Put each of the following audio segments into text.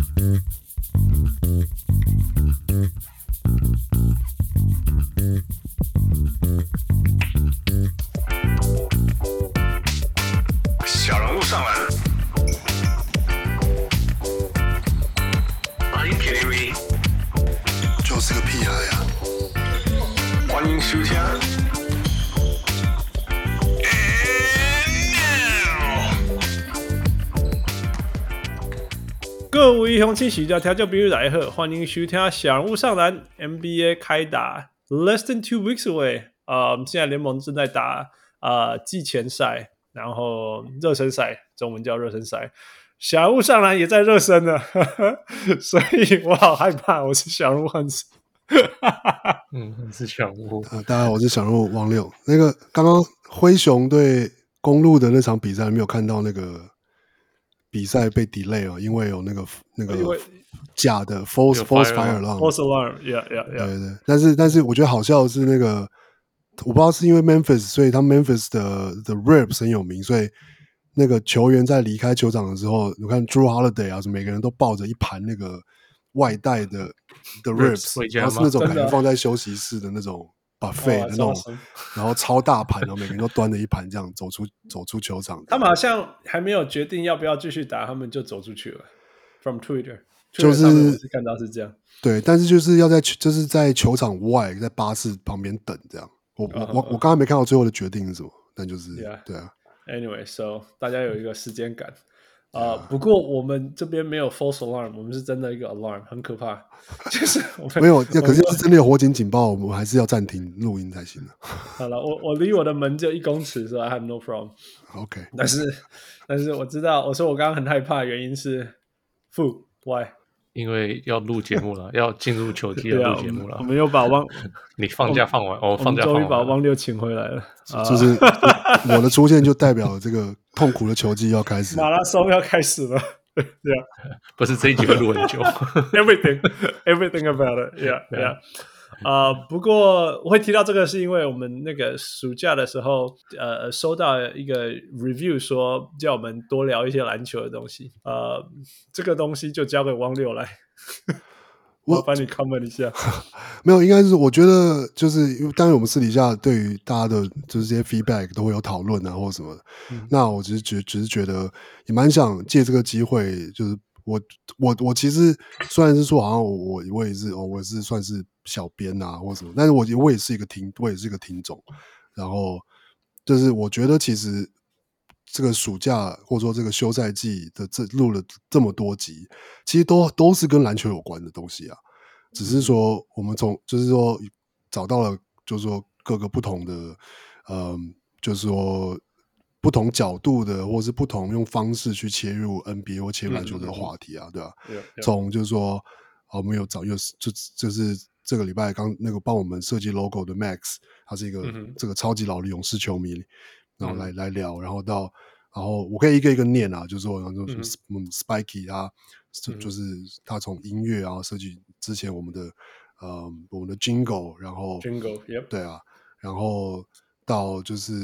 小人物上篮，欢迎 KTV， 就是个屁孩呀！ 欢迎收听。 各位鄉親喜家聽眾朋友來好，歡迎收聽小人物上籃 NBA 開打 ，less than 2 weeks away。現在聯盟正在打季前賽，然後熱身賽，中文叫熱身賽。小人物上籃也在熱身了，所以我好害怕。我是小人物漢斯， 是小人物。 大家好，我是小人物王六。那個剛剛灰熊對公鹿的那場比賽，沒有看到那個比賽被 delay 哦，因為有那個假的 false fire alarm，false alarm，yeah。 對，但是我覺得好笑的是那個，我不知道是因為 Memphis， 所以他 Memphis 的 Ribs 很有名，所以那個球員在離開球場的時候，你看 Drew Holiday 啊，每個人都抱着一盤那個外帶的 Ribs， 然後是那種感覺放在休息室的那種 buffet 的那種，然後超大盤，然後每個人都端着一盤這樣走出球場。 他們好像還沒有決定要不要繼續打，他們就走出去了。From Twitter， 就是我是看到是這樣。對， 但是就是要就是在球場外，在巴士旁邊等這樣。我剛才沒看到最後的決定是什麼，但就是、對啊。 Anyway，so 大家有一個時間感。不過我們這邊沒有 false alarm， 我們是真的一個 alarm， 很可怕。就是我們沒有，可是要是真的有火警警報，我們還是要暫停錄音才行的。 好了，我離我的門就1公尺，所以 I have no problem。OK， 但是我知道，我說我剛剛很害怕的原因是 Why？ 因為要錄節目了，要進入球季要錄節目了。 我們又把你放假放完，我放假放完， 終於把汪六請回來了。 就是我的出現就代表這個痛苦的球季要開始， 馬拉松要開始了。 不是這一集會錄很久。 Everything about it，yeah。不過我會提到這個是因為我們那個暑假的時候收到一個 review 說叫我們多聊一些籃球的東西，這個東西就交給汪六來。我幫你 comment 一下。 沒有，應該是我覺得就是因為當然我們私底下對於大家的就是這些 feedback 都會有討論啊或者什麼的，那我只是覺得也蠻想借這個機會，就是我其實雖然是說好像我也是算是小編啊或什麼，但是我也是一個聽眾，然後就是我覺得其實這個暑假或者說這個休賽季的錄了這麼多集，其實都是跟籃球有關的東西啊，只是說我們就是說找到了就是說各個不同的就是說不同角度的，或是不同用方式去切入 NBA 或切入籃球這個話題啊，對吧？從就是說，我們有就是這個禮拜剛那個幫我們設計 logo 的 Max， 他是一個這個超級老的勇士球迷，然後來聊，然後我可以一個一個念啊，就是說，然後Spiky 他就是他從音樂然後設計之前我們的 Jingle， 然後 Jingle， 對啊，然後到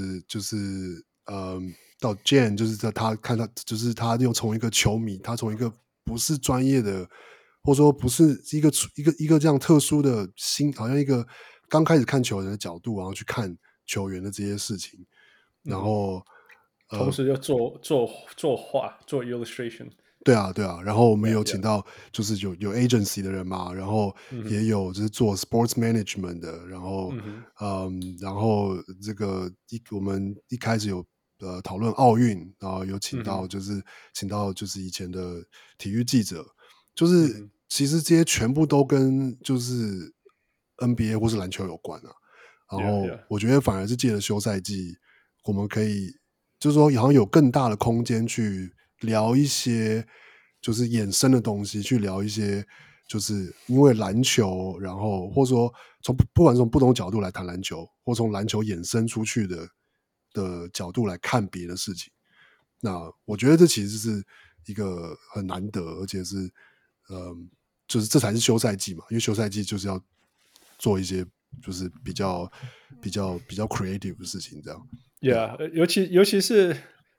到 Jen， 就是他看他就是他又從一個球迷，他從一個不是專業的，或者說不是一個這樣特殊的好像一個剛開始看球員的角度，然後去看球員的這些事情，然後同時就做畫做 illustration。對啊， 然後我們有請到就是有 agency 的人嘛，然後也有就是做 sports management 的，然後然後這個我們一開始有討論奧運，然後有請到就是以前的體育記者，就是其實這些全部都跟就是 NBA 或是籃球有關啊，然後我覺得反而是借着休賽季，我們可以就是說好像有更大的空間去聊一些就是衍生的東西，去聊一些就是因為籃球，然後或者說不管從不同角度來談籃球，或從籃球衍生出去的角度來看別的事情。那我覺得這其實是一個很難得，而且是就是這才是休賽季嘛，因為休賽季就是要做一些就是比較 creative 的事情，這樣。 Yeah， 尤其是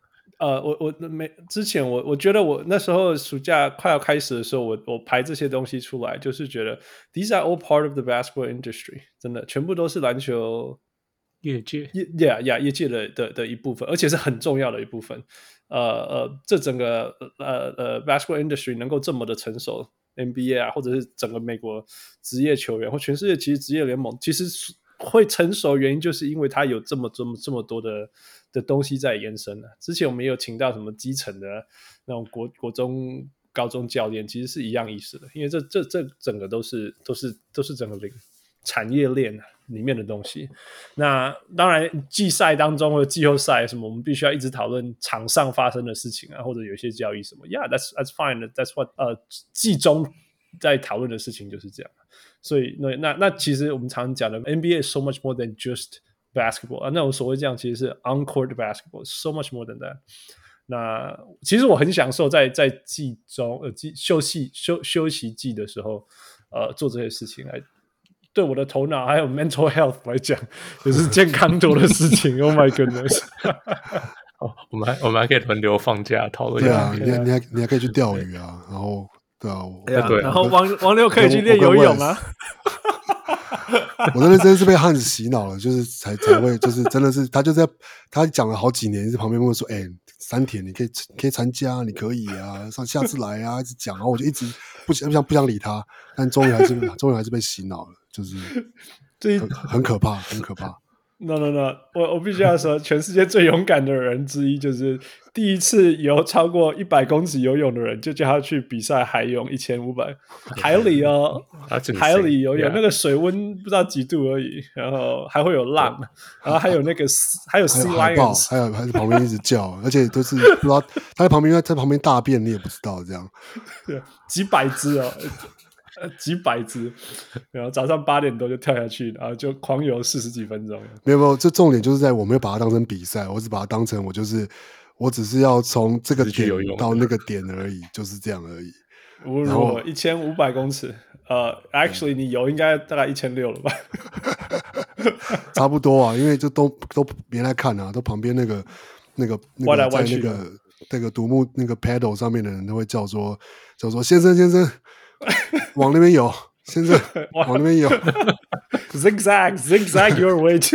之前我覺得我那時候暑假快要開始的時候，我排這些東西出來，就是覺得 these are all part of the basketball industry， 真的全部都是籃球業界業界的一部分，而且是很重要的一部分。這整個basketball industry 能夠這麼的成熟 ，NBA 啊，或者是整個美國職業球員或全世界其實職業聯盟，其實會成熟原因就是因為它有這麼多的東西在延伸。之前我們也有請到什麼基層的那種國中高中教練，其實是一樣意思的，因為這整個都是整個產業鏈裡面的東西。那當然季賽當中或者季後賽什麼，我們必須要一直討論場上發生的事情啊，或者有些交易什麼 ，Yeah, that's fine, that's what 季中在討論的事情就是這樣。所以那其實我們常講的 NBA is so much more than just basketball 那我所謂這樣其實是 on-court basketball, so much more than that。那其實我很享受在季中休息季的時候做這些事情，來對我的頭腦還有 mental health 來講也是健康多的事情。Oh my goodness 我們還可以輪流放假討論。 對啊，你還可以去釣魚啊，然後對啊， 然後王六可以去練游泳啊。 我真的是被漢子洗腦了，就是才會，就是真的是他講了好幾年，在旁邊問我說：“三鐵你可以參加，你可以啊，下次來啊。”一直講，然後我就一直不想理他，但終於還是被洗腦了，就是很可怕，很可怕。 No， 我必須要說，全世界最勇敢的人之一，就是第一次游超過100公尺游泳的人，就叫他去比賽海泳1500海里哦，海里游泳，那個水溫不知道幾度而已，然後還會有浪，然後還有那個還有 sea lions， 還有旁邊一直叫，而且都是不知道他在旁邊大便，你也不知道這樣， 對，幾百隻哦。幾百隻，然後早上8點多就跳下去，然後就狂游40幾分鐘。 沒有，這重點就是在我沒有把它當成比賽，我只把它當成我只是要從這個點到那個點而已，就是這樣而已。 然後1500公尺，actually 你游應該大概1600了吧？ 差不多啊，因為就都沒來看啊，都旁邊那個在那個獨木那個 paddle 上面的人都會叫說先生。往那邊游，先生，往那邊游。zigzag your way to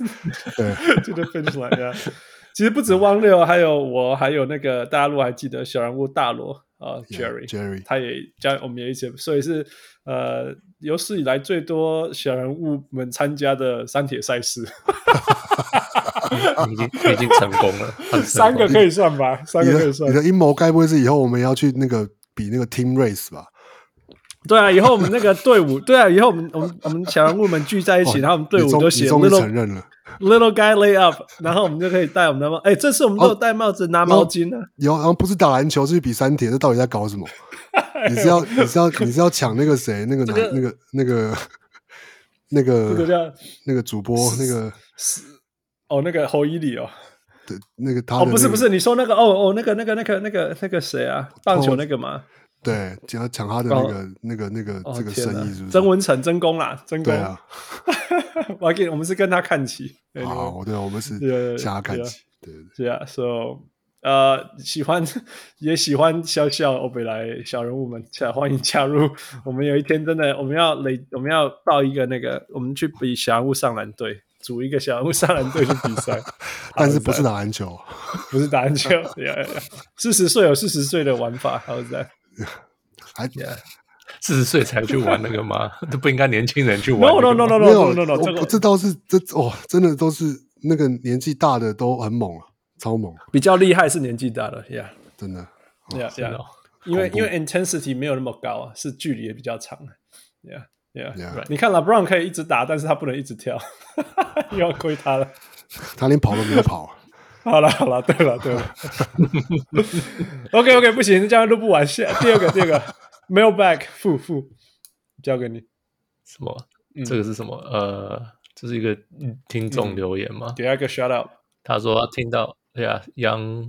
the finish line。其實不止汪六，還有我，還有那個大陸還記得小人物大羅Jerry， 他也加我們也一起，所以是有史以來最多小人物們參加的三鐵賽事。 已經成功了 ，3個可以算吧？3個可以算。 你的陰謀該不會是以後我們要去那個比那個 team race 吧？ 對啊，以後我們那個隊伍，對啊，以後我們小人物們聚在一起，然後我們隊伍都寫 little guy lay up， 然後我們就可以戴我們的帽。這次我們都有戴帽子，拿毛巾呢。然後不是打籃球，是比三鐵，這到底在搞什麼？你是要搶那個誰？那個主播那個那個侯伊里哦。 對，那個他不是，你說那個那個誰啊？棒球那個嗎？ 對，要搶他的那個這個生意是不是？ 曾文成真功啦，真功。 對啊， 我們是跟他看齊。 好，對，我們是向他看齊。對啊 ，so 喜歡笑歐北來小人物們，歡迎加入。我們有一天真的我們要報一個那個，我們去比小人物上籃隊，組一個小人物上籃隊去比賽， 但是不是打籃球， 不是打籃球。40歲有40歲的玩法，好在。 40歲才去玩那個嗎？都不應該年輕人去玩。 No， 這倒是真的都是那個年紀大的都很猛啊，超猛。 比較厲害是年紀大的 ，Yeah， 真的 ，Yeah， 因為 intensity 沒有那麼高啊，是距離也比較長 ，Yeah， 你看 LeBron 可以一直打，但是他不能一直跳，又要虧他了。 他連跑都沒有跑。 好了，對了，OK， 不行，這樣錄不完。第二個 mailbag 付交給你。 什麼？這個是什麼？這是一個聽眾留言嗎？ 給他一個 shout out。 他說他聽到，楊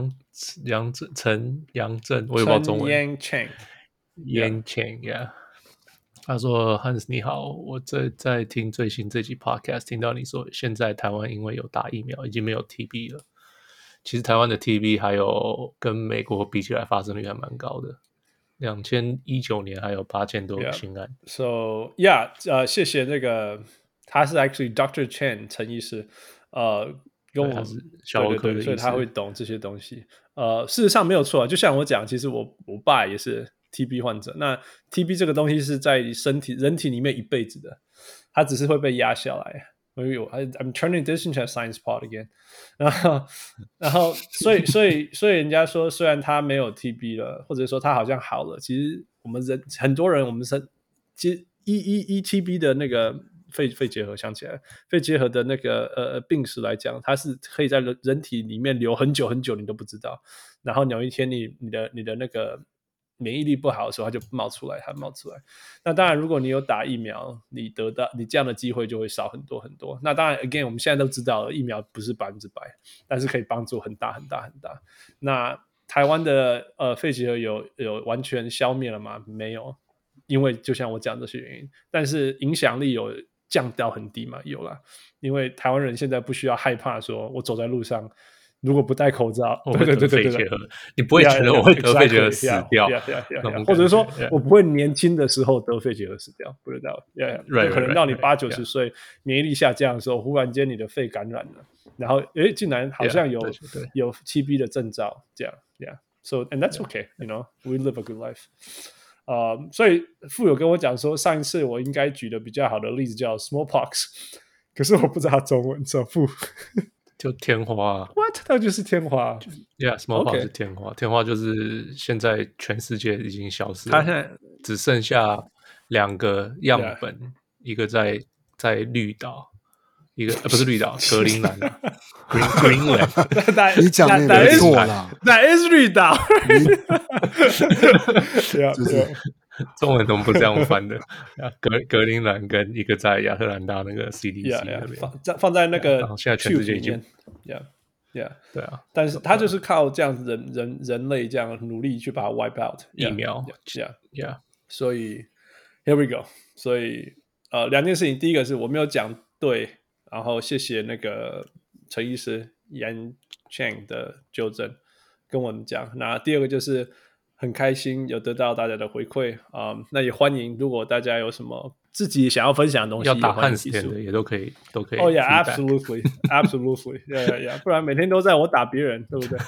正，我也不知道中文。Yang Cheng， 他說 Hans 你好，我在聽最新這集 podcast， 聽到你說現在台灣因為有打疫苗已經沒有 TB 了， 其實台灣的 TB 還有跟美國比起來發生率還蠻高的，2019年還有8000多個新案。 So yeah，謝謝那個，他是 actually Dr. Chen 陳醫師，跟我他是小兒科的醫師， 所以他會懂這些東西。事實上沒有錯，就像我講，其實我爸也是 TB 患者。那 TB 這個東西是在人體裡面一輩子的，它只是會被壓下來。I'm turning this into a science pod again 然後所以人家說，雖然他沒有 TB 了，或者說他好像好了，其實我們很多人，我們其實TB 的那個肺結核，想起來肺結核的那個病史來講，它是可以在人體裡面留很久很久，你都不知道。然後有一天你的那個免疫力不好的時候，它就冒出来。那當然，如果你有打疫苗，你这樣的機會就會少很多很多。那當然 ，again， 我們現在都知道了，疫苗不是100%，但是可以幫助很大很大很大。那台灣的肺結核有完全消滅了嗎？沒有，因為就像我講這些原因，但是影響力有降到很低嘛？有啦，因為台灣人現在不需要害怕說我走在路上，如果不戴口罩，对， 你不會覺得我會得肺結核死掉， 或者說我不會年輕的時候得肺結核死掉，不知道，可能到你80-90歲免疫力下降的時候，忽然間你的肺感染了，然後竟然好像有 TB 的徵兆，這樣 ，so and that's okay， you know， we live a good life。所以傅有跟我講說，上一次我應該舉的比較好的例子叫 smallpox， 可是我不知道中文，說傅。 就天花 ，What？ 它就是天花。 Yeah，smallpox 是天花。天花就是現在全世界已經消失了，它现在只剩下2個樣本，一個在綠島，一個不是綠島，格陵蘭，Greenland。 你講的沒錯啦， 那是綠島。 就是中文怎麼不這樣翻的？格陵蘭跟一個在亞特蘭大那個 CDC 那邊， 放在那個， 然後現在全世界已經對啊， 但是他就是靠這樣子人類這樣努力去把它 wipe out 疫苗， 所以 here we go， 所以2件事情，第一個是我沒有講對，然後謝謝那個陳醫師 Yan Cheng 的糾正跟我們講，那第二個就是很開心有得到大家的回饋那也歡迎，如果大家有什麼自己想要分享的東西， 要打漢斯点的也都可以。 Oh yeah, absolutely, absolutely, yeah. 不然每天都在我打別人，對不對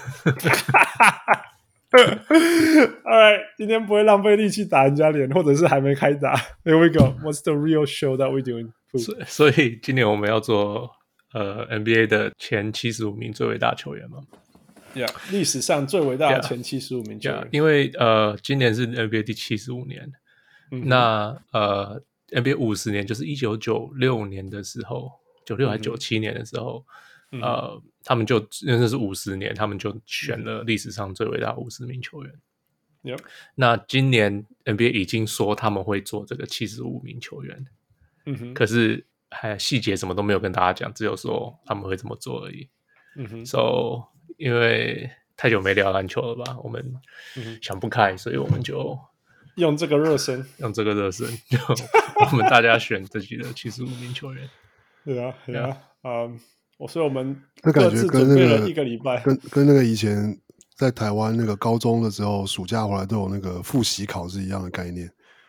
？All right， 今天不會浪費力氣打人家臉，或者是還沒開打。Here we go. What's the real show that we doing? 所以今年我們要做NBA 的前75名最偉大球員嗎 ？Yeah， 歷史上最偉大的前75名球員。 因為今年是 NBA 第75年，那NBA 50年就是1996年的時候，96還是97年的時候，他們就那是50年，他們就選了歷史上最偉大50名球員。那今年 NBA 已經說他們會做這個75名球員，可是還細節什麼都沒有跟大家講，只有說他們會這麼做而已。So 因為太久沒聊籃球了吧，我們想不開，所以我們就用這個熱身， 就我們大家選自己的75名球員。 對啊，所以我們各自準備了一個禮拜， 跟那個以前在台灣那個高中的時候，暑假回來都有那個複習考試一樣的概念。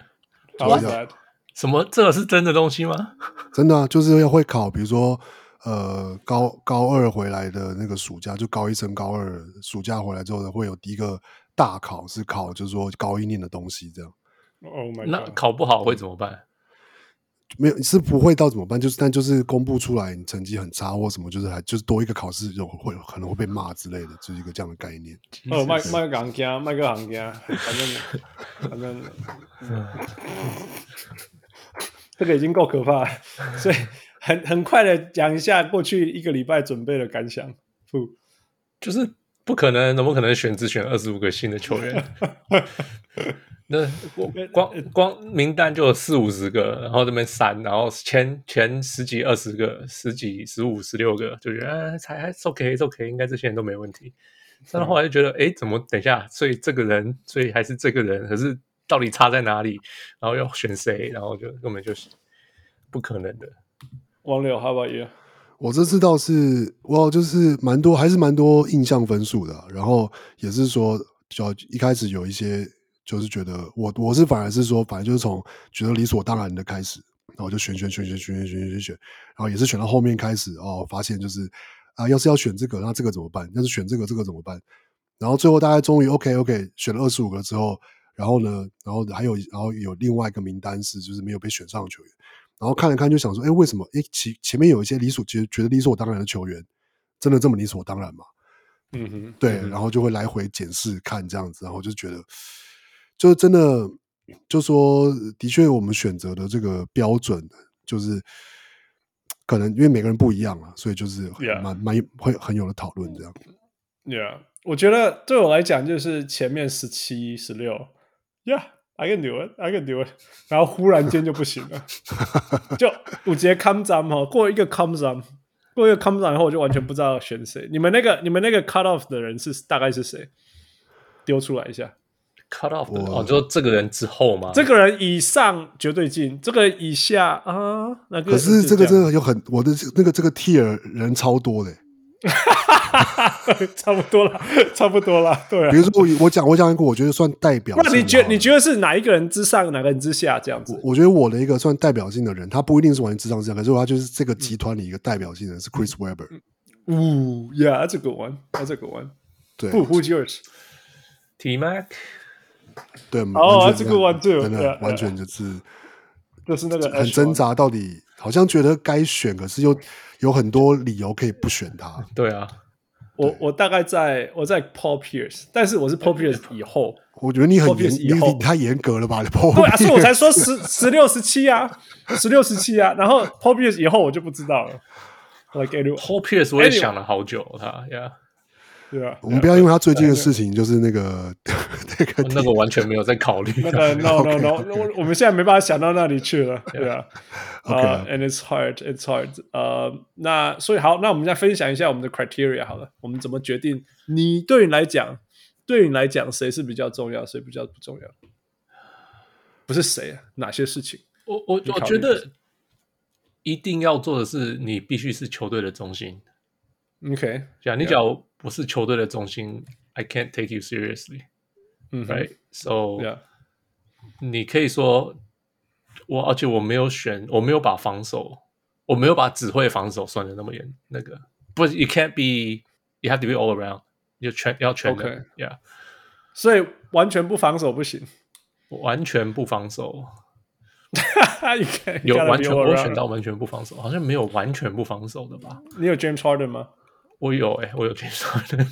什麼？這個是真的東西嗎？ 真的啊，就是要會考，比如說高二回來的那個暑假，就高1升高2暑假回來之後呢，會有第一個大考，是考就是說高1念的東西這樣。 Oh my God， 那考不好會怎麼辦？ 沒有，是不會到怎麼辦？但就是公布出來你成績很差或什麼，就是多一個考試可能會被罵之類的，就是一個這樣的概念。 麥個行家，麥個行家，反正這個已經夠可怕了，所以很快的講一下過去一個禮拜準備的感想。 就是怎麼可能只選25個新的球員？那光名單就有40-50個，然後這邊刪，然後前10幾20個，10幾15、16個，就覺得還是 OK， 應該這些人都沒問題。但是後來就覺得，怎麼等一下？所以還是這個人，可是到底差在哪裡？然後要選誰？然後就根本就是不可能的。 王柳 ，How about you？ 我這次倒是，就是还是蠻多印象分数的、然後也是说，就一開始有一些就是覺得我是反而是說，反正就是從覺得理所當然的開始，然後就選，然後也是選到後面開始發現就是要是要選這個，那這個怎麼辦？要是選這個怎麼辦？然後最後大概終於 OK 選了25個之後，然後呢，然後有另外一個名單是就是沒有被選上的球員。然後看了看就想說，為什麼？前面有一些覺得理所當然的球員，真的這麼理所當然嗎？對，然後就會來回檢視看這樣子，然後就覺得，就真的，就說的確我們選擇的這個標準，就是可能因為每個人不一樣啊，所以就是會很有的討論這樣。 Yeah， 我覺得對我來講就是前面17、16 ，Yeah。I can do it， 然後忽然間就不行了，就五節 come down 過一個 come down 以後，我就完全不知道要選誰。你們那個 cut off 的人大概是誰？丟出來一下。 cut off 的就這個人之後嗎？ 這個人以上絕對進，這個以下那個。 可是這個真的有我的這個 tier 人超多的。 差不多了，對啊。 比如說我講一個，我覺得算代表性。 那你覺得是哪一個人之上，哪個人之下這樣子？ 我覺得我的一個算代表性的人，他不一定是完全之上之下，可是他就是這個集團裡一個代表性的人是 Chris Webber。 Yeah, that's a good one. That's a good one. 對 ，Who's yours? T Mac。 對 ，that's a good one too. 真的完全就是那個很掙扎，到底好像覺得該選，可是又有很多理由可以不選他。 对啊。 我大概在 Paul Pierce， 但是我是 Paul Pierce 以後。 我覺得你太嚴格了吧？對啊，所以我才說16、17啊，16、17啊。然後 Paul Pierce 以後我就不知道了。 Paul Pierce 我也想了好久，他对啊。 我們不要因為他最近的事情，就是那個完全沒有在考慮。 No， 我們現在沒辦法想到那裡去了，對啊。And it's hard. 那所以好，那我們再分享一下我們的 criteria 好了，我們怎麼決定？對你來講，誰是比較重要，誰比較不重要？不是誰啊？哪些事情？ 我覺得一定要做的是，你必須是球隊的中心。 OK， 你假如不是球隊的中心 ，I can't take you seriously。Right， so 你可以說而且我没有把防守，我没有把只会防守算的那麼嚴，那個不是 ，you can't be，you have to be all around， 要全的 ，Yeah。 所以完全不防守不行， 完全不防守。 有完全我選到完全不防守，好像沒有完全不防守的吧？ 你有 James Harden 嗎？ 我有James Harden。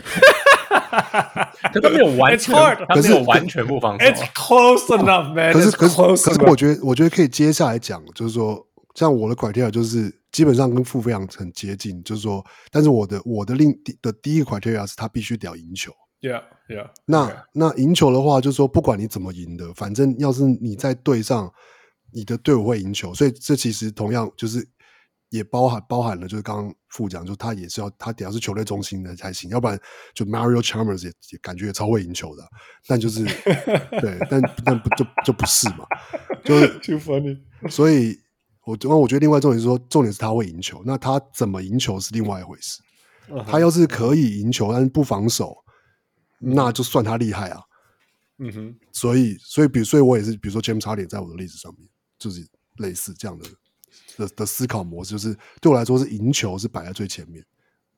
可他沒有完全，他沒有完全不防守。 It's close enough, man. 可是我覺得可以接下來講，就是說，像我的 criteria 就是基本上跟傅非常很接近，就是說，但是我的第一個 criteria 是他必須得要贏球。 Yeah. 那贏球的話，就是說，不管你怎麼贏的，反正要是你在隊上，你的隊伍會贏球，所以這其實同樣就是也包含了，就是剛剛傅講，就他得要是球隊中心的才行，要不然就 Mario Chalmers 也感覺也超會贏球的，但就是對，但就不是嘛，就是 too funny。所以我覺得另外重點是说，重點是他會贏球，那他怎麼贏球是另外一回事。他要是可以贏球，但是不防守，那就算他厲害啊。所以我也是，比如說 James Harden 在我的例子上面，就是類似這樣的思考模式，就是對我來說是贏球是擺在最前面。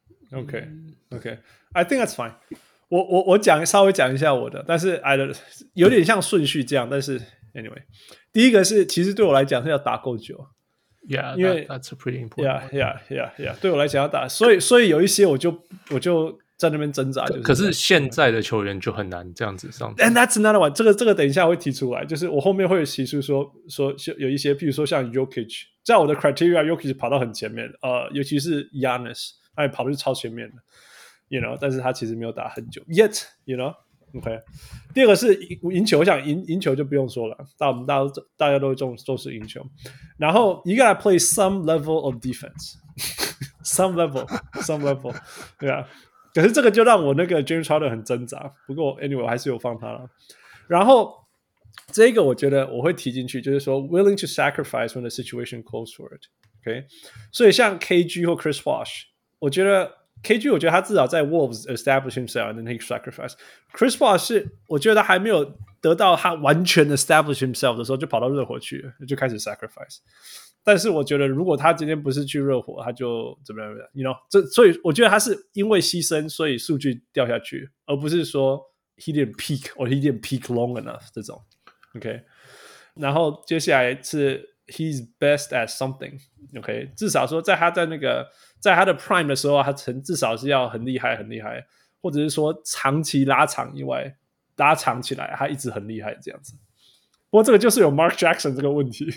OK，I think that's fine。我稍微講一下我的，但是有點像順序這樣，但是 anyway， 第一個是其實對我來講是要打夠久。 Yeah， 因為 that's pretty important。 Yeah， 對我來講要打，所以有一些我就在那邊掙扎。 可是現在的球員就很難這樣子上。 And that's another one。這個等一下會提出來，就是我後面會提出說有一些，譬如說像 Jokic， 在我的 criteria Jokic 跑到很前面，尤其是 Giannis， 他也跑的是超前面的 ，you know， 但是他其實沒有打很久 ，yet，you know。OK， 第二個是贏球，我想贏球就不用說了，大家都會重視贏球。然後 you gotta play some level of defense， some level， 對啊。可是這個就讓我那個 James Harden 很掙扎。不過 anyway 我還是有放他了。然後這個我覺得我會提進去，就是說 willing to sacrifice when the situation calls for it。 OK， 所以像 KG 或 Chris Bosh， 我覺得 KG 我覺得他至少在 Wolves establish himself and then he sacrifice。Chris Bosh 是我覺得他還沒有得到他完全 establish himself 的時候，就跑到熱火去了，就開始 sacrifice。但是我覺得如果他今天不是去熱火，他就怎麼樣 ？You know， 所以我覺得他是因為犧牲，所以數據掉下去，而不是說 he didn't peak or he didn't peak long enough 這種。OK， 然後接下來是 he's best at something。OK， 至少說在他的 prime 的時候，他至少是要很厲害很厲害，或者是說長期拉長以外，拉長起來他一直很厲害這樣子。不過這個就是有 Mark Jackson 這個問題。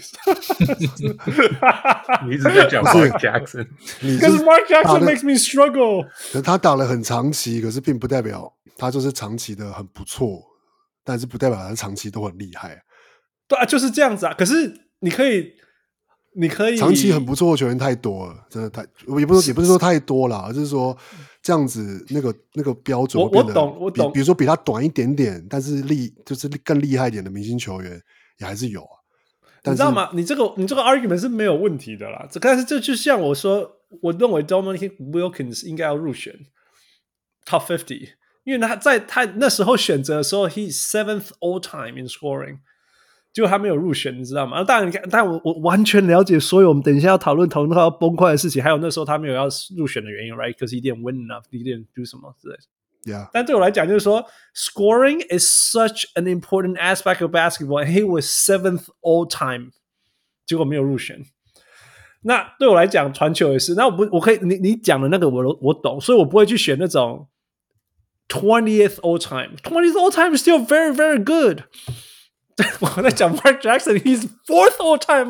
你一直在講 Mark Jackson， 可是 Mark Jackson makes me struggle。 他打了很長期，可是並不代表他就是長期的很不錯，但是不代表他長期都很厲害。 對啊，就是這樣子啊。可是你可以長期很不錯的球員太多了，真的太也不是說太多啦，而是說這樣子那個標準會變得我懂。 比如說比他短一點點，但是就是更厲害一點的明星球員也還是有啊。 你知道嗎？你这个 argument 是沒有問題的啦。但是這就像我說，我認為 Dominic Wilkins 應該要入選 Top 50，因為他那時候選擇的時候 ，he's 7th all time in scoring。結果他沒有入選，你知道嗎？當然，但我完全了解所有我們等一下要討論到要崩潰的事情，還有那時候他沒有要入選的原因 ，right？Because he didn't win enough, he didn't do 什麼之類的。 Yeah. 但對我來講，就是說 ，scoring is such an important aspect of basketball, and he was 7th all time， 結果沒有入選。那對我來講，傳球也是。那我可以，你講的那個我懂，所以我不會去選那種 20th all time。20th all time is still very, very good。我在講 Mark Jackson, he's 4th all time,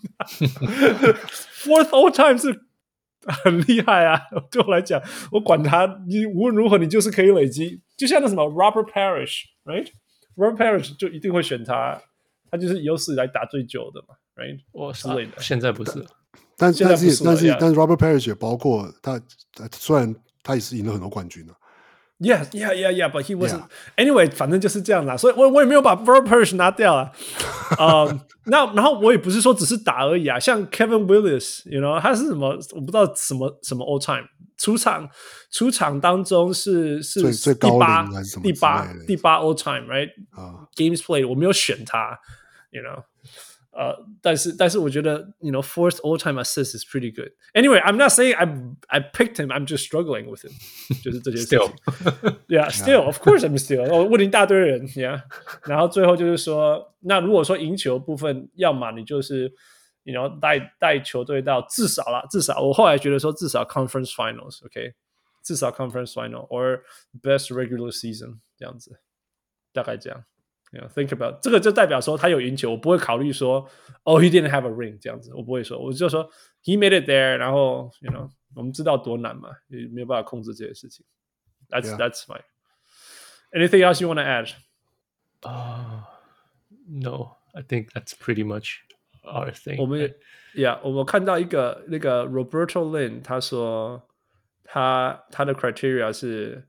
fourth all time 是很厲害啊！對我來講，我管他，你無論如何，你就是可以累積。就像那什麼 Robert Parrish, right? Robert Parrish 就一定會選他，他就是有史以來打最久的嘛 ，right? 之類的。 現在不是， 但是 Robert Parrish 也包括他，雖然他也是贏了很多冠軍啊。 Yeah, but he wasn't. Anyway, 反正就是這樣啦，所以我也沒有把 Robert Parrish 拿掉啊。然後我也不是說只是打而已啊，像 Kevin Willis，you know， 他是什麼？我不知道什麼 all time。出場當中是最高齡還是什麼？ 第八 all time, right? Games played， 我沒有選他 ，you know。但是我覺得 you know fourth all time assist is pretty good. Anyway, I'm not saying I picked him. I'm just struggling with him. 就是這件事情。Still, of course I'm still. 我問一大堆人 ，Yeah. 然後最後就是說，那如果說贏球部分，要麼你就是you know帶球隊到至少我後來覺得說至少 Conference Finals, OK， 至少 Conference Final or best regular season 這樣子，大概這樣。You know, think about 這個就代表說他有贏球，我不會考慮說he didn't have a ring 這樣子，我不會說，我就說 he made it there， 然後 you know 我們知道多難嘛，也沒有辦法控制這些事情。That's fine. Anything else you want to add? No, I think that's pretty much our thing. 我們看到一個那個 Roberto Lin， 他說他的 criteria 是。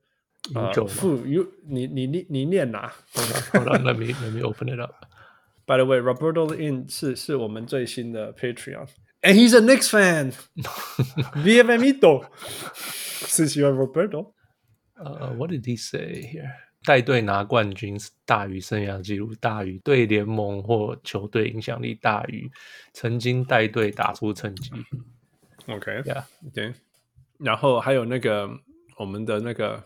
你念哪 ？Hold on, let me open it up. By the way, Roberto Lin 是我們最新的 Patreon, and he's a Knicks fan. Bienvenido. 是喜歡 Roberto? What did he say here? 帶隊拿冠軍大於生涯紀錄，大於對聯盟或球隊影響力，大於曾經帶隊打出成績。 OK, yeah, OK. 然後還有那個我們的那個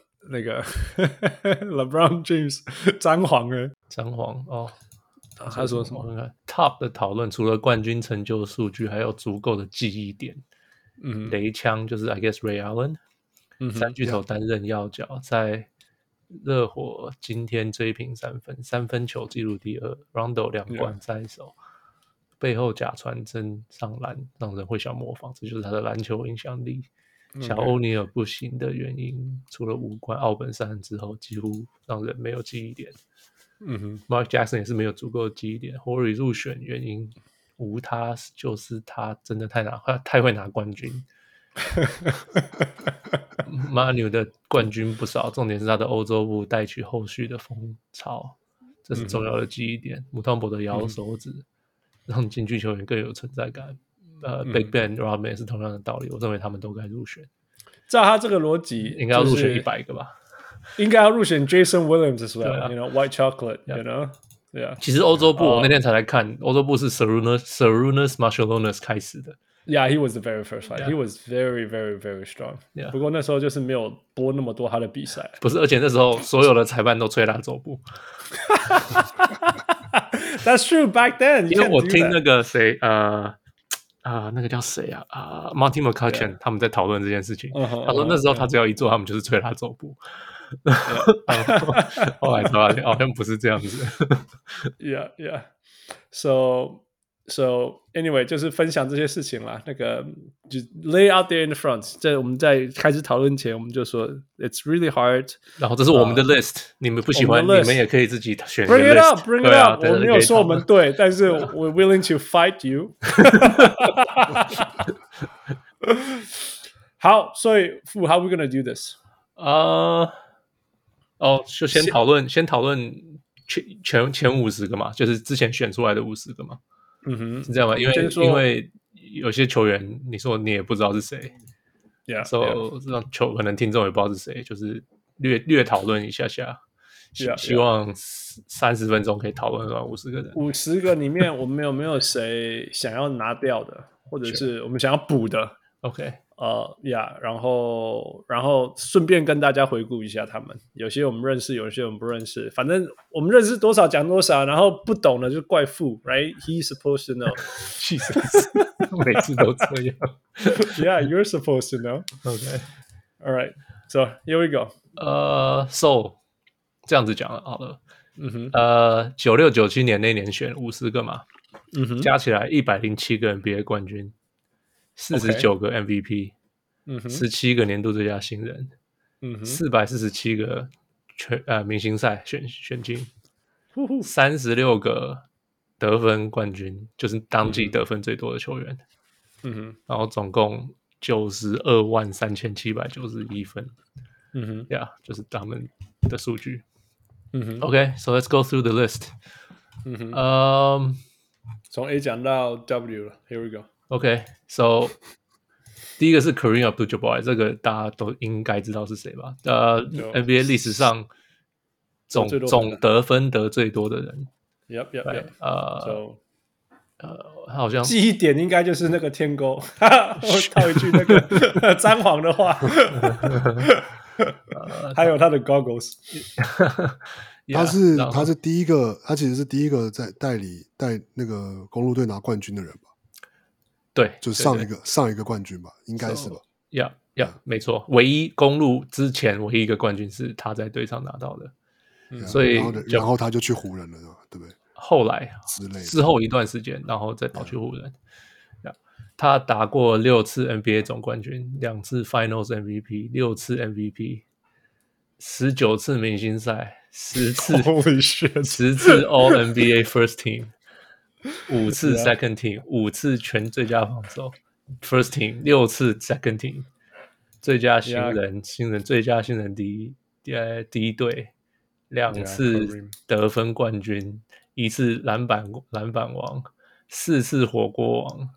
LeBron James 詹皇哦，他說什麼 ？Top 的討論除了冠軍成就數據，還有足夠的記憶點。雷槍就是 I guess Ray Allen，三巨頭擔任要角，在熱火今天追平三分球紀錄第2 ，Rondo 2冠在手，背後假傳真上籃，讓人會想模仿，這就是他的籃球影響力。小歐尼爾不行的原因，除了5冠奧本山之後，幾乎讓人沒有記憶點。Mark Jackson 也是沒有足夠的記憶點。Horry 入選原因，無他，就是他真的太會拿冠軍。Manu 的冠軍不少，重點是他的歐洲部帶取後續的風潮，這是重要的記憶點。姆湯博的搖手指，讓禁區球員更有存在感。 Big Ben、Rodman 也是同樣的道理，我認為他們都該入選。 照他這個邏輯， 應該要入選100個吧？ 應該要入選 Jason Williams as well，you know White Chocolate，you know，yeah。 其實歐洲部我那天才來看，歐洲部是 Sarunas Marciulionis 開始的。 Yeah, he was the very first fight. He was very, very, very strong. 不過那時候就是沒有播那麼多他的比賽。 不是，而且那時候所有的裁判都吹他走步。 That's true back then. 因為我聽那個誰，那個叫誰啊？Monty McCutcheon 他們在討論這件事情。他說那時候他只要一做，他們就是吹他走步。後來才發現好像不是這樣子。 Yeah, yeah. So anyway， 就是分享這些事情啦。那個就 lay out there in the front。在我們在開始討論前，我們就說 it's really hard。 然後這是我們的 list，你們不喜歡，你們也可以自己選。 Bring it up, bring it up。我沒有說我們對，但是 we're willing to fight you 。好，所以how are we gonna do this？ 就先討論前50個嘛，就是之前選出來的50個嘛。是這樣嗎？因為有些球員，你說你也不知道是誰 ，so 讓可能聽眾也不知道是誰，就是略討論一下下，希望30分鐘可以討論完50個人。 50個裡面，我們有沒有誰想要拿掉的，或者是我們想要補的 ？OK， 然後順便跟大家回顧一下他們，有些我們認識，有些我們不認識，反正我們認識多少講多少，然後不懂的就怪父 ，right? He's supposed to know. Jesus， 每次都這樣。 Yeah, you're supposed to know. Okay, all right. So here we go. So 這樣子講了好了。96、97年那年選50個嘛，加起來107個 NBA 冠軍。49個 MVP， 17個年度最佳新人，447個明星賽選進，36個得分冠軍，就是當季得分最多的球員，然後總共923791分，就是他們的數據。OK, so let's go through the list. 從 A 講到 W 了 ，Here we go.OK, so 第一個是 Kareem Abdul-Jabbar， 這個大家都應該知道是誰吧？NBA 歷史上總得分得最多的人。 Yep. 好像記憶點應該就是那個天勾，我套一句那個詹皇的話，還有他的 goggles。 他是第一個，他其實是第一個在帶那個公鹿隊拿冠軍的人吧？ 對， 就上一個冠軍吧，應該是吧？ 沒錯，唯一公鹿之前唯一一個冠軍是他在隊上拿到的，所以然後他就去湖人了，對不對？ 後來之後一段時間，然後再跑去湖人。他打過6次 NBA 總冠軍，2次 Finals MVP， 6次 MVP， 19次明星賽，10次 All NBA First Team。5次 Second Team， 5次全最佳防守 First Team， 6次 Second Team， 最佳新人最佳新人第一队，2次得分冠軍，1次籃板王，4次火鍋王。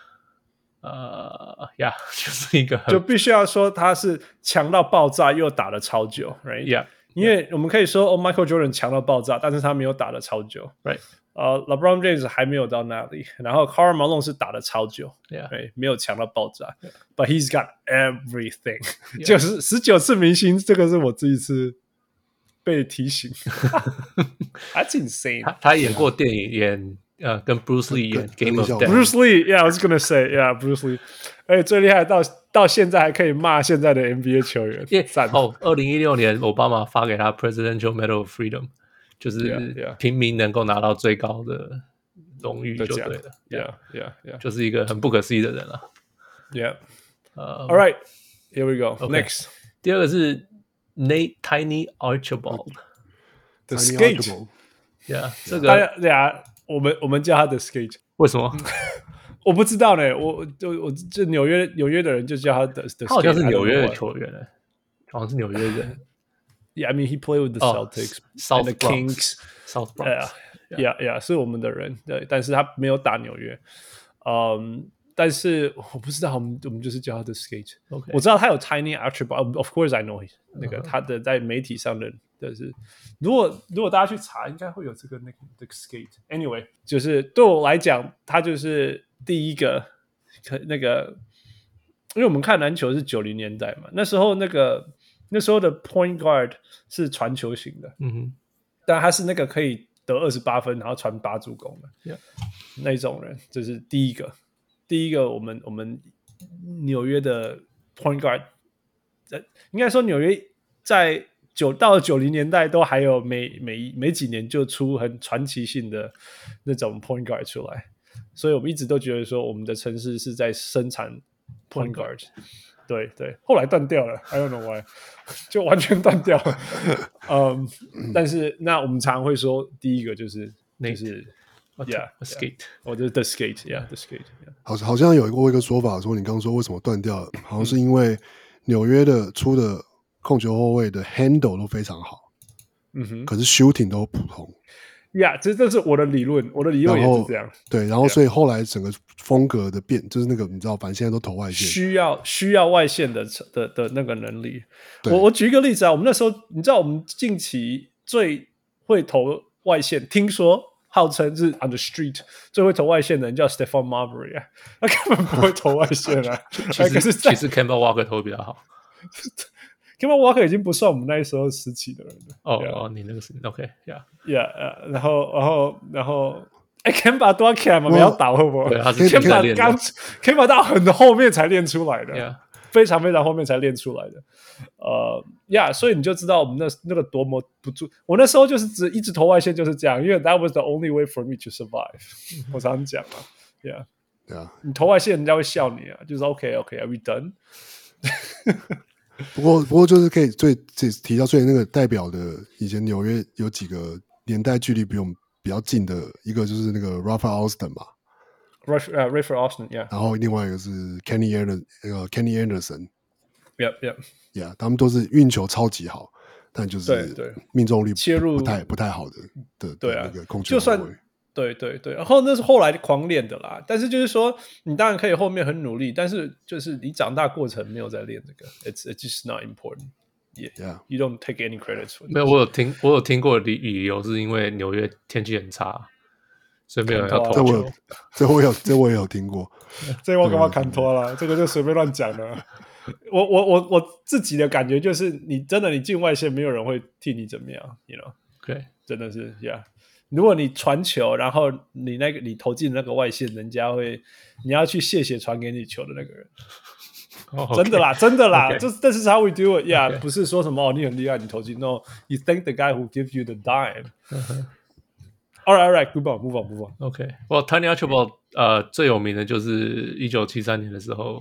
就是一個就必須要說他是強到爆炸又打得超久 ，right？ 因為我們可以說Michael Jordan 強到爆炸，但是他沒有打得超久 ，right？ LeBron James 還沒有到那裡，然後 Karl Malone 是打得超久，沒有強到爆炸 ，But he's got everything， 就是19次明星，這個是我第一次被提醒，That's insane。 他演過電影，跟 Bruce Lee 演 Game of Death。Bruce Lee，I was gonna say，Bruce Lee。最厲害到現在還可以罵現在的 NBA 球員。 2016年奧巴馬發給他 Presidential Medal of Freedom。就是平民能夠拿到最高的榮譽就對了 ，Yeah， 就是一個很不可思議的人了 ，All right, here we go. Next， 第二個是 Tiny Archibald，The Skate， 這個我們叫他的 Skate， 為什麼？ 我不知道呢，我就紐約的人就叫他的 Skate， 他好像是紐約的球員好像是紐約人。 Yeah, I mean, he played with the Celtics, South and the Kings, South Bronx. Yeah, 是我們的人，对，但是他沒有打紐約。 但是我不知道，我們就是叫他的 skate。Okay. 我知道他有 tiny attribute，of course I know 那個他的在媒體上的是，如果大家去查，應該會有這個那個的 skate。Anyway， 就是對我來講，他就是第一個那個，因為我們看籃球是90年代嘛，那時候的 point guard 是傳球型的，但他是那個可以得28分，然後傳8助攻的那種人，這是第一個我們紐約的 point guard， 應該說紐約在到了90年代都還有每幾年就出很傳奇性的那種 point guard 出來，所以我們一直都覺得說我們的城市是在生產 point guard。对，後來斷掉了 I don't know why 就完全斷掉了但是那我們常常會說第一個就是Yeah, skate. 我就是 the skate, yeah, the skate. Yeah. 好像有过一個說法，說你剛剛說為什麼斷掉了，好像是因為紐約的出的控球後衛的 handle 都非常好，可是 shooting 都普通。 Yeah, 這是我的理論，也是這樣。 對，然後所以後來整個風格的變，就是那個你知道，反正現在都投外線， 需要外線的那個能力。我舉一個例子啊，我們那時候你知道，我們近期最會投外線，聽說號稱是 on the street 最會投外線的人叫 Stephon Marbury 啊，他根本不會投外線啊。其實 Kemba Walker 投比較好。 Kemba Walker 已經不算我們那時候時期的人了。你那個是 OK，yeah， 然後Kemba 多 Kemba 沒有打會不會？ 對，他是現在練的。 Kemba 到很後面才練出來的，非常非常後面才練出來的。所以你就知道我們那個多麼不住。我那時候就是一直投外線就是這樣，因為 that was the only way for me to survive 。我常講啊，你投外線人家會笑你啊，就是 OK，are we done？ 不過就是可以提到最那個代表的，以前紐約有幾個年代距離比我們比較近的，一個就是那個 Rafael Austin 嘛 ，Rafael Austin，yeah。然後另外一個是 Kenny Anderson，yeah， 他們都是運球超級好，但就是命中率切入不太好的那個控球後衛。对，然後那是後來狂練的啦。但是就是說，你當然可以後面很努力，但是就是你長大過程沒有在練這個 ，it's just not important. Yeah, you don't take any credit for it. 沒有，我有聽過的理由是因為紐約天氣很差，所以沒有人要投球。 這我也有聽過。 這我幹嘛看脫了？這個就隨便亂講的。我自己的感覺就是，你進外線，沒有人會替你怎麼樣 ，you know？ 對，真的是 ，yeah。如果你傳球，然後你投進那個外線，你要去謝謝傳給你球的那個人。真的啦，這是 how we do it. Yeah， 不是說什麼你很厲害，你投進。No, you thank the guy who gives you the dime. All right, move on. OK, well, Tiny Archibald 最有名的就是1973年的時候，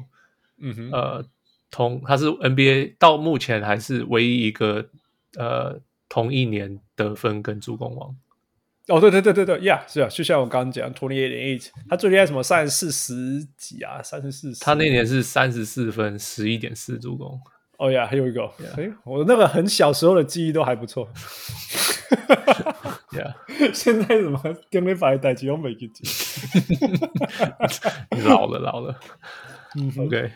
他是 NBA 到目前還是唯一一個同一年得分跟助攻王。 對 ，Yeah， 是啊，就像我剛剛講 28.8， 他最厲害什麼34幾啊，34。 他那年是34分11.4助攻。 還有一個，我那個很小時候的記憶都還不錯。現在什麼跟沒擺代誌都沒記住。 老了。OK，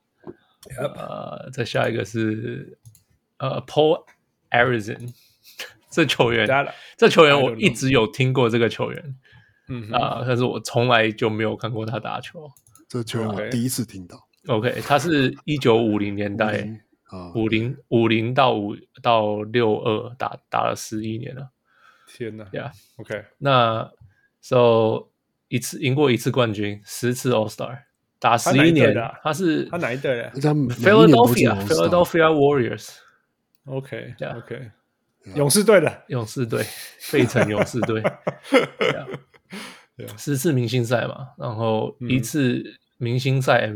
再下一個是Paul Arizin。這球員我一直有聽過這個球員，但是我從來就沒有看過他打球。 這球員我第一次聽到。 OK， 他是1950年代50到62打了11年了。 天哪 ！Yeah，OK， 那 So 贏過一次冠軍，10次 All Star， 打11年。他哪一隊的 ？Philadelphia Warriors。OK， 勇士隊的， 費城勇士隊，10次明星賽嘛，然後1次明星賽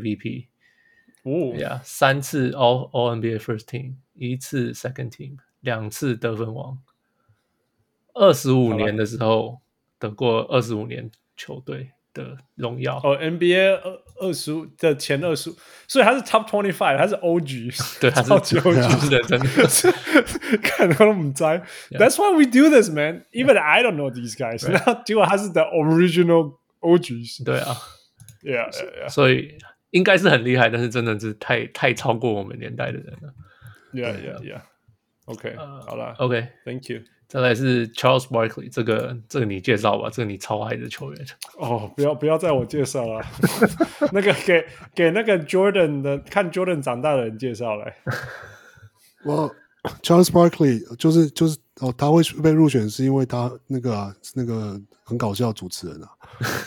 MVP，3 次 All NBA First Team， 1次 Second Team， 2次得分王，25年的時候得過25年球隊的榮耀。 NBA 25的前25，所以他是 Top 25，他是 OG， 對，他是 OG 的，真的。 看都不知道 That's why we do this, man. Even I don't know these guys. 然後結果他是 the original OGs。 對啊 Yeah. 所以應該是很厲害，但是真的是太超過我們年代的人了。 Yeah. OK， 好了 ，OK，Thank you。 再來是 Charles Barkley， 這個你介紹吧，這個你超愛的球員。 哦，不要再我介紹了，那個給那個 Jordan 的看 Jordan 長大的人介紹來。 Charles Barkley 就是他會被入選是因為他那個很搞笑的主持人啊。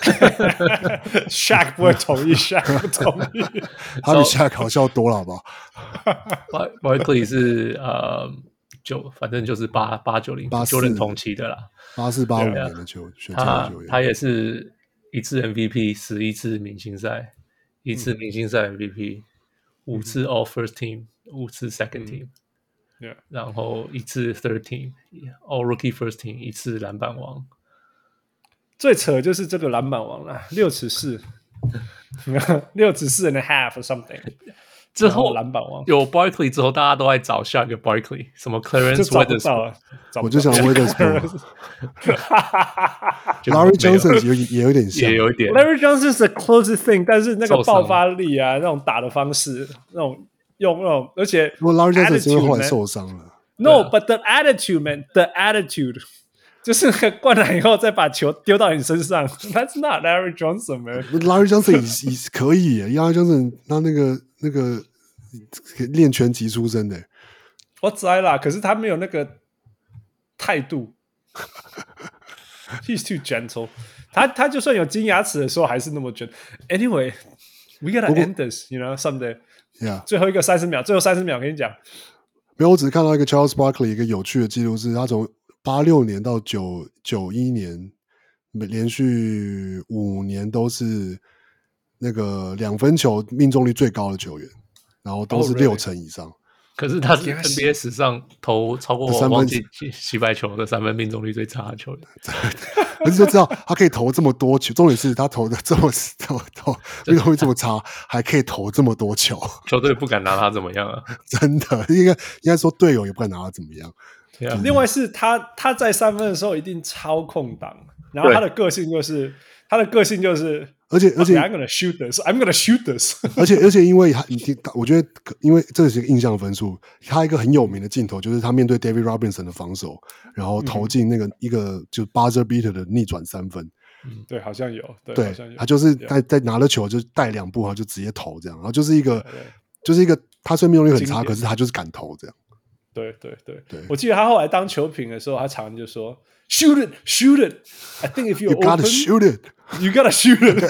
Shaq 不會同意，Shaq 不同意， 他比 Shaq 搞笑多了，好不好 ？Barkley 是反正就是890 Jordan 同期的啦 ，84、85年的球員， 他也是1次 MVP，11次明星賽，1次明星賽 MVP，5次 All First Team，5次 Second Team，然後1次 Third Team，All Rookie First Team，1次籃板王。 最扯的就是這個籃板王啦，6尺4，6尺4 and a half or something。 之後籃板王有 Barkley 之后，大家都在找下一個 Barkley， 什麼 Clarence Weatherspoon， 我就想 Weatherspoon。Larry Johnson 也有點像， 也有一點。 Larry Johnson is the closest thing， 但是那個爆發力啊，那種打的方式，那種用那種，而且 Larry Johnson 是因為後來受傷了。 No，but the attitude man，the attitude。就是那個灌籃以後再把球丟到你身上 ，That's not Larry Johnson man。Larry Johnson 也可以耶，Larry Johnson 他那個練拳擊出身的。 我知道啦，可是他沒有那個態度。He's too gentle。他就算有金牙齒的時候，還是那麼 gentle。Anyway，we gotta end this，you know someday。Yeah。最後一個30秒，最後30秒，跟你講。 沒有，我只是看到一個 Charles Barkley 一個有趣的記錄，是他從86年到91年，連續5年都是那個2分球命中率最高的球員，然後都是6成以上。 可是他是 NBA 史上投超過我忘記洗白球的3分命中率最差的球員。 可是就知道他可以投這麼多球，重點是他投的這麼命中率這麼差，還可以投這麼多球， 球隊不敢拿他怎麼樣啊？ 真的，應該說隊友也不敢拿他怎麼樣。 另外是他在3分的時候一定操控擋，然後他的個性就是，而且 I'm gonna shoot this，I'm gonna shoot this 而且因為我覺得因為這是一個印象分數，他一個很有名的鏡頭就是他面對 David Robinson 的防守，然後投進那個一個就 buzzer beater 的逆轉3分。 對，好像有， 對， 好像有， 他就是在拿了球就帶2步，然後就直接投這樣，然後就是一個他雖然命中率很差，可是他就是敢投這樣。 對，我記得他後來當球評的時候，他常常就說 "Shoot it, shoot it. I think if you're you gotta shoot it, you gotta shoot it."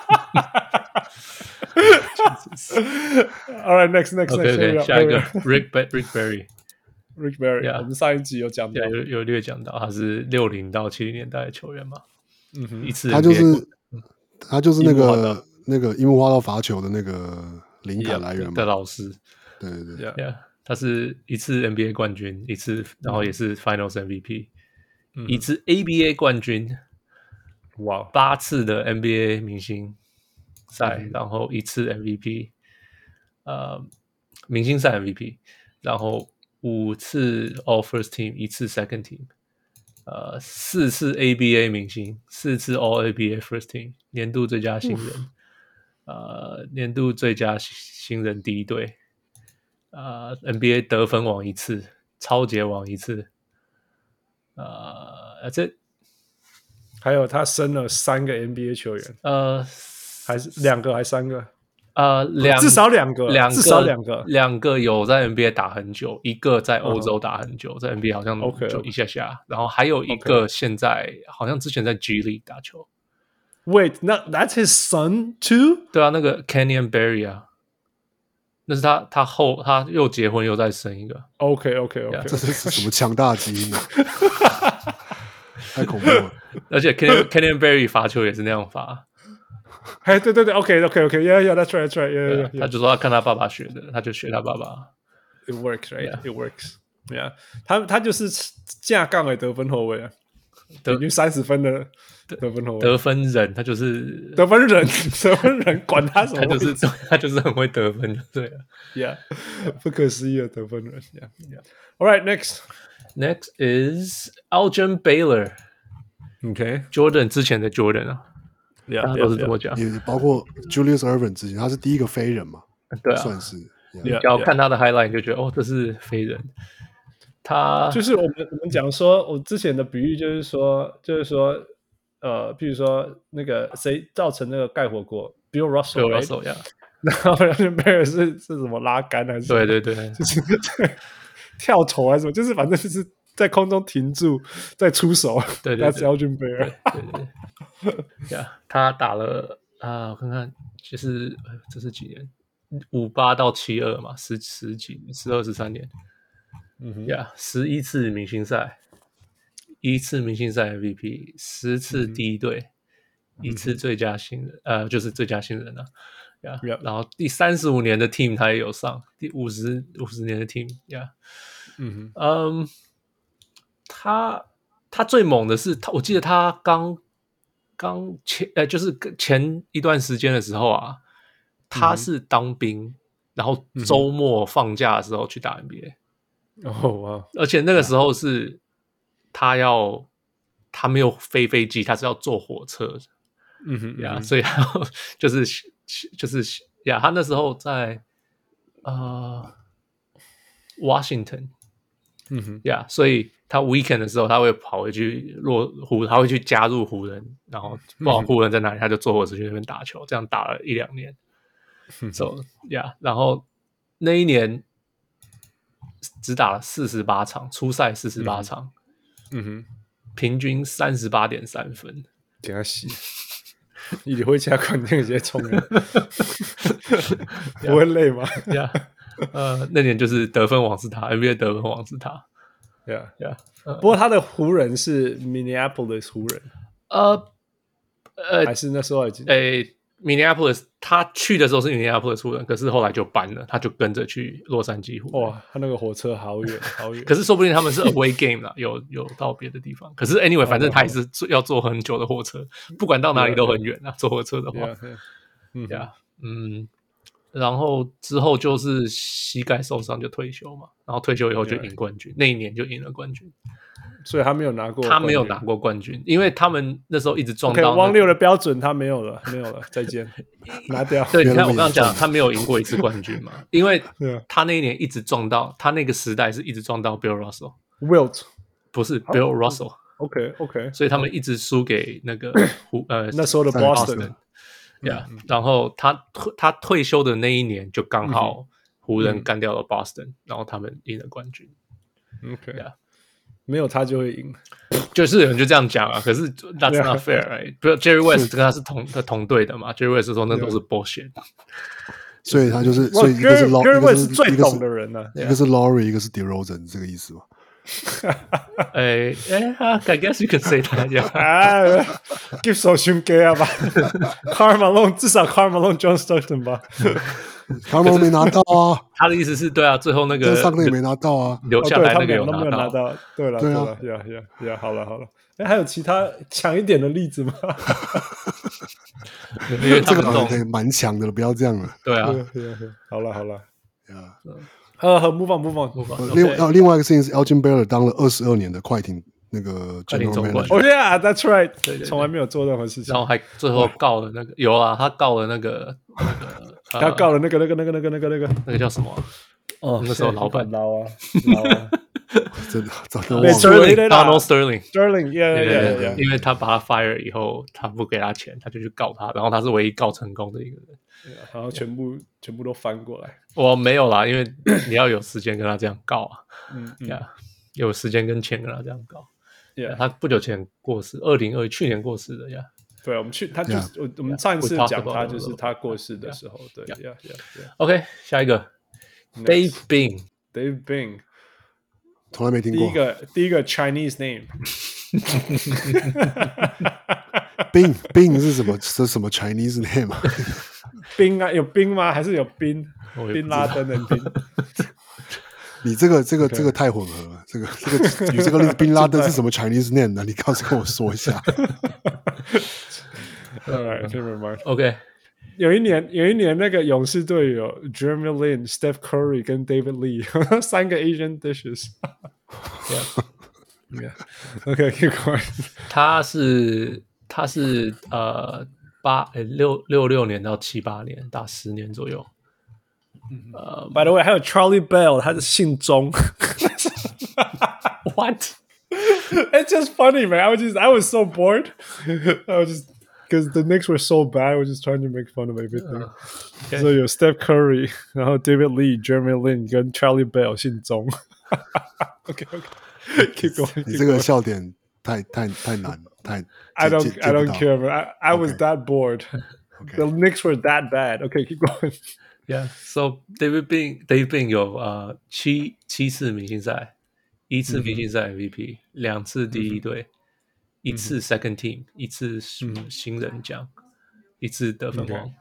All right, next. Okay, 下一個 Rick Barry。 我們上一集有講到， 有略講到，他是60到70年代的球員嘛。一次他就是那個櫻木花道罰球的那個靈感來源嘛的老師。 對。 他是1次 NBA 冠軍，1次，然後也是 Finals MVP，1次 ABA 冠軍，哇，8次的 NBA 明星賽，然後1次 MVP，明星賽 MVP，然後5次 All First Team，1次 Second Team，4次 ABA 明星，4次 All ABA First Team， 年度最佳新人，年度最佳新人第一隊。NBA 得分王1次，超節王1次， 還有他生了3個 NBA 球員，還是2個還是3個？至少2個，至少2個 ，2個有在 NBA 打很久，1個在歐洲打很久，在 NBA 好像就一下下，然後還有一個現在好像之前在 G League 打球。 Wait, that's his son too？ 對啊，那個 Kenyon Barry 啊。那是他又結婚又再生一個。 OK， 這是什麼強大的基因呢？太恐怖了！ 而且 Kenyon Barry 罰球也是那樣罰。 哎，對 ，OK，yeah, that's right，yeah。 他就說他看他爸爸學的，他就學他爸爸。 It works, right? It works. Yeah， 他就是架槓的得分後衛啊，平均30分的得分後衛。 得分人，他就是得分人，管他什麼， 他就是很會得分，對了。 Yeah， 不可思議的得分人。Yeah. All right, next is Elgin Baylor. OK， Jordan 之前的 Jordan 啊。 大家都是這麼講， 也包括 Julius Erving 之前，他是第一個飛人嘛， 对啊， 算是。 你只要看他的 highlight 就覺得哦，這是飛人。他就是我們講說，我之前的比喻就是說，譬如說那個誰造成那個蓋火鍋 ，Bill Russell， 呀， 然後 Elgin Baylor 是什麼拉桿還是什麼？ 對， 就是跳投還是什麼？就是反正就是在空中停住再出手。 对 ，That's Elgin Baylor。 對，他打了我看看，就是這是幾年？58到72嘛，10幾12、13年。11次明星賽，1次明星賽 MVP， 10次第一隊，1次最佳新人，就是最佳新人啊。然後第35年的 team 他也有上，第50年的 team， 他最猛的是我記得他剛就是前一段時間的時候啊，他是當兵，然後周末放假的時候去打 NBA。 哇！ 而且那個時候是他沒有飛飛機，他是要坐火車的，所以他就是他那時候在Washington，所以他 weekend 的時候他會跑回去他會去加入湖人，然後不知道湖人在哪裡，他就坐火車去那邊打球，這樣打了1-2年。然後那一年只打了48場，初賽48場，平均38.3分， 給他洗，你會加款那個直接衝人，不會累嗎？ 那年就是得分王是他 ，NBA 得分王是他。 不過他的湖人是 Minneapolis 湖人，還是那時候已經 Minneapolis， 他去的時候是 Minneapolis 湖人，可是後來就搬了，他就跟着去洛杉磯湖人。 哇，他那個火車好遠好遠。 可是說不定他們是 away game 啦，有到別的地方。可是 anyway， 反正他也是要坐很久的火車，不管到哪裡都很遠啊。坐火車的話，然後之後就是膝蓋受傷就退休嘛，然後退休以後就贏冠軍，那一年就贏了冠軍。 所以他沒有拿過冠軍，因為他們那時候一直撞到汪六的標準，他沒有了，再見，拿掉。 對，你看我剛剛講，他沒有贏過一次冠軍嘛，因為他那一年一直撞到，他那個時代是一直撞到 Bill Russell，Wilt 不是 Bill Russell，OK， 所以他們一直輸給那個那時候的 Boston， 然後他退休的那一年就剛好湖人幹掉了 Boston，然後他們贏了冠軍。 OK。沒有他就會贏， 就是有人就這樣講啊。可是 that's not fair， 不是 Jerry West 跟他是同隊的嘛 ？Jerry West 說那都是 bullshit， 所以他就是，所以一個是 Jerry West 是最懂的人呢， 一個是 Laurie， 一個是 DeRozan， 這個意思嗎 ？I guess you can say that， give 手胸給啊吧 ，Karl Malone 至少 Karl Malone、John Stockton 吧。 他們沒拿到啊！ 他的意思是對啊，最後那個上個也沒拿到啊， 留下來那個有拿到。對了，好了，還有其他強一點的例子嗎？ 因為這個蠻強的了，不要這樣了。 對啊， 好了，move on。 另外一個事情是 Elgin Baylor 當了22年的快艇那個 general manager。 Oh yeah, that's right。從來沒有做任何事情， 然後還最後告了那個有啊，他告了那個。 他告了那個叫什麼？那時候老闆撈啊， 真的早就忘了。 Donald Sterling， 因為他把他 fire 以後，他不給他錢，他就去告他，然後他是唯一告成功的一個人。 然後全部都翻過來。 我沒有啦，因為你要有時間跟他這樣告啊，有時間跟錢跟他這樣告。他不久前過世，2020去年過世的呀。 對，我们上一次講他就是他過世的時候，對 OK， 下一個 Dave Bing， 從來沒聽過。 第一個 Chinese name， Bing 是什麼Chinese name 啊？ 冰啊，有冰嗎？還是有賓拉登的賓？ 你這個太混合了，舉這個例子，賓拉登是什麼 Chinese name 呢？你告訴跟我說一下。 OK， 有一年那個勇士隊有 Jeremy Lin、Steph Curry 跟 David Lee 3個 Asian dishes。OK， keep going。 他是 66年到78年，打10年左右。 By the way， 还有 Charlie Bell， 他是姓钟。 What? It's just funny, man. I was so bored. Because the Knicks were so bad, I was just trying to make fun of everything. Okay. So 有 Steph Curry， 然後 David Lee、Jeremy Lin 跟 Charlie Bell 姓鐘。OK， keep going. 你這個笑點太難，太 I don't care, man. I was that bored. Okay. The Knicks were that bad. OK, keep going. Yeah, so David Bing 有7次明星賽，1次明星賽 MVP， 2次第一隊，1次 second team， 1次新人獎，1次得分王。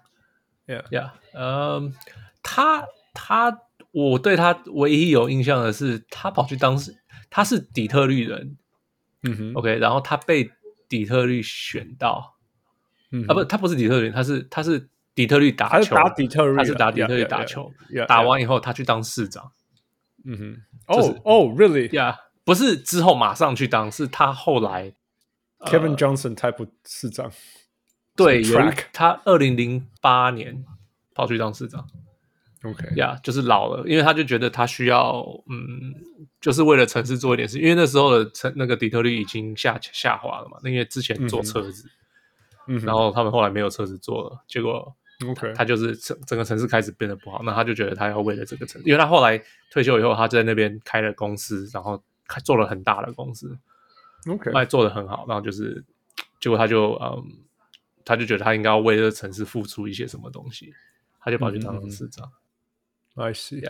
我對他唯一有印象的是，他跑去他是底特律人，OK， 然後他被底特律選到，不，他不是底特律人，他是底特律打球， 他是打底特律， 他是打底特律打球，打完以後他去當市長。 Really？ Yeah， 不是之後馬上去當，是他後來 Kevin Johnson type 市長。 對，他2008年跑去當市長。 OK， 就是老了，因為他就覺得他需要，就是為了城市做一點事，因為那時候的那個底特律已經下滑了嘛，因為之前做車子，然後他們後來沒有車子做了，結果。他就是整個城市開始變得不好，那他就覺得他要為了這個城市，因為他後來退休以後，他就在那邊開了公司，然後做了很大的公司，還做得很好，然後就是結果他就覺得他應該要為這個城市付出一些什麼東西，他就跑去當市長。 I see，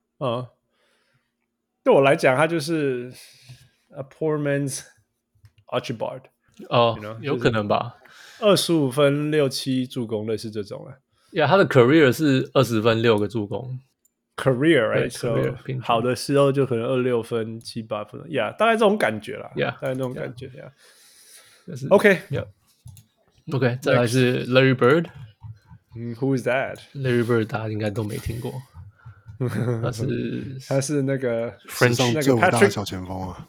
對我來講，他就是 a poor man's Archibald。 有可能吧。 25分6、7助攻類似這種了。 他的 career 是20分6個助攻 ，career right， career 好的時候就可能26分7、8分，大概這種感覺啦，大概這種感覺，OK， 再來是 Larry Bird，Who is that？ Larry Bird 大家應該都沒聽過， 他是那個 French 上最偉大的小前鋒啊。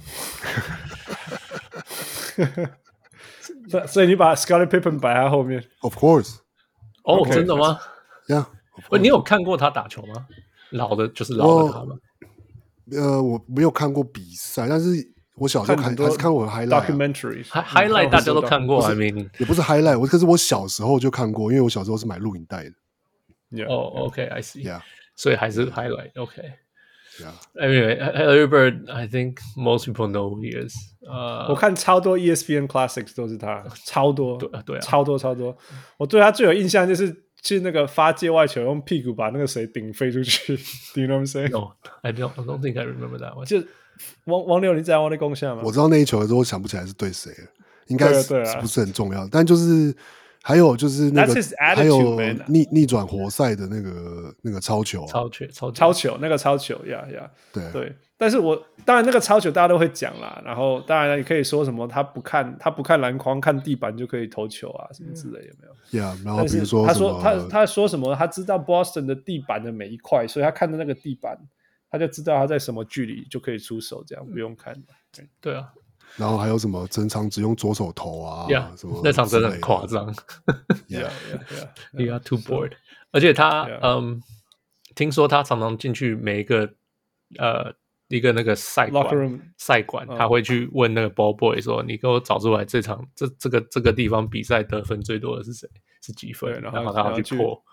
所以你把 Scottie Pippen 擺在後面 ？Of course。 真的嗎 ？Yeah。 你有看過他打球嗎？老的他嗎？ 我沒有看過比賽，但是我小時候還是看過 highlight 大家都看過。 也不是 highlight， 可是我小時候就看過，因為我小時候是買錄影帶的。 OK，I see。 所以還是 highlight。OK。Anyway, Larry Bird, I think most people know who he is. 我看超多 ESPN Classics 都是他，超多， 對， 超多。我對他最有印象就是那個發界外球，用屁股把那個誰頂飛出去。Do you know what I'm saying? No, I don't think I remember that one. 就王柳，你知道我的貢獻嗎？ 我知道那一球的時候，我想不起來是對誰了，應該是不是很重要，但就是。還有就是那個，還有逆轉活塞的那個超球， 超球那個超球對。但是當然那個超球大家都會講啦，然後當然你可以說什麼他不看籃筐，看地板就可以投球啊，什麼之類，有沒有？ 然後比如說他說什麼？他知道 Boston 的地板的每一塊，所以他看到那個地板，他就知道他在什麼距離就可以出手，這樣不用看。 對啊。 然後還有什麼整場只用左手投啊？什麼那場真的很誇張。He got too bored。而且他聽說他常常進去每一個一個那個賽館，他會去問那個 ball boy 說：“你給我找出來這場這個地方比賽得分最多的是誰？是幾分？”然後他要去破。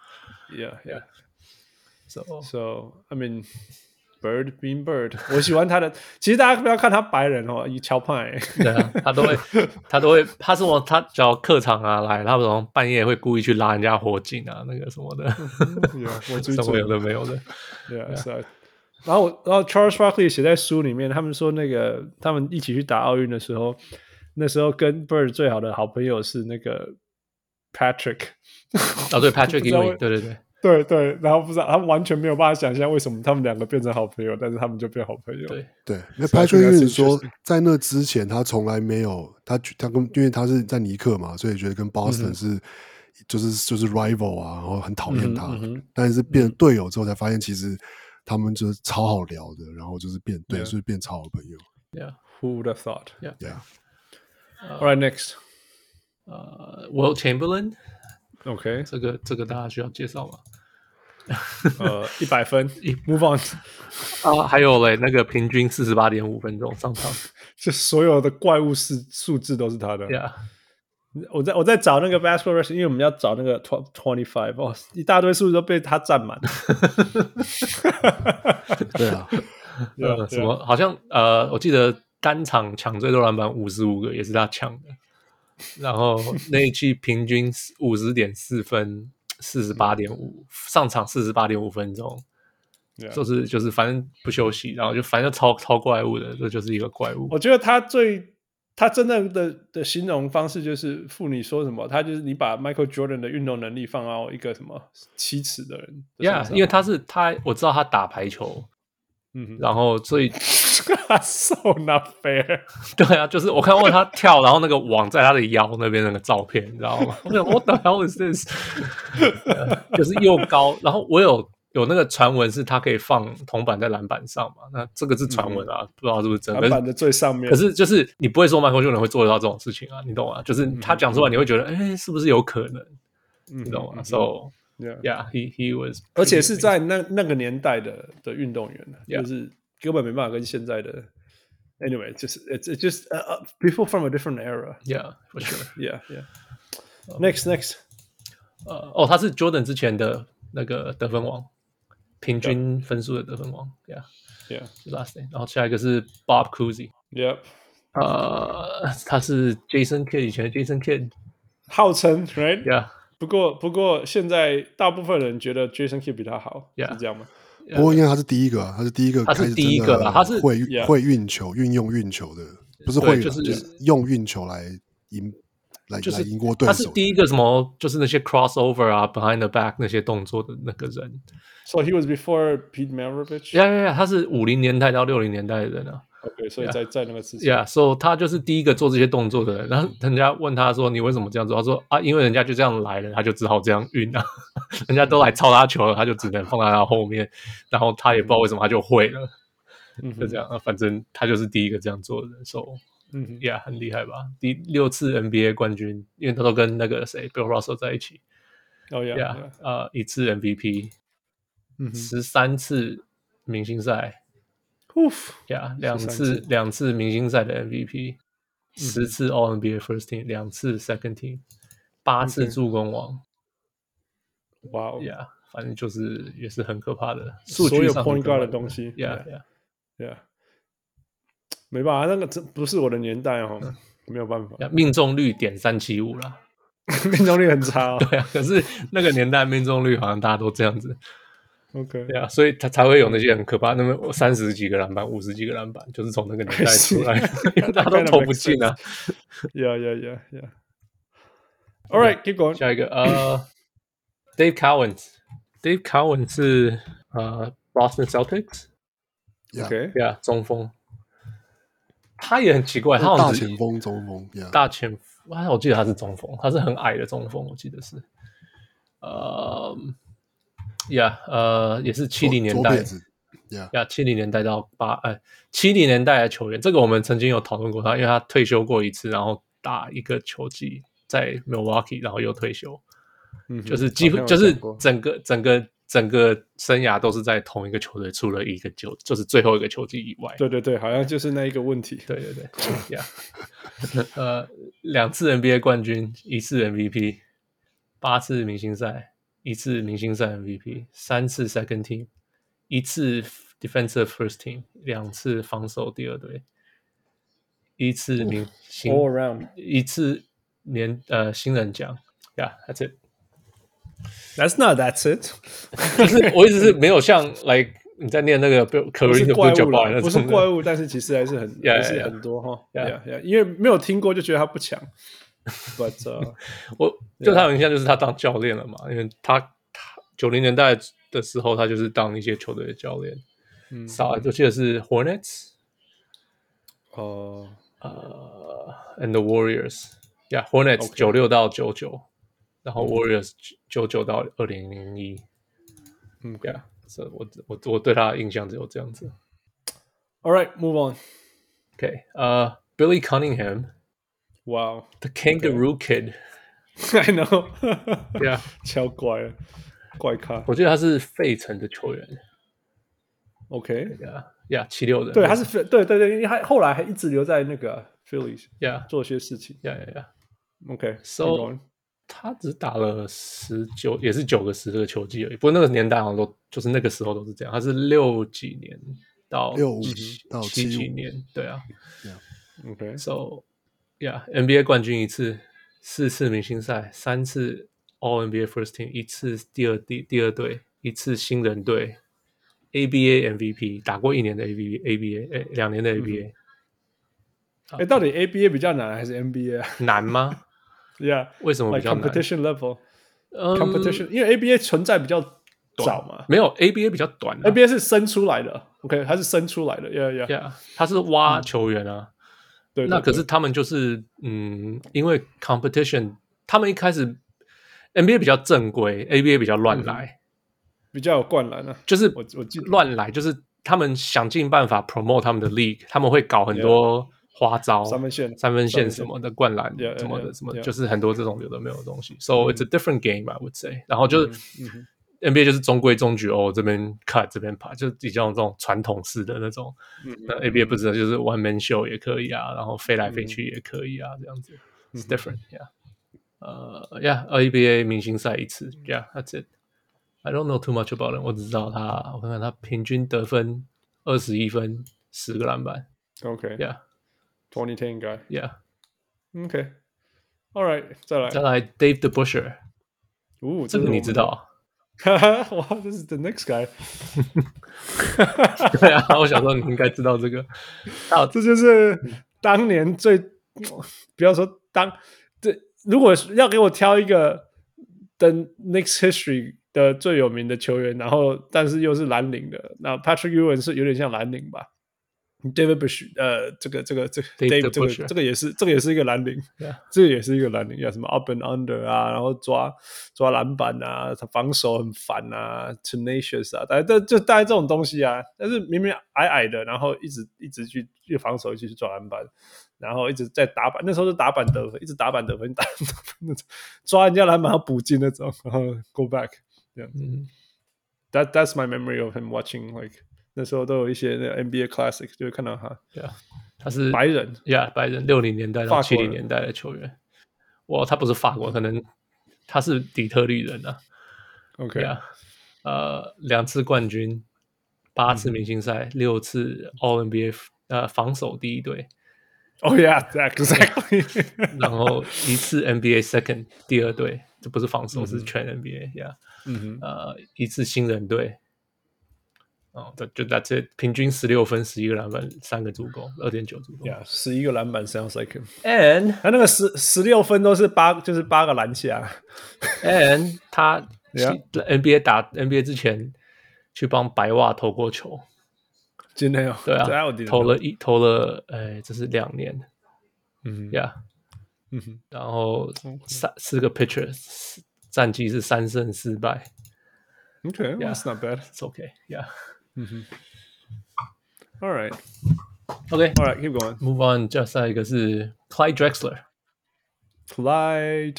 So I mean。Bird being Bird， 我喜歡他的。其實大家不要看他白人哦，以喬派。 對啊，他都會，他是我，他只要客場啊來，他們半夜會故意去拉人家火警啊，那個什麼的，什麼有的沒有的。 對啊，是啊。然後 Charles Barkley 寫在書裡面，他們說那個他們一起去打奧運的時候，那時候跟 Bird 最好的好朋友是那個 Patrick。 對 Patrick Ewing， 對。 對，然後不知道他們完全沒有辦法想象為什麼他們兩個變成好朋友，但是他們就變好朋友。 對，那 Patrick Ewing 說，在那之前他從來沒有因為他是在尼克嘛，所以覺得跟 Boston 是就是 rival 啊，然後很討厭他。但是變成隊友之後才發現，其實他們就是超好聊的，然後就是所以變超好朋友。 Yeah, who would have thought? Yeah. All right, next. Will Chamberlain。OK， 这個大家需要介紹嗎 ？100分，Move on 還有嘞，那個平均48.5分鐘上場， 就所有的怪物數字都是他的。 Yeah， 我在找那個 Basketball Reference，因為我們要找那個25哦，一大堆數字都被他占滿。 對啊， 什麼好像我記得單場搶最多籃板55個也是他搶的，然後那一季平均50.4分，48.5上場48.5分鐘。就是反正不休息，然后就反正超怪物的，這就是一個怪物。 我覺得他真正的形容方式就是婦女說什麼，他就是你把 Michael Jordan 的運動能力放到一個什麼7尺的人的身上。 因為他我知道他打排球，然後所以 so not fair。 對啊，就是我看過他跳，然後那個網在他的腰那邊那個照片，你知道嗎？我想 What the hell is this？ 就是又高，然後我有那個傳聞是他可以放銅板在籃板上嘛？那這個是傳聞啊，不知道是不是真的。 籃板的最上面。 可是就是你不會說 Michael Jordan 會做得到這種事情啊，你懂嗎？就是他講出來你會覺得，是不是有可能？你懂嗎？So yeah, he was， 而且是在那個年代的運動員，就是根本沒辦法跟現在的。Anyway， 就是 it's just people from a different era. Yeah, for sure. Yeah. Next. 他是 Jordan 之前的那個得分王。平均分數的得分王 ，Yeah， last name， 然後下一個是 Bob Cousy， 他是 Jason Kidd 以前的 Jason Kidd， 號稱 ，right， 不過現在大部分人覺得 Jason Kidd 比他好，是這樣嗎？ 不過因為他是第一個開始真的會運球、運用運球的，不是會就是用運球來贏。就是贏過對手， 他是第一個什麼，就是那些 crossover 啊 ，behind the back 那些動作的那個人。 So he was before Pete Maravich. Yeah, 他是50年代到60年代的人啊。 OK， 所以在那個之前。 So 他就是第一個做這些動作的人。然後人家問他說：“你為什麼這樣做？”他說：“因為人家就這樣來了，他就只好這樣運啊。人家都來抄他球了，他就只能放在他後面。然後他也不知道為什麼他就會了，就這樣。反正他就是第一個這樣做的人。So。很厲害吧？第6次 NBA 冠軍，因為他都跟那個誰 Bill Russell 在一起。1次 MVP， 13次明星賽，2次明星賽的 MVP， 10次 All NBA First Team， 2次 Second Team， 8次助攻王。 哇哦， 反正就是也是很可怕的， 所有 point guard 的東西。沒辦法，那個真不是我的年代哦，沒有辦法。 命中率.375啦， 命中率很差哦。 對啊，可是那個年代命中率好像大家都這樣子。 OK， 對啊，所以他才會有那些很可怕，那麼30幾個籃板、50幾個籃板，就是從那個年代出來的，因為大家都投不進啊。 Yeah. All right, keep going. 下一個Dave Cowan 是Boston Celtics。OK， 中鋒。他也很奇怪，他好像大前鋒、中鋒， 大前鋒，我記得他是中鋒，他是很矮的中鋒，我記得是，也是70年代，70年代到70年代的球員，這個我們曾經有討論過他，因為他退休過一次，然後打一個球季在 Milwaukee， 然後又退休，就是幾乎就是整個生涯都是在同一個球隊，除了一個就是最後一個球季以外。 對，好像就是那一個問題。 對，2次 NBA 冠軍，1次 MVP， 8次明星賽，1次明星賽 MVP， 3次 Second Team， 1次 Defensive First Team， 2次防守第二隊，1次明星 All around， 1次新人獎。That's it。That's it。 就是我一直是沒有像like你在念那個 Kareem 的怪物啦， 不是怪物，但是其實還是很多哈。因為沒有聽過就覺得他不強。But 我就他有印象就是他當教練了嘛，因為他90年代的時候他就是當一些球隊的教練。我記得是 Hornets， and the Warriors。Hornets 96到99。然後 Warriors 99到2001，我對他的印象只有這樣子。 All right, move on. Okay, Billy Cunningham. Wow, The Kangaroo Kid. I know. Yeah， 超怪了，怪咖。 我记得他是费城的球员。 OK，yeah， 76的。 对，他是对，因为他后来还一直留在那个 Phillies， 做些事情。OK，so 他只打了19，也是9个10个球季而已。不过那个年代好像都就是那個時候都是這樣。他是60幾年到 65到 70幾年，對啊。 OK，so yeah，NBA 冠軍1次，4次明星賽，3次 All NBA First Team， 1次第二隊，1次新人隊 ，ABA MVP， 打過1年的 ABA， 2年的 ABA。 到底 ABA 比較難還是 NBA 啊？ 難嗎？ Yeah， 為什麼比較難 ？Competition level，competition，因為 ABA 存在比較早嘛。 沒有 ABA 比較短 ，ABA 是生出來的。OK， 它是生出來的。Yeah， 它是挖球員啊。 對， 那可是他們就是因為 competition， 他們一開始 NBA 比較正規 ，ABA 比較亂來， 比較有灌籃啊。 就是我亂來，就是他們想盡辦法 promote 他們的 league， 他們會搞很多。花招三分線什麼的灌籃什麼的什麼，就是很多這種有的沒有的東西。So it's a different game, I would say。然後就是 NBA 就是中規中矩哦，這邊 cut 這邊爬，就比較這種傳統式的那種。那 ABA 不知道，就是 one man show 也可以啊，然後飛來飛去也可以啊，這樣子。It's different, yeah. ABA 明星賽1次 ，yeah, that's it. I don't know too much about it。我只知道他，我看看他平均得分21分，10個籃板。 OK, yeah.2010 guy. Yeah. Okay. All right. 再來 Dave DeBusschere. 這個你知道？ 哇，這是 the next guy. 對啊，我想說你應該知道這個。 這就是當年最，不要說如果要給我挑一個 the Knicks history 的最有名的球員，然後但是又是藍領的，那 Patrick Ewing 是有點像藍領吧。David Bush， 這個 Dave 這個也是一個藍領，這個也是一個藍領，有什麼 up and under 啊，然後抓籃板啊，他防守很煩啊 ，tenacious 啊，大概這種東西啊，但是明明矮矮的，然後一直去防守，一直去抓籃板，然後一直在打板，那時候是打板得分，一直打板得分，抓人家籃板要補進那種，然後 go back， 這樣子。That's my memory of him watching like。那時候都有一些那 NBA Classic， 就會看到他。對啊，他是白人白人60年代到70年代的球員。哇，他不是法國，可能他是底特律人啊。 OK 啊，2次冠軍，8次明星賽，6次 All NBA 防守第一隊。 Oh yeah, exactly. 然後1次 NBA Second 第二隊，這不是防守，是全 NBA。1次新人隊。就 that's it， 平均16分11個籃板3個助攻 2.9 助攻 11個籃板 sounds like him and 他那個16分都是8個籃下 and 他 NBA 之前去幫白襪投過球真的對啊投了這是2年然後4個 pitcher 戰績是3勝4敗 Okay, that's not bad. It's okay, yeah. All right. Okay. All right, keep going. Move on. 接下來一個是 Clyde Drexler. Clyde.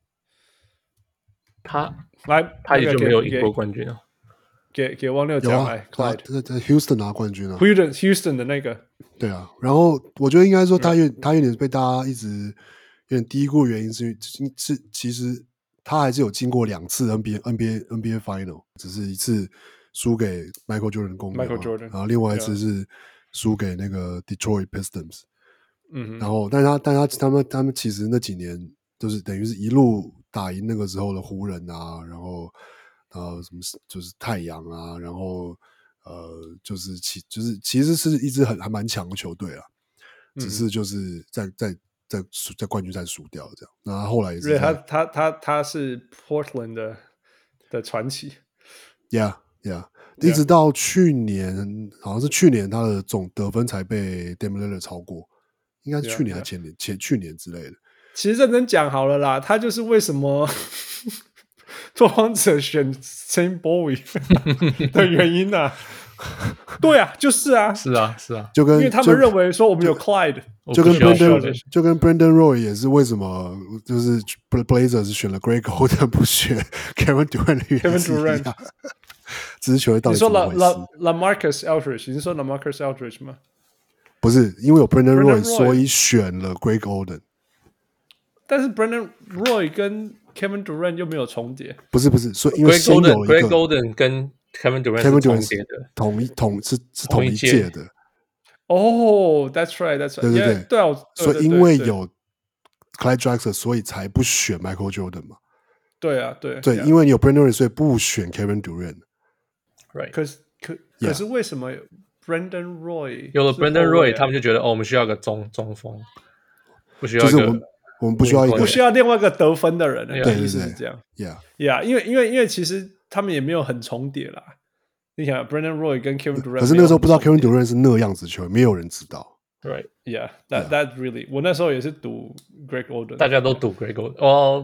他也就沒有贏過冠軍了。給汪六講來 Clyde 在 Houston 拿冠軍了。 Houston 的那個。 對啊，然後我覺得應該說他有點被大家一直有點低估的原因是其實他還是有經過2次 NBA Final， 只是一次輸給 Michael Jordan 公牛，然後另外一次是輸給那個 Detroit Pistons。然後但他們其實那幾年就是等於是一路打贏那個時候的湖人啊，然後什麼就是太陽啊，然後就是其實是一支還蠻強的球隊啊，只是就是在冠軍賽輸掉這樣，那後來也是他是 Portland 的傳奇 ，Yeah， 一直到去年，好像是去年他的總得分才被 Damian Lillard 超過，應該是去年還是去年之類的。 其實認真講好了啦，他就是為什麼拓荒者選 Sam Bowie 的原因啊。 對啊，就是啊， 是啊，是啊， 就跟因為他們認為說我們有 Clyde， 就跟 Brandon Roy 也是为什麼就是 Blazers 選了 Greg Oden 不選 Kevin Durant， 只是球隊到底怎麼回事？ 你說 LaMarcus Aldridge， 你是說 LaMarcus Aldridge 嗎？ 不是，因為有 Brandon Roy， 所以選了 Greg Oden。 但是 Brandon Roy 跟 Kevin Durant 又沒有重疊。不是， 所以因為先有一個 Greg Oden 跟 Kevin Durant 是重疊的，是同一屆的。 哦 ，That's right， 對， 對啊， 所以因為有 Clyde Drexler， 所以才不選 Michael Jordan 嘛。 對啊，對， 因為你有 Brandon Roy， 所以不選 Kevin Durant。Right， 可是為什麼 Brandon Roy 有了 Brandon Roy， 他們就覺得我們需要個中鋒，不需要一個， 就是我們不需要一個， 不需要另外一個得分的人。 對， 意思是這樣。 Yeah， 因為其實他們也沒有很重疊啦。你想 Brandon Roy 跟 Kevin Durant， 可是那個時候不知道 Kevin Durant 是那樣子球員，沒有人知道。 Right, that really， 我那時候也是讀 Greg Oden， 大家都讀 Greg Oden， 哦 ，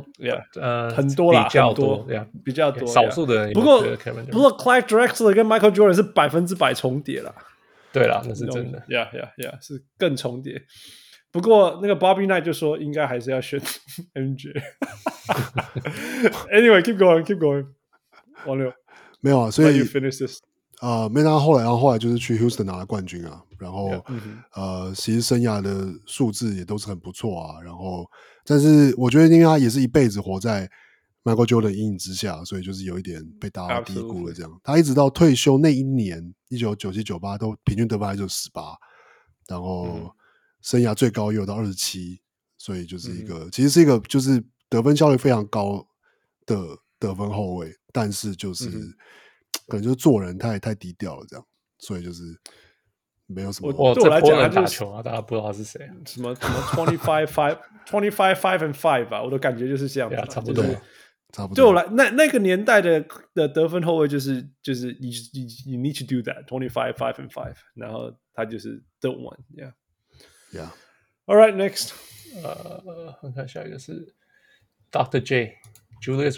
很多啦，比較多， 少數的人。不過 Clyde Drexler 跟 Michael Jordan 是100%重疊啦。對啦，那是真的。 Yeah， 是更重疊。不過那個 Bobby Knight 就說應該還是要選 MJ。Anyway，keep going。王六沒有啊，所以 you finish this。 没拿後來就是去 Houston 拿了冠軍啊，然後其實生涯的數字也都是很不錯啊，然後但是我覺得因為他也是一輩子活在 Michael Jordan 陰影之下，所以就是有一點被大家低估了這樣。他一直到退休那一年1997-98都平均得分還就18，然後生涯最高也有到27，所以就是一個其實是一個就是得分效率非常高的得分後衛，但是就是可能就是做人太低調了，這樣，所以就是沒有什麼。 對我來講，他打球啊，大家不知道他是誰， 什麼 25 and 5吧，我的感覺就是這樣子， 差不多。 對我來那個年代的得分後衛就是 you need to do that 25 5 and 5，然後他就是 the one，yeah。All right, next， 我看下一個是 Dr. J Julius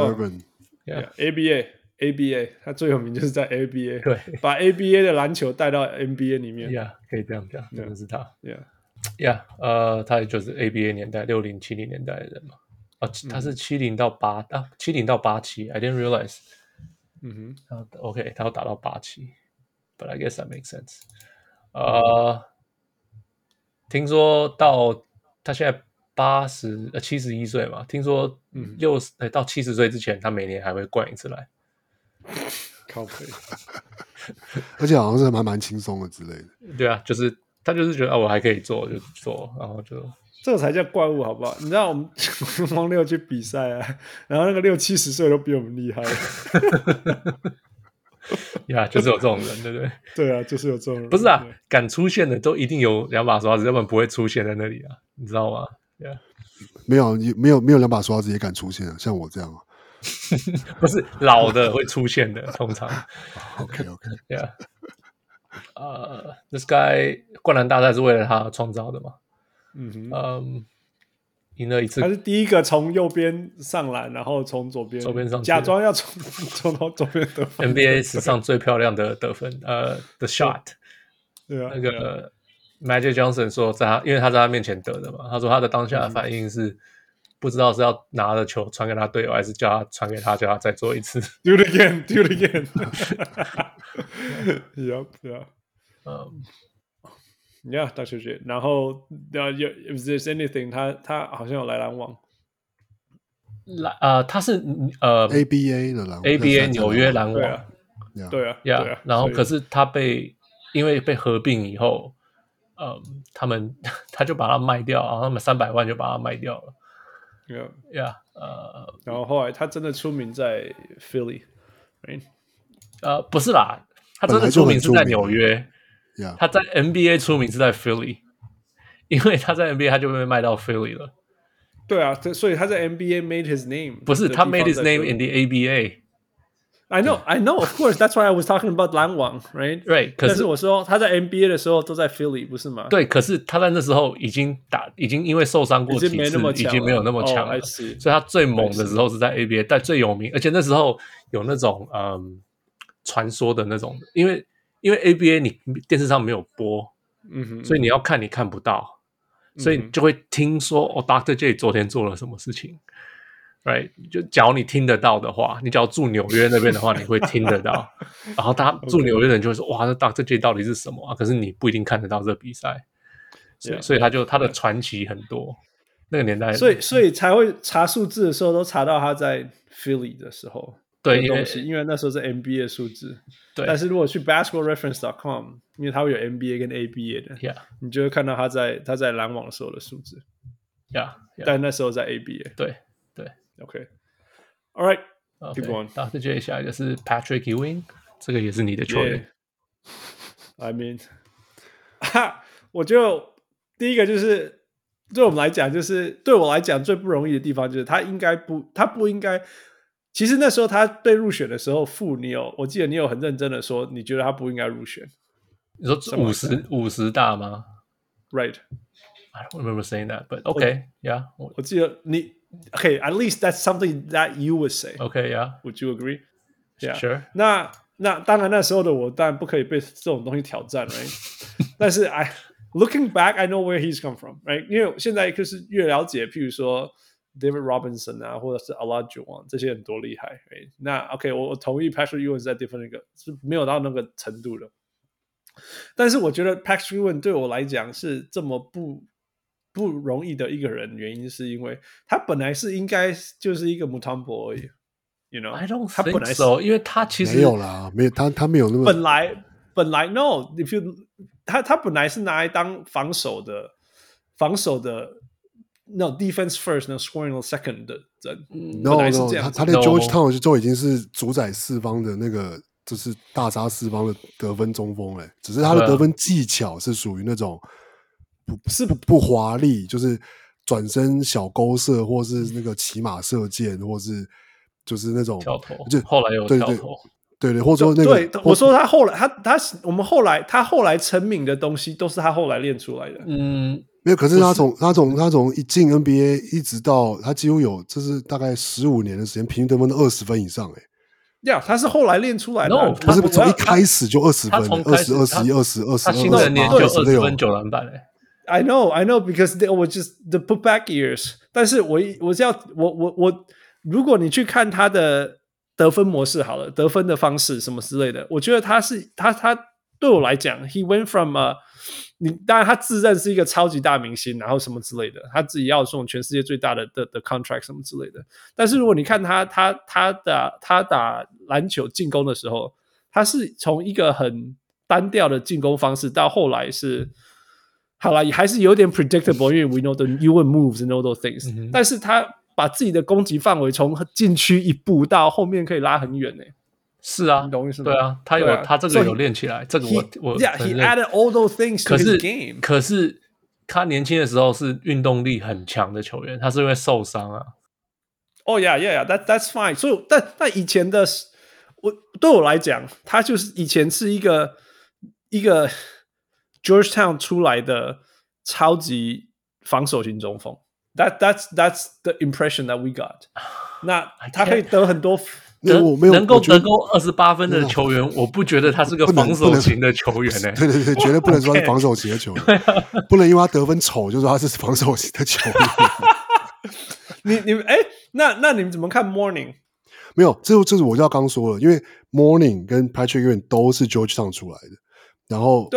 Erving。ABA， 他最有名就是在 ABA， 对， 把 ABA 的籃球帶到 NBA 裡面。 可以這樣講，真的是他。他也就是 ABA 年代60、70年代的人嘛。他是70到87 I didn't realize。OK， 他要打到87，but I guess that makes sense。聽說到他現在71歲嘛，聽說到70歲之前，他每年還會灌一次籃。 靠北， 而且好像是蠻輕鬆的之類的。 對啊，就是他就是覺得我還可以做就做，然後就這個才叫怪物好不好？你知道我們王六去比賽啊，然後那個60、70歲都比我們厲害。 就是有這種人，對不對？ 對啊，就是有這種人。 不是啊，敢出現的都一定有兩把刷子，要不然不會出現在那裡啊，你知道嗎？ 沒有兩把刷子也敢出現啊，像我這樣啊。 不是老的會出現的，通常。This guy 灌籃大賽是為了他創造的嘛？贏了一次， 他是第一個從右邊上籃，然後從左邊上假裝要從到左邊得分。 NBA 史上最漂亮的得分，the shot。 對啊， 那個 Magic Johnson 說因為他在他面前得的嘛，他說他的當下的反應是。不知道是要拿着球傳給他隊友，還是叫他傳給他，叫他再做一次。 Do it again. Yeah, Dr. J. 然後if there's anything， 他好像有來籃網。 他是 ABA 的籃網 ，ABA 紐約籃網。 對啊。 然後可是他因為被合併以後，他就把它賣掉，然後他們300萬就把它賣掉了。 然後後來他真的出名在 Philly， 不是啦，他真的出名是在紐約，他在 NBA 出名是在 Philly， 因為他在 NBA 他就被賣到 Philly 了。 對啊，所以他在 NBA made his name， 不是他 made his name in the ABA。I know, of course. That's why I was talking about 籃網 right? 可是我說他在 NBA 的時候都在 Philly， 不是嗎？ 對，可是他在那時候已經因為受傷過幾次，已經沒有那麼強了，所以他最猛的時候是在 ABA， 但最有名，而且那時候有那種傳說的那種，因為因為 ABA 你電視上沒有播，所以你要看你看不到，所以你就會聽說Dr. J 昨天做了什麼事情。Right， 就假如你聽得到的話，你只要住紐約那邊的話，你會聽得到。然後他住紐約的人就會說：“哇，這 Dr. J 到底是什麼啊？”可是你不一定看得到這個比賽，所以他的傳奇很多。那個年代， 所以才會查數字的時候都查到他在 Philly 的時候， 對， 因為那時候是 NBA 數字。 對， 但是如果去 basketballreference.com， 因為它會有 NBA 跟 ABA 的，你就會看到他在籃網的時候的數字。但那時候在 ABA。 對。 Okay. All right. Keep going. Dr. J 下一個是 Patrick Ewing， 這個也是你的球員。 I mean， 我就第一個就是對我們來講，就是對我來講最不容易的地方就是他不應該。其實那時候他被入選的時候，我記得你有很認真的說，你覺得他不應該入選。 你說50大嗎 ？Right. I don't remember saying that, but okay, yeah. 我記得你。Okay, at least that's something that you would say. Okay, yeah. Would you agree? Yeah. Sure. 那當然那時候的我當然不可以被這種東西挑戰 right? 但是 looking back, I know where he's come from, right? 因為現在就是越了解，譬如說 David Robinson 啊，或者是 Olajuwon 這些人多厲害 right? 那 OK, 我同意 Patrick Ewing 在different 那個是沒有到那個程度的。但是我覺得 Patrick Ewing 對我來講是這麼不容易的一個人，原因是因為他本來是應該就是一個 Mutombo 而已 ，you know？ I don't 他本來 so， 因為他其實沒有啦，沒有他沒有那麼本來 no，if you 他本來是拿來當防守的 no defense first， no scoring second 的人 ，no， 他在 Georgetown 就已經是主宰四方的那個，就是大殺四方的得分中鋒嘞，只是他的得分技巧是屬於那種。不華麗，就是轉身小勾射，或是那個騎馬射箭，或是就是那種跳投， 就後來有跳投， 對，或者說那個， 對，我說他後來他後來成名的東西都是他後來練出來的， 沒有，可是他從一進 NBA 一直到他幾乎有就是大概15年的時間，平均得分都20分以上呀，他是後來練出來的， 不是從一開始就20分，20、21、20、 他新的年就20分9籃板嘞。 I know, because they were just the putback years. 但是我如果你去看他的得分模式好了，得分的方式什麼之類的，我覺得他對我來講 ，he went from 當然他自認是一個超級大明星，然後什麼之類的，他自己要這種全世界最大的 contract 什麼之類的。但是如果你看他打籃球進攻的時候，他是從一個很單調的進攻方式到後來是。好啦，也還是有點 predictable， 因為 we know the Ewing moves and all those things、但是他把自己的攻擊範圍從禁區一步到後面可以拉很遠呢。 是啊， 你懂意思嗎？ 對啊，他這個有練起來，這個我 yeah, he added all those things to his game。 可是他年輕的時候是運動力很強的球員，他是因為受傷啊。 Oh yeah, that's fine。所以但以前的對我來講，他就是以前是一個。Georgetown 出來的超級防守型中鋒 ，that's the impression that we got。那他可以得很多， 能夠得夠28分的球員，我不覺得他是個防守型的球員呢。 對，絕對不能說他是防守型的球員，不能因為他得分醜就說他是防守型的球員。那你們怎麼看 Mourning？ 沒有，這是我就要剛說了，因為 Mourning 跟 Patrick Ewing 都是 Georgetown 出來的。然後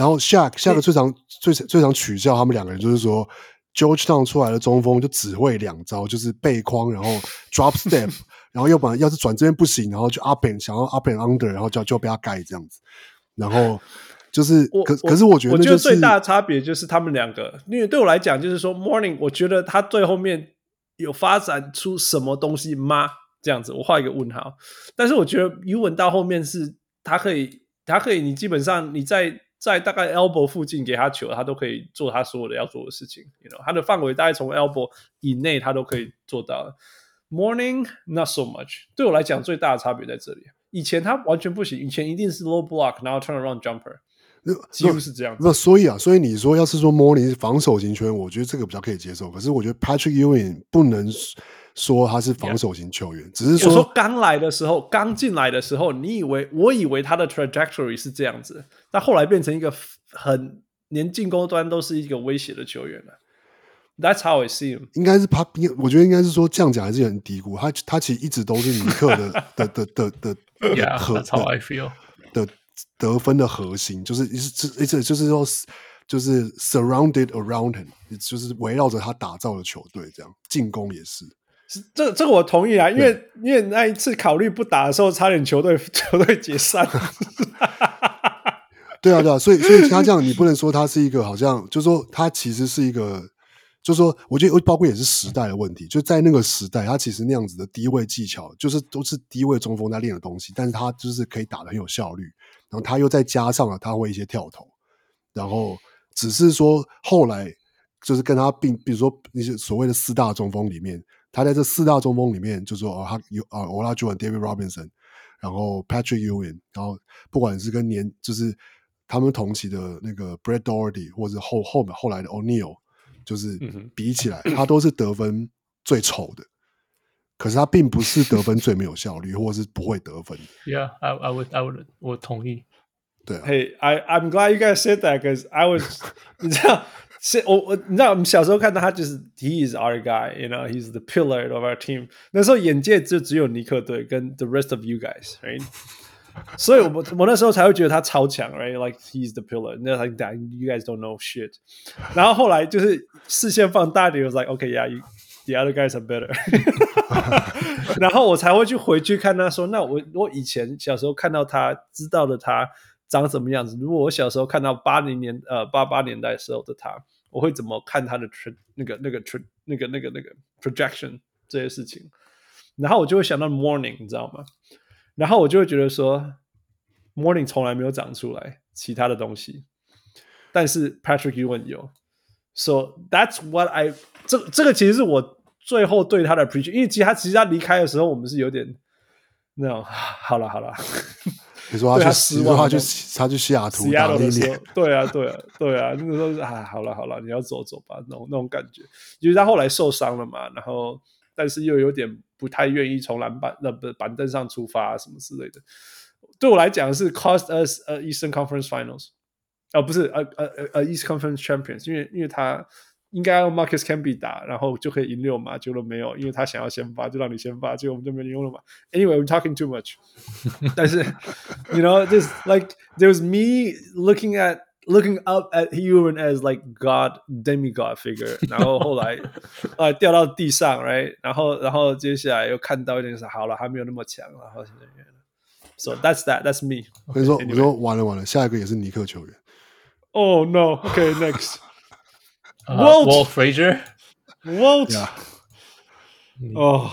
Shaq 最常取笑他們兩個人，就是說 Georgetown 出來的中鋒就只會2招，就是背框，然後 drop step， 然後要是轉這邊不行，然後就 想要 up and under， 然後就被他蓋這樣子。然後就是可是我覺得最大的差別就是他們兩個，因為對我來講就是說 Mourning， 我覺得他最後面有發展出什麼東西嗎？這樣子我畫一個問號。但是我覺得 Ewing 到後面是他可以，你基本上你在大概 elbow 附近給他球，他都可以做他所有的要做的事情。You know， 他的範圍大概從 elbow 以內，他都可以做到。Mourning not so much。對我來講，最大的差別在這裡。以前他完全不行，以前一定是 low block， 然後 turn around jumper， 幾乎是這樣子。 所以你說要是說 Mourning 是防守型球員，我覺得這個比較可以接受。可是我覺得 Patrick Ewing 不能說他是防守型球員，只是我說剛來的時候，剛進來的時候，我以為他的 trajectory 是這樣子，但後來變成一個很連進攻端都是一個威脅的球員了。That's how I see him。 应该是他，我覺得應該是說這樣講還是很低估他其實一直都是尼克的 That's how I feel 的得分的核心，就是就是說就是 surrounded around him， 就是圍繞着他打造的球隊，這樣進攻也是。 這個我同意啊，因為那一次考慮不打的時候，差點球隊解散。 對啊，所以他這樣，你不能說他是一個好像，就是說他其實是一個。就是說，我覺得包括也是時代的問題。就在那個時代，他其實那樣子的低位技巧，就是都是低位中鋒在練的東西，但是他就是可以打得很有效率。然後他又再加上了他会一些跳投，然後只是說後來就是跟他比如說那些所謂的4大中鋒裡面，他在這4大中鋒裡面，就說他有Olajuwon、David Robinson， 然後 Patrick Ewing， 然後不管是跟就是他們同期的那個 Brad Daugherty， 或者後來的 O'Neal。就是比起來，他都是得分最醜的，可是他並不是得分最沒有效率，或者是不會得分的。 Yeah, I would， 我同意。 對啊。 Hey, I'm glad you guys said that because I was， 你知道我們小時候看到他就是 he is our guy, you know, he's the pillar of our team。那时候眼界就只有尼克隊跟 the rest of you guys, right？所以我那時候才會覺得他超強 ，right? Like he's the pillar. Like that, you guys don't know shit. 然後後來就是視線放大一點，我 was like, okay, yeah, the other guys are better. 然後我才會回去看他說，那我以前小時候看到他，知道的他長什麼樣子。如果我小時候看到88年代時候的他，我會怎麼看他的那個 projection 這些事情？然後我就會想到 Morning， 你知道嗎？然後我就會覺得說 Morning 從來沒有長出來其他的東西，但是 Patrick Ewing 有。So that's what I 這個其實是我最後對他的 appreciation， 因為其實他離開的時候，我們是有點那種好了。 你說他去西雅圖打了一年， 對啊，那個時候是好了，你要走吧，那種感覺。因為他後來受傷了嘛，然後但是又有點不太願意從板凳上出發什麼之類的。對我來講是 cost us Eastern Conference Finals， 不是East Conference Champions， 因為他應該用 Marcus Camby 打，然後就可以贏6嘛，結果沒有，因為他想要先發，就讓你先發，結果我們就沒用了嘛。Anyway, we're talking too much 。但是 ，you know, just like there was me looking up at Ewing as like God demigod figure， 然後後來掉到地上 ，right， 然後接下來又看到一點是好了，還沒有那麼強，然後現在So that's me。 我跟你說，我說完了，下一個也是尼克球員。 Oh no! Okay, next. Walt Frazier. Walt. Yeah. 哦，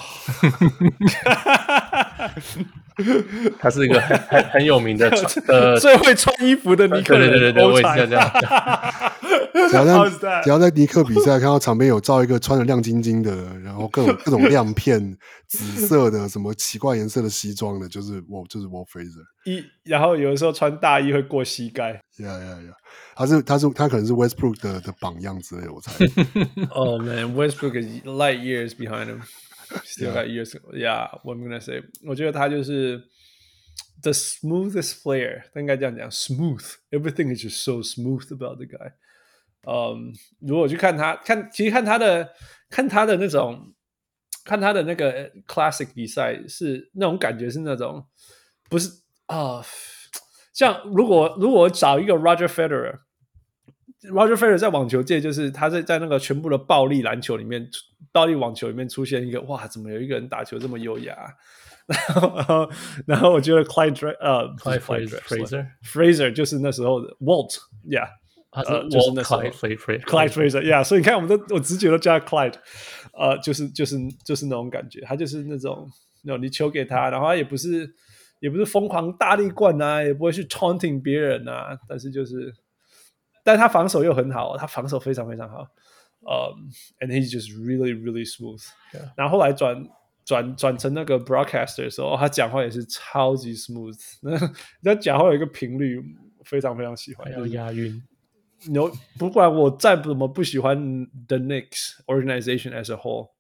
他是一個很有名的最會穿衣服的尼克人。 對，我也是這樣。 只要在尼克比賽看到場邊有照一個穿得亮晶晶的，然後各種亮片、紫色的什麼奇怪顏色的西裝的，就是 Walt Frazier。 然後有的時候穿大衣會過膝蓋。 他可能是 Westbrook 的榜樣之類的，我猜。 Oh man, Westbrook is light years behind him. Still got years. Yeah, what I'm gonna say. 我覺得他就是 the smoothest player， 應該這樣講 ，smooth. Everything is just so smooth about the guy. 如果去看他，其實看他的那種，看他的那個 classic 比賽是那種感覺是那種不是像如果我找一個 Roger Federer 在網球界就是他在那個全部的暴力籃球裡面，暴力網球裡面出現一個哇，怎麼有一個人打球這麼優雅？然後我覺得 Clyde Frazier 就是那時候的 Walt， yeah。就是那時候 Clyde Frazier， 所以你看我直覺都叫他 Clyde， 就是那種感覺，他就是那種你球給他，然後他也不是瘋狂大力灌啊，也不會去 taunting 別人啊，但他防守又很好，他防守非常非常好，and he's just really really smooth。然後後來轉成那個 broadcaster 的時候，他講話也是超級 smooth， 他講話有一個頻率非常非常喜歡， 有押韻。 不管我再怎麼不喜歡 the Knicks organization as a whole，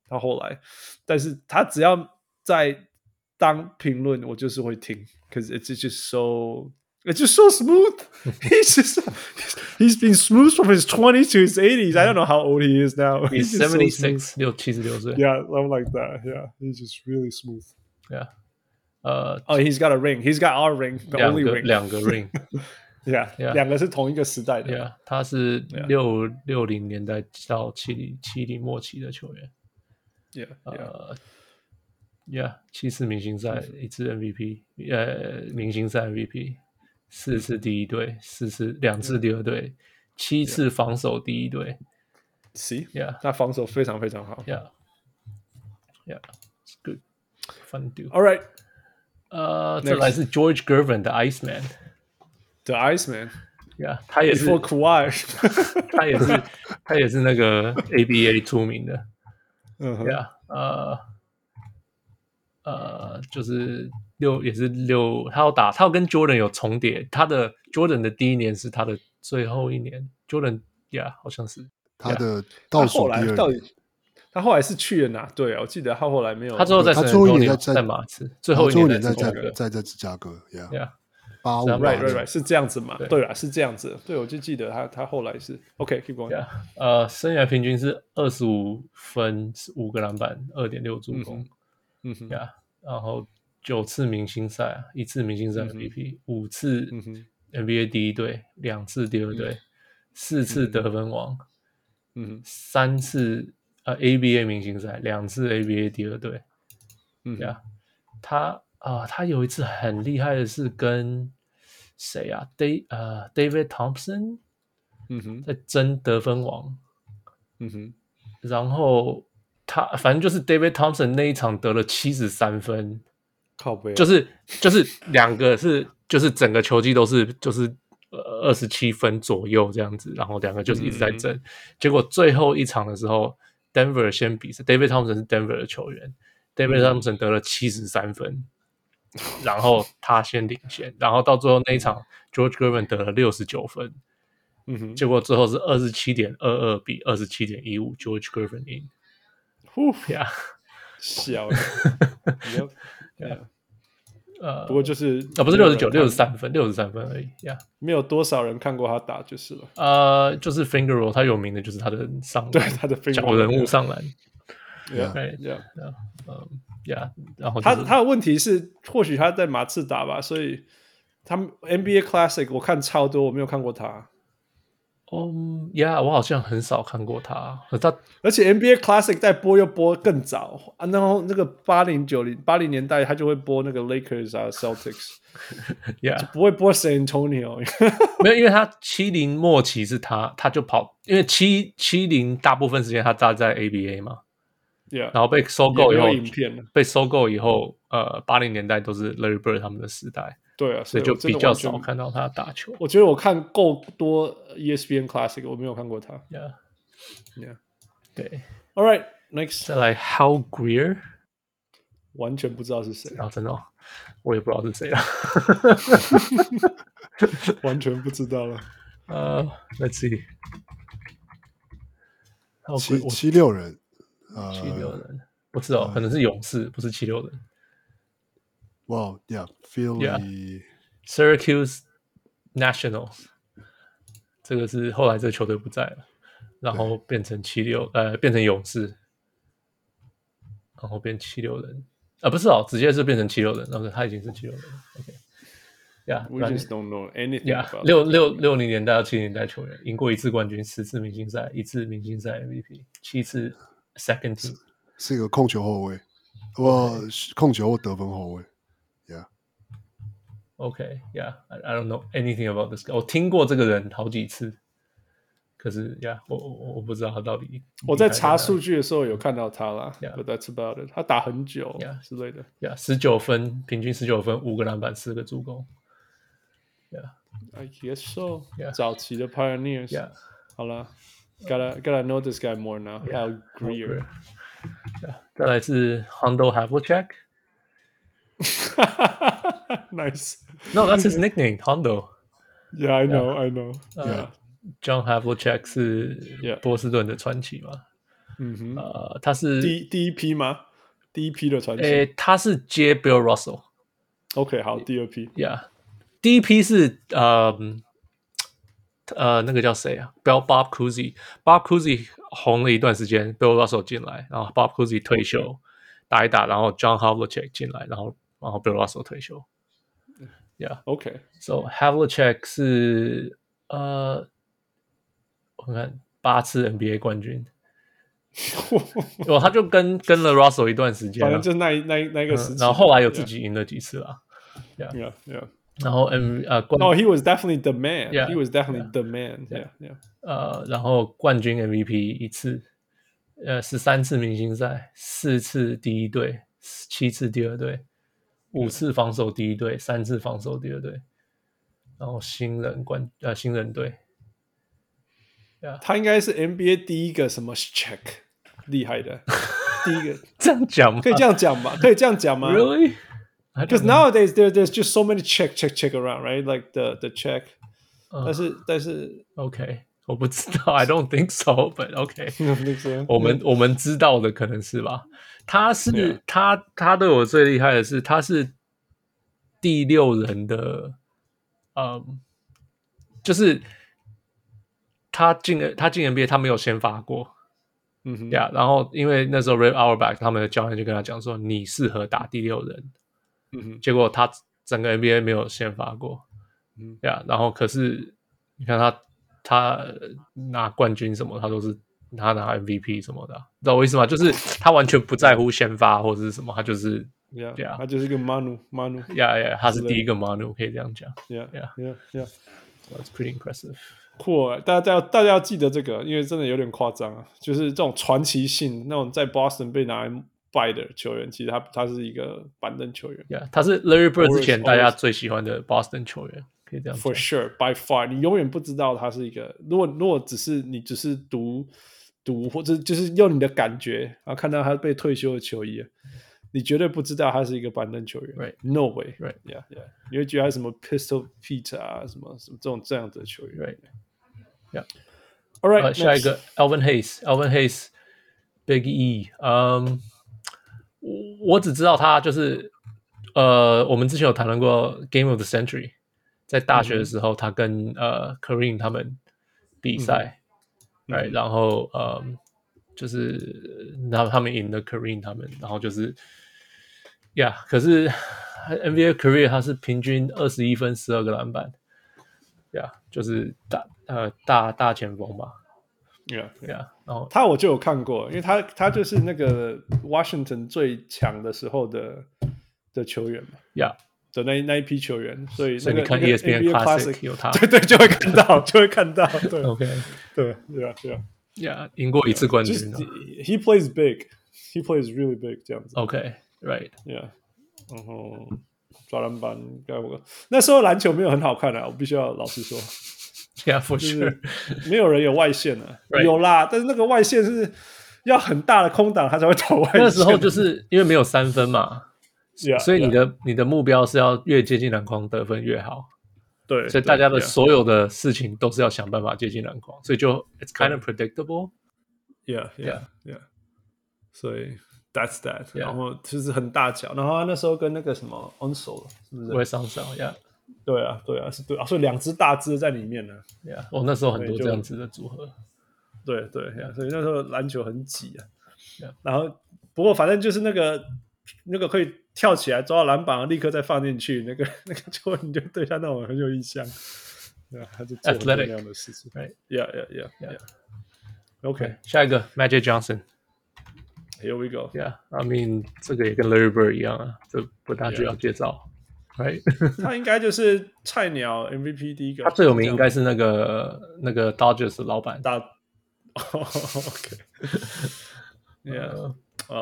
他後來，但是他只要在當評論，我就是會聽 ，cause it's just so smooth. He's been smooth from his 20s to his 80s. I don't know how old he is now. He's 76, 76岁。 Yeah, I'm like that. Yeah, he's just really smooth. Yeah. He's got a ring. He's got our ring. The only ring. 两個 ring. Yeah, 兩個是同一個時代的。 Yeah, 他是60年代到70末期的球員。Yeah, 7次明星賽，1次 MVP， 明星賽 MVP，4次第一隊，2次第二隊，7次防守第一隊。 See, yeah, 他防守非常非常好。 Yeah, it's good, fun to do. All right. 再來是 George Gervin 的 Iceman。The Iceman. Yeah, 他也是 Before Kawhi. 他也是那個 ABA 出名的。Yeah, 就是也是他要跟 Jordan 有重疊，他的 Jordan 的第一年是他的最後一年 ，Jordan 好像是他的倒数第二年。 他後來是去了哪隊啊？我記得他後來沒有， 他最後在他最後一年在馬刺，最後一年在芝加哥 ，Yeah， right，是這樣子嘛？對啦，是這樣子。對，我就記得他後來是 OK，keep going。 生涯平均是25分，5個籃板，2.6助攻。然後9次明星賽，1次明星賽 MVP，5次 NBA 第一隊，2次第二隊，4次得分王，3次ABA 明星賽，2次 ABA 第二隊。他有一次很厲害的是跟誰啊？David Thompson，在爭得分王。然後他反正就是 David Thompson 那一場得了73分， 靠北， 就是兩個是就是整個球季都是就是27分左右這樣子，然後兩個就是一直在爭。結果最後一場的時候 ，Denver 先比賽 ，David Thompson 是 Denver 的球員，David Thompson 得了73分，然後他先領先，然後到最後那一場 ，George Gervin 得了69分，結果最後是27.22比27.15 ，George Gervin贏。Yeah， 小了不過就是不是63分，63分而已。Yeah， 沒有多少人看過他打就是了。 就是 finger roll， 他有名的就是他的上籃， 對他的 finger roll， 小人物上籃。 Yeah， 然後他的問題是，或許他在馬刺打吧，所以他們 NBA Classic 我看超多，我沒有看過他。 我好像很少看過他， 而且 NBA Classic 在播又播更早啊，然後那個80年代他就會播那個 Lakers 啊 Celtics， 就不會播 San Antonio 沒有，因為他70末期是他就跑，因為70大部分時間他搭在 ABA 嘛，然後被收購以後80年代都是 Larry Bird 他們的時代。 對啊， 所以就比較少看到他打球。 我覺得我看夠多 ESPN Classic， 我沒有看過他。Yeah， 對。All right, next， 再來 Hal Greer， 完全不知道是誰啊，真的我也不知道是誰了， 完全不知道了。 Let's see， 76人 ，76人，不是可能是勇士，不是76人。 Wow, yeah, Philly, Syracuse Nationals， 這個是後來這個球隊不在了，然後變成變成勇士，然後變76人，不是直接是變成76人，然後他已經是76人。OK，We just don't know anything about 60年代到70年代球員，贏過1次冠軍，10次明星賽，1次明星賽 MVP， 7次 Second Team， 是一個控球後衛，控球或得分後衛。 Okay, yeah, I don't know anything about this guy. 我聽過這個人好幾次，可是 yeah, 我不知道他到底。 我在查數據的時候有看到他啦 ，But that's about it. 他打很久 之類的。 19分，平均19分，5個籃板，4個助攻。Yeah, I guess so. 早期的 Pioneers. Yeah. 好了 ，gotta know this guy more now. Hal Greer. 再來是 Hondo Havlicek。Nice. No, that's his nickname, Hondo. Yeah, I know. John Havlicek 是波士頓的傳奇嘛他是第一批嗎？第一批的傳奇？ 他是接 Bill Russell。OK， 好，第二批。 Yeah， 第一批是那個叫誰啊 ？Bob Cousy。Bob Cousy 紅了一段時間 ，Bill Russell 進來，然後 Bob Cousy 退休，打一打，然後 John Havlicek 進來，然後 Bill Russell 退休。Yeah，OK。So Havlicek 是我看8次 NBA 冠軍。他就跟了 Russell 一段時間， 反正就那個時期， 然後後來有自己贏了幾次啦。 Yeah。 然後 he was definitely the man. Yeah, he was definitely the man. Yeah. 然後冠軍 MVP 1次，13次明星賽，4次第一隊，7次第二隊，5次防守第一隊，3次防守第二隊，然後新人队。 Yeah. 他應該是 NBA 第一個什麼 check 厲害的，第一個這樣講嗎？ 可以這樣講吧？可以這樣講嗎 ？Really? Because nowadays there's just so many check around, right? Like the check. 但是 OK， 我不知道 ，I don't think so, but OK 我們知道的可能是吧？他是他对我最厲害的是，他是第6人的，就是他進 NBA 他沒有先發過。然後因為那時候 Red Auerbach 他們的教練就跟他講說，你適合打第6人。結果他整個 NBA 沒有先發過。然後可是你看他拿冠軍什麼，他都是他拿 MVP 什麼的，知道我意思嗎？就是他完全不在乎先發或者是什麼，他就是他就是一個 Manu。 他是第一個 Manu， 可以這樣講。That's pretty impressive。 酷，大家要記得這個，因為真的有點誇張啊！就是這種傳奇性，那種在 Boston 被拿來拜的球員，其實他是一個板凳球員。 他是 Larry Bird 之前大家最喜歡的 Boston 球員，可以這樣講。 For sure, by far， 你永遠不知道他是一個。如果你只是讀，或者就是用你的感覺，然後看到他被退休的球衣，你絕對不知道他是一個板凳球員。 Right. No way. Right. Yeah. 你會覺得他什麼 Pistol Pete 啊，什麼這樣子的球員。 Right.Yeah. All right. 下一個 Elvin Hayes Big E。我只知道他就是我們之前有談論過 Game of the Century， 在大學的時候，他跟Kareem 他們比賽，right， 然後就是他們贏了 Kareem 他們，然後就是可是 NBA Career 他是平均21分12個籃板。就是大前鋒吧。 然後他我就有看過，因為他就是那個 Washington 最強的時候的球員嘛。的那一批球員，所以你看 ESPN Classic 有他， 對，就会看到，對 ，OK， 對， 贏過1次冠軍。 He plays big, he plays really big 這樣子。 OK，right， 然後抓籃板，那時候籃球沒有很好看啊，我必須要老實說。 for sure， 沒有人有外線啊， right. 有啦，但是那個外線是要很大的空檔，他才會投外線。 那時候就是因為沒有3分嘛，所以你的目標是要越接近籃筐得分越好。 對， 所以大家的所有的事情都是要想辦法接近籃筐，所以就 it's kind of predictable。 Yeah， 所以 that's that， 然後就是很大腳，然後他那時候跟那個什麼 Onsel 是不是？ 會上手 ，Yeah。 對啊，是对啊，所以2隻大隻在裡面呢。 那時候很多這樣子的組合。 對，所以那時候籃球很擠啊。然後不過反正就是那個可以跳起來抓到籃板，立刻再放進去，那個球你就對他那種很有印象。對啊，他就做很多那樣的事情。Yeah. OK， 下一個 Magic Johnson。Here we go. Yeah，I mean 這個也跟 Larry Bird 一樣啊，這不大需要介紹。Right. 他應該就是菜鳥 MVP 第一個。 他最有名應該是那個 Dodgers 的老闆。 OK。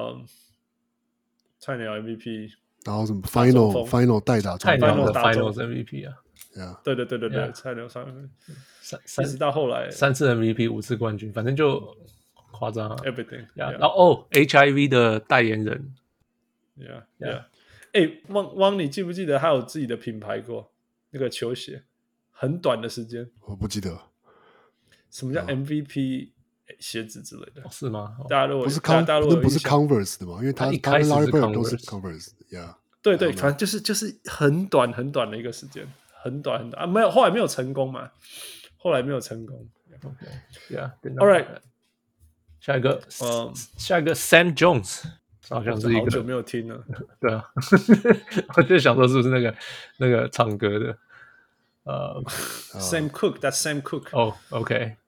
菜鳥 MVP。 然後什麼 Final 代打菜鳥的 Finals MVP 啊。 對，菜鳥上一直到後來 3次 MVP 5次冠軍，反正就誇張啊。 Everything。 然後HIV 的代言人。 Yeah。汪，你記不記得他有自己的品牌過？那個球鞋，很短的時間。 我不記得。 什麼叫 MVP 鞋子之類的， 是嗎？ 大家如果不是大家如果不是 Converse 的吗？因为他一開始是 Larry Bird 都 Converse 是 Converse，yeah。 对，反正就是很短的一個時間，很短啊，沒有，後來沒有成功嘛， Okay, yeah, all right。下一個Sam Jones， 好像是一個好久沒有聽了， 對啊，我就想說是不是那個唱歌的 Sam Cooke，that's Sam Cooke。 哦 ，OK，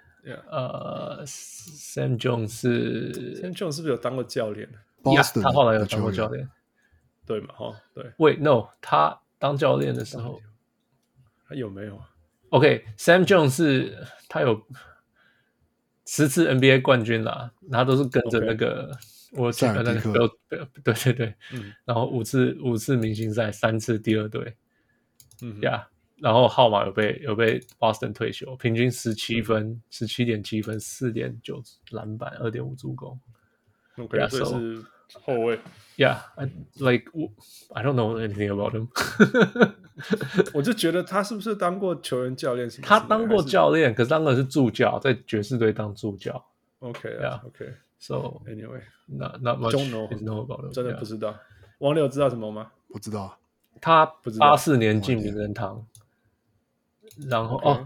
Sam Jones 是不是有當過教練？ Boston 他後來有當過教練， 對嘛？哈，對。 Wait, no， 他當教練的時候， 他有沒有 ？OK，Sam Jones 是他有10次 NBA 冠軍啦，他都是跟着那個我記得那個對，然後五次明星賽，3次第二隊，然後號碼有被 Boston 退休，平均17分，17.7分，4.9籃板，2.5助攻。 OK， 所以是後衛。 Yeah, I don't know anything about him 。 我就覺得他是不是當過球員教練？ 他當過教練，可是當的是助教，在爵士隊當助教。 OK， So anyway, not much know about him， 真的不知道。王柳知道什麼嗎？ 不知道。 他84年進名人堂，然後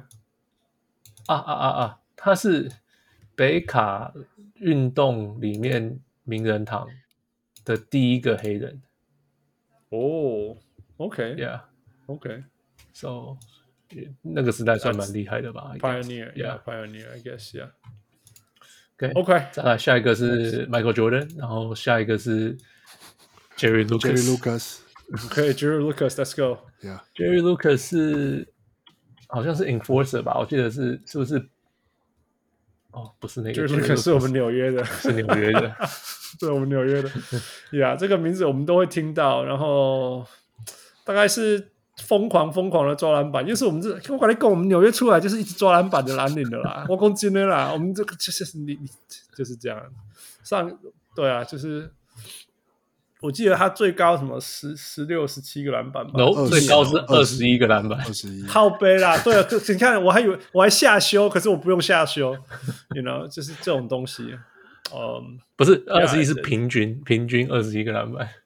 他是北卡運動裡面名人堂的第一個黑人。 哦 ，OK，So 那個時代算蠻厲害的吧 ？Pioneer，I guess，OK， 再來下一個是 Michael Jordan， 然後下一個是 Jerry Lucas。Jerry Lucas，Let's go。Jerry Lucas 是好像是 enforcer 吧，我記得是不是？哦，不是那個 Jerry Lucas 是我們紐約的， 是紐約的， 是我們紐約的。這個名字我們都會聽到，然後大概是瘋狂的抓籃板，就是我跟你講，我們紐約出來就是一直抓籃板的藍領的啦，我講真的啦，我們這個就是你就是這樣。對啊，就是我記得他最高什麼16、17個籃板吧， 最高是21個籃板 ，21 靠背啦，對啊，你看我還下修，可是我不用下修，you know， 就是這種東西， 不是21是平均21個籃板，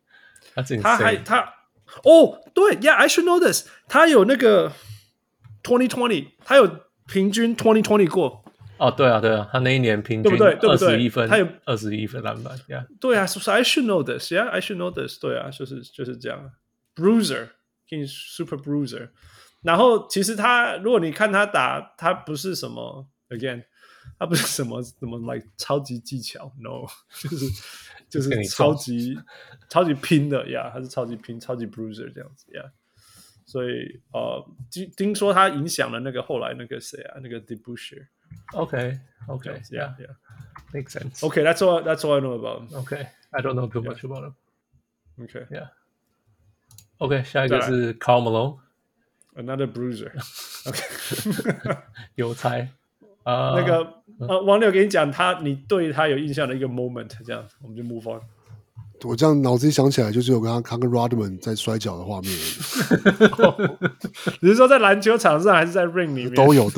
對 ，Yeah，I should know this， 他有那個2020，他有平均2020過。 對啊，他那一年平均21分，他有21分籃板 ，Yeah， 對啊，所以 I should know this，Yeah，I should know this， 對啊，就是這樣 ，Bruiser，King Super Bruiser， 然後其實如果你看他打，他不是什麼 ，Again， 他不是什麼 like 超級技巧 ，No， 就是超級拼的 ，Yeah， 他是超級拼，超級 Bruiser 這樣子 ，Yeah， 所以聽說他影響了那個後來那個誰啊，那個 DeBusschere。Okay, yeah, makes sense. Okay, that's all I know about him. Okay, I don't know too much about him. Okay, yeah. Okay, 下一個是 Karl Malone, another bruiser. Okay, 郵差。 那個王柳給你講你對他有印象的一個 moment， 這樣我們就 move on。 我這樣腦子裡想起來，就只有他跟 Rodman 在摔跤的畫面而已。 你是說在籃球場上還是在 ring 裡面？ 都有。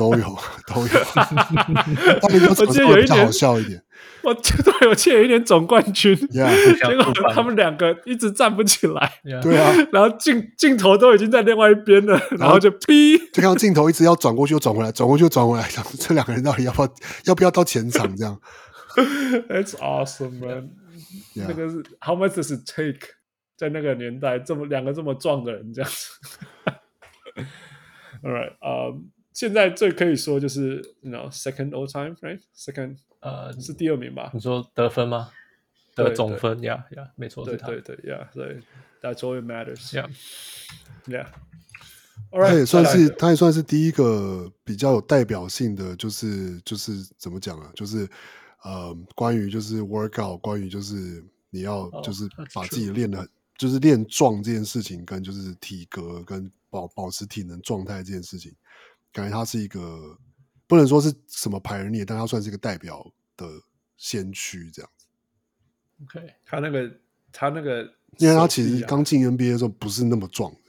他們就場上會比較好笑一點。 我記得有一年總冠軍， 結果他們兩個一直站不起來。 對啊， 然後鏡頭都已經在另外一邊了，然後就劈， 就看到鏡頭一直要轉過去又轉回來，轉過去又轉回來，這兩個人到底要不要到前場這樣 ？That's awesome, man.、Yeah. 那個是 How much does it take？ 在那個年代，兩個這麼壯的人這樣子。All right， 現在最可以說就是second all time, right? Second， 是第二名吧？ 你說得分嗎？得總分 ，Yeah， 沒錯，是他。 對 ，Yeah， 所以 That's all it matters. Yeah. 他也算是第一個比較有代表性的，就是怎麼講啊？就是關於就是 workout， 關於就是你要就是把自己練得很，就是練壯這件事情，跟就是體格跟保持體能狀態這件事情，感覺他是一個不能說是什麼pioneer，但他算是一個代表的先驅這樣子。 OK， 他那個， 因為他其實剛進 NBA 的時候不是那麼壯的，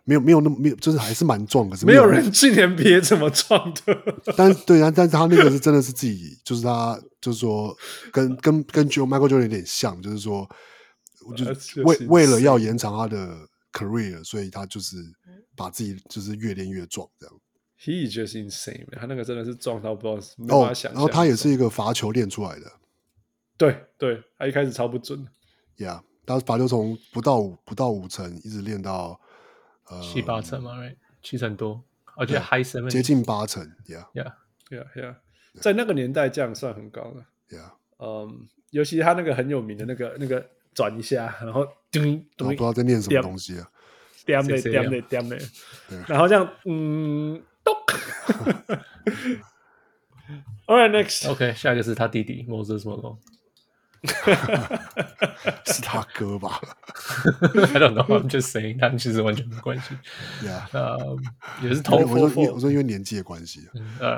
沒有那麼沒有，就是還是蠻壯，可是沒有人進 NBA 這麼壯的。但是他那個是真的是自己，就是他就是說跟 Michael Jordan 有點像，就是說，就是為了要延長他的 career， 所以他就是把自己就是越練越壯這樣。 He just insane， 他那個真的是壯到不知道沒辦法想象。 然後他也是一個罰球練出來的。对， 他一開始超不準的。 Yeah， 他罰球從不到5成，一直練到 7、8成嘛 ，right， 7成多，而且 high 7 接近8成 ，Yeah，在那個年代這樣算很高了。 Yeah， 尤其他那個很有名的那個轉一下，然後不知道在念什麼東西啊， 點的，然後這樣咚。All right, next. OK， 下一個是他弟弟 Moses Malone。 是他哥吧 ？I don't know. I'm just saying， 他們其實完全沒關係。也是同我說因為年紀的關係。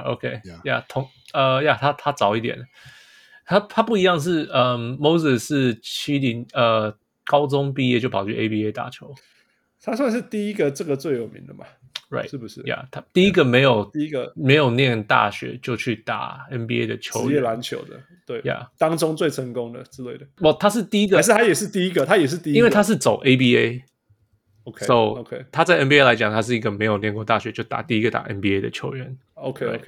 OK，他早一點，他不一樣是Moses 是70高中畢業就跑去 ABA 打球， 他算是第一個這個最有名的嘛。 Right， 是不是？ 他第一個沒有念大學就去打 NBA 的球員， 職業籃球的，對，當中最成功的之類的。 他是第一個， 還是他也是第一個？他也是第一個， 因為他是走 ABA。OK， 他在 NBA 來講，他是一個沒有念過大學就第一個打 NBA 的球員。 OK，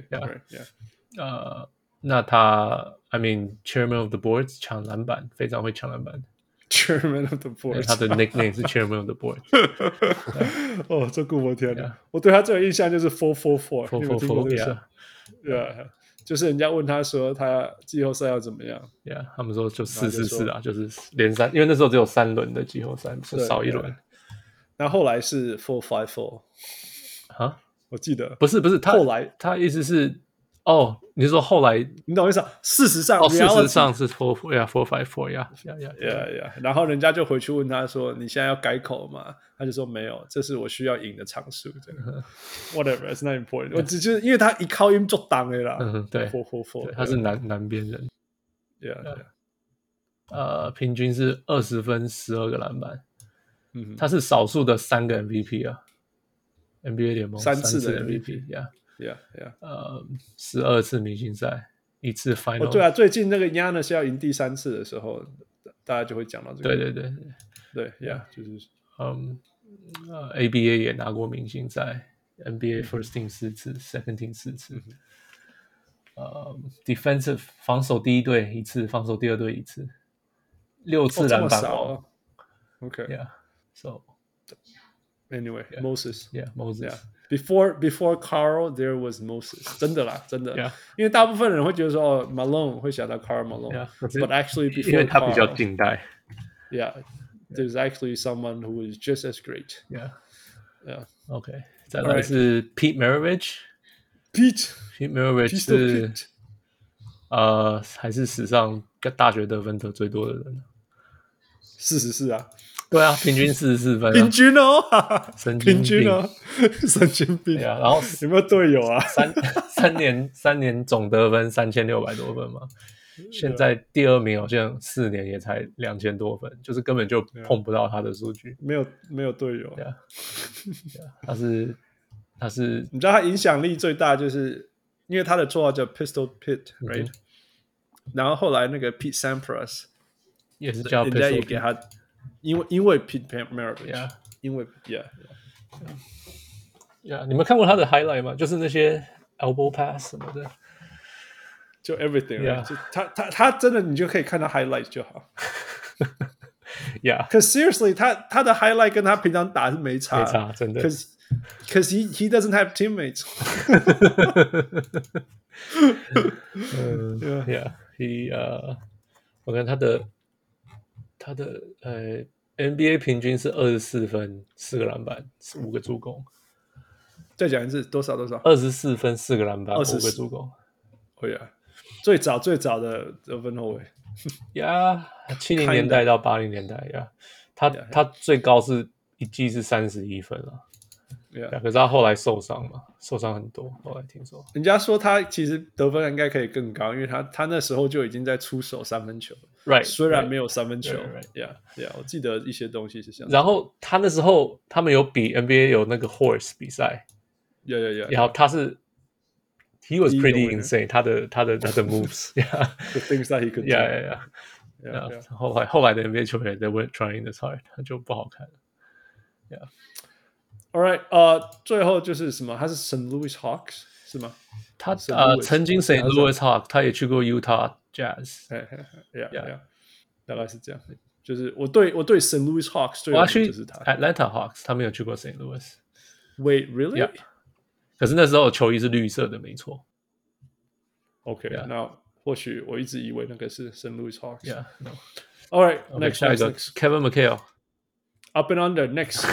那他 I mean Chairman of the Boards 搶籃板，非常會搶籃板。 Chairman of the board， 他的 nickname 是 Chairman of the board。 哦，這顧我天哪！我對他最有印象就是 444， 你有聽過這個？就是人家問他說他季後賽要怎麼樣？ 他們說就444啊，就是連三，因為那時候只有3輪的季後賽，少一輪。 那後來是454 啊？ 我記得不是後來他意思是。你是說後來？ 你懂我意思啊？事實上是 454， 然後人家就回去問他說：“你現在要改口嗎？”他就說：“沒有，這是我需要贏的場數。” Whatever, it's not important。我只是因為他一靠音做檔的啦。 對 ，444， 他是南邊人。平均是20分，12個籃板。他是少數的3個 MVP 啊 ，NBA 聯盟3次的 MVP。12次明星賽，1次 Final。 對啊，最近那個 Giannis 要贏第3次的時候，大家就會講到這個。對，就是 ABA 也拿過明星賽，NBA First Team 4次，Second Team 4次。Defensive 防守第一隊1次，防守第二隊1次，6次籃板王。 OK，So anyway, Moses. Moses.Before Karl, there was Moses. 真的啦，真的。因為大部分人會覺得說Malone 會想到 Karl Malone，but actually before Karl， 因為他比較近代。 there's actually someone who is just as great. OK， 再來是 Pete Maravich。Pete Maravich 是還是史上大學得分得最多的人。 44啊。 對啊，平均44分， 平均哦， 平均哦，神經病。 然後有沒有隊友啊？ 三年總得分3600多分嘛，現在第2名好像4年也才2000多分，就是根本就碰不到他的數據。 沒有隊友。 他是， 你知道他影響力最大，就是因為他的綽號叫 Pistol Pete，right？然後後來那個 Pete Sampras 也是叫 Pistol Pete， 人家也給他。因為 Pete Maravich， 因為你們看過他的 highlight 嗎？就是那些 elbow pass 什麼的， 就 everything， 就他真的你就可以看到 highlight 就好。Cause seriously， 他的 highlight 跟他平常打是沒差， 真的。 Cause he doesn't have teammates。 我看他的NBA 平均是24分，4個籃板，5個助攻。 再講一次，多少 ？24分，4個籃板，5個助攻。 最早的得分後衛。 70年代到80年代，他最高是一季是31分了。可是他後來受傷嘛，受傷很多。後來聽說， 人家說他其實得分應該可以更高，因為他那時候就已經在出手3分球了。 ，right， 雖然沒有三分球 ，yeah， 我記得一些東西是這樣。 然後他那時候他們有比 NBA 有那個 horse 比賽，然後他是 he was pretty insane， 他的 moves，the things that he could do，後來的 NBA 球員 they weren't trying this hard， 他就不好看了 ，All right， 最後就是什麼？他是 St. Louis Hawks 是嗎？ 他曾經 St. Louis Hawks， 他也去過 Utah Jazz， 大概是這樣。就是我对 St. Louis Hawks 最有名就是他 Atlanta Hawks， 他沒有去過 St. Louis。Wait, really？ Yeah. 可是那時候球衣是綠色的，沒錯。 OK， 那或許我一直以為那個是 St. Louis Hawks。 No. All right, next. Kevin McHale。Up and under next。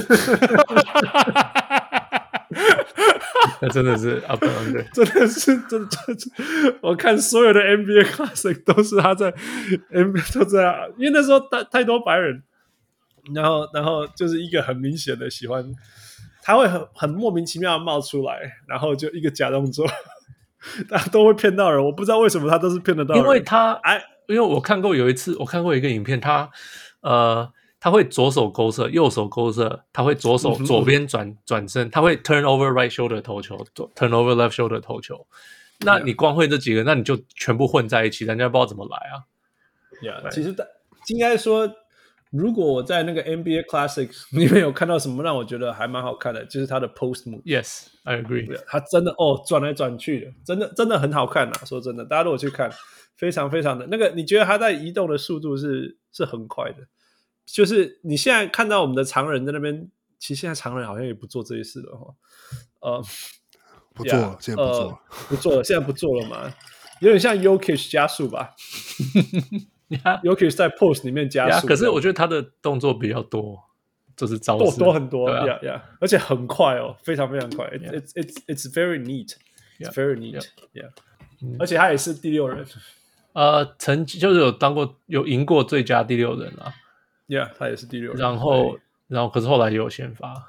那真的是 up and under， 真的是，我看所有的 NBA Classic 都是他在 NBA 都这樣，因為那時候太多白人，然後就是一個很明顯的喜歡，他會很莫名其妙的冒出來，然後就一個假動作，大家都會騙到人，我不知道為什麼他都是騙得到人， 因為我看過有一次，我看過一個影片，他會左手勾射，右手勾射，他會左手左邊轉身，他會 turn over right shoulder 投球 ，turn over left shoulder 投球。那你光會這幾個，那你就全部混在一起，人家不知道怎麼來啊。 其實應該說，如果我在那個 NBA Classic 裡面有看到什麼讓我覺得還蠻好看的，就是他的 post move。Yes, I agree。 他真的轉來轉去的，真的很好看啊！說真的，大家如果去看，非常非常的那個，你覺得他在移動的速度是很快的。就是你現在看到我們的常人在那邊，其實現在常人好像也不做這些事了哈。 不做了，現在不做了， 不做了，現在不做了嘛，有點像 Jokic 加速吧。Jokic 在 post 裡面加速， 可是我覺得他的動作比較多，就是招式多很多，而且很快哦，非常非常快。It's very neat, it's very neat, yeah. 而且他也是第6人， 曾經就是有贏過最佳第6人啊。 Yeah， 他也是第6人。 然後可是後來也有先發。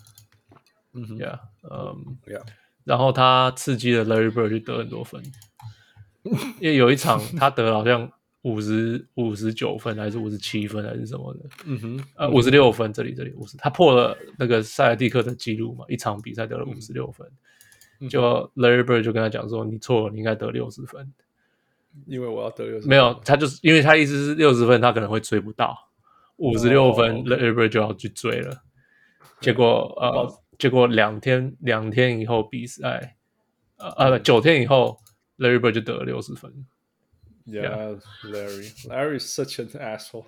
然後他刺激了 Larry Bird 去得很多分，因為有一場他得了好像59分還是57分還是什麼的，56分，這裡50，他破了那個塞爾蒂克的記錄嘛，一場比賽得了56分，就 Larry Bird 就跟他講說，你錯了，你應該得60分， 因為我要得60分。 沒有，他就是因為他意思是60分他可能會追不到。56分 Larry Bird 就要去追了，結果兩天以後比賽，9天以後 Larry Bird 就得了60分。 Yeah, Larry is such an asshole.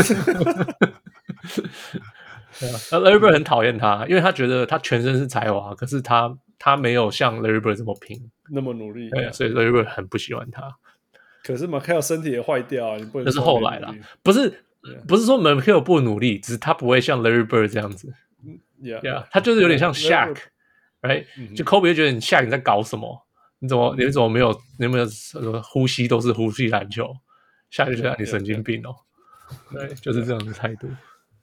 Larry Bird 很討厭他，因為他覺得他全身是才華，可是他沒有像 Larry Bird 這麼拼， 那麼努力。 對，所以 Larry Bird 很不喜歡他。 可是 McHale 身體也壞掉啊，你不能。 那是後來啦，不是說 McHale 不努力，只是他不會像 Larry Bird 這樣子。他就是有點像 Shaq，right？ 就 Kobe 就覺得你 Shaq 你在搞什麼？你怎麼沒有呼吸都是呼吸籃球？Shaq 就覺得你神經病哦。對，就是這樣的態度。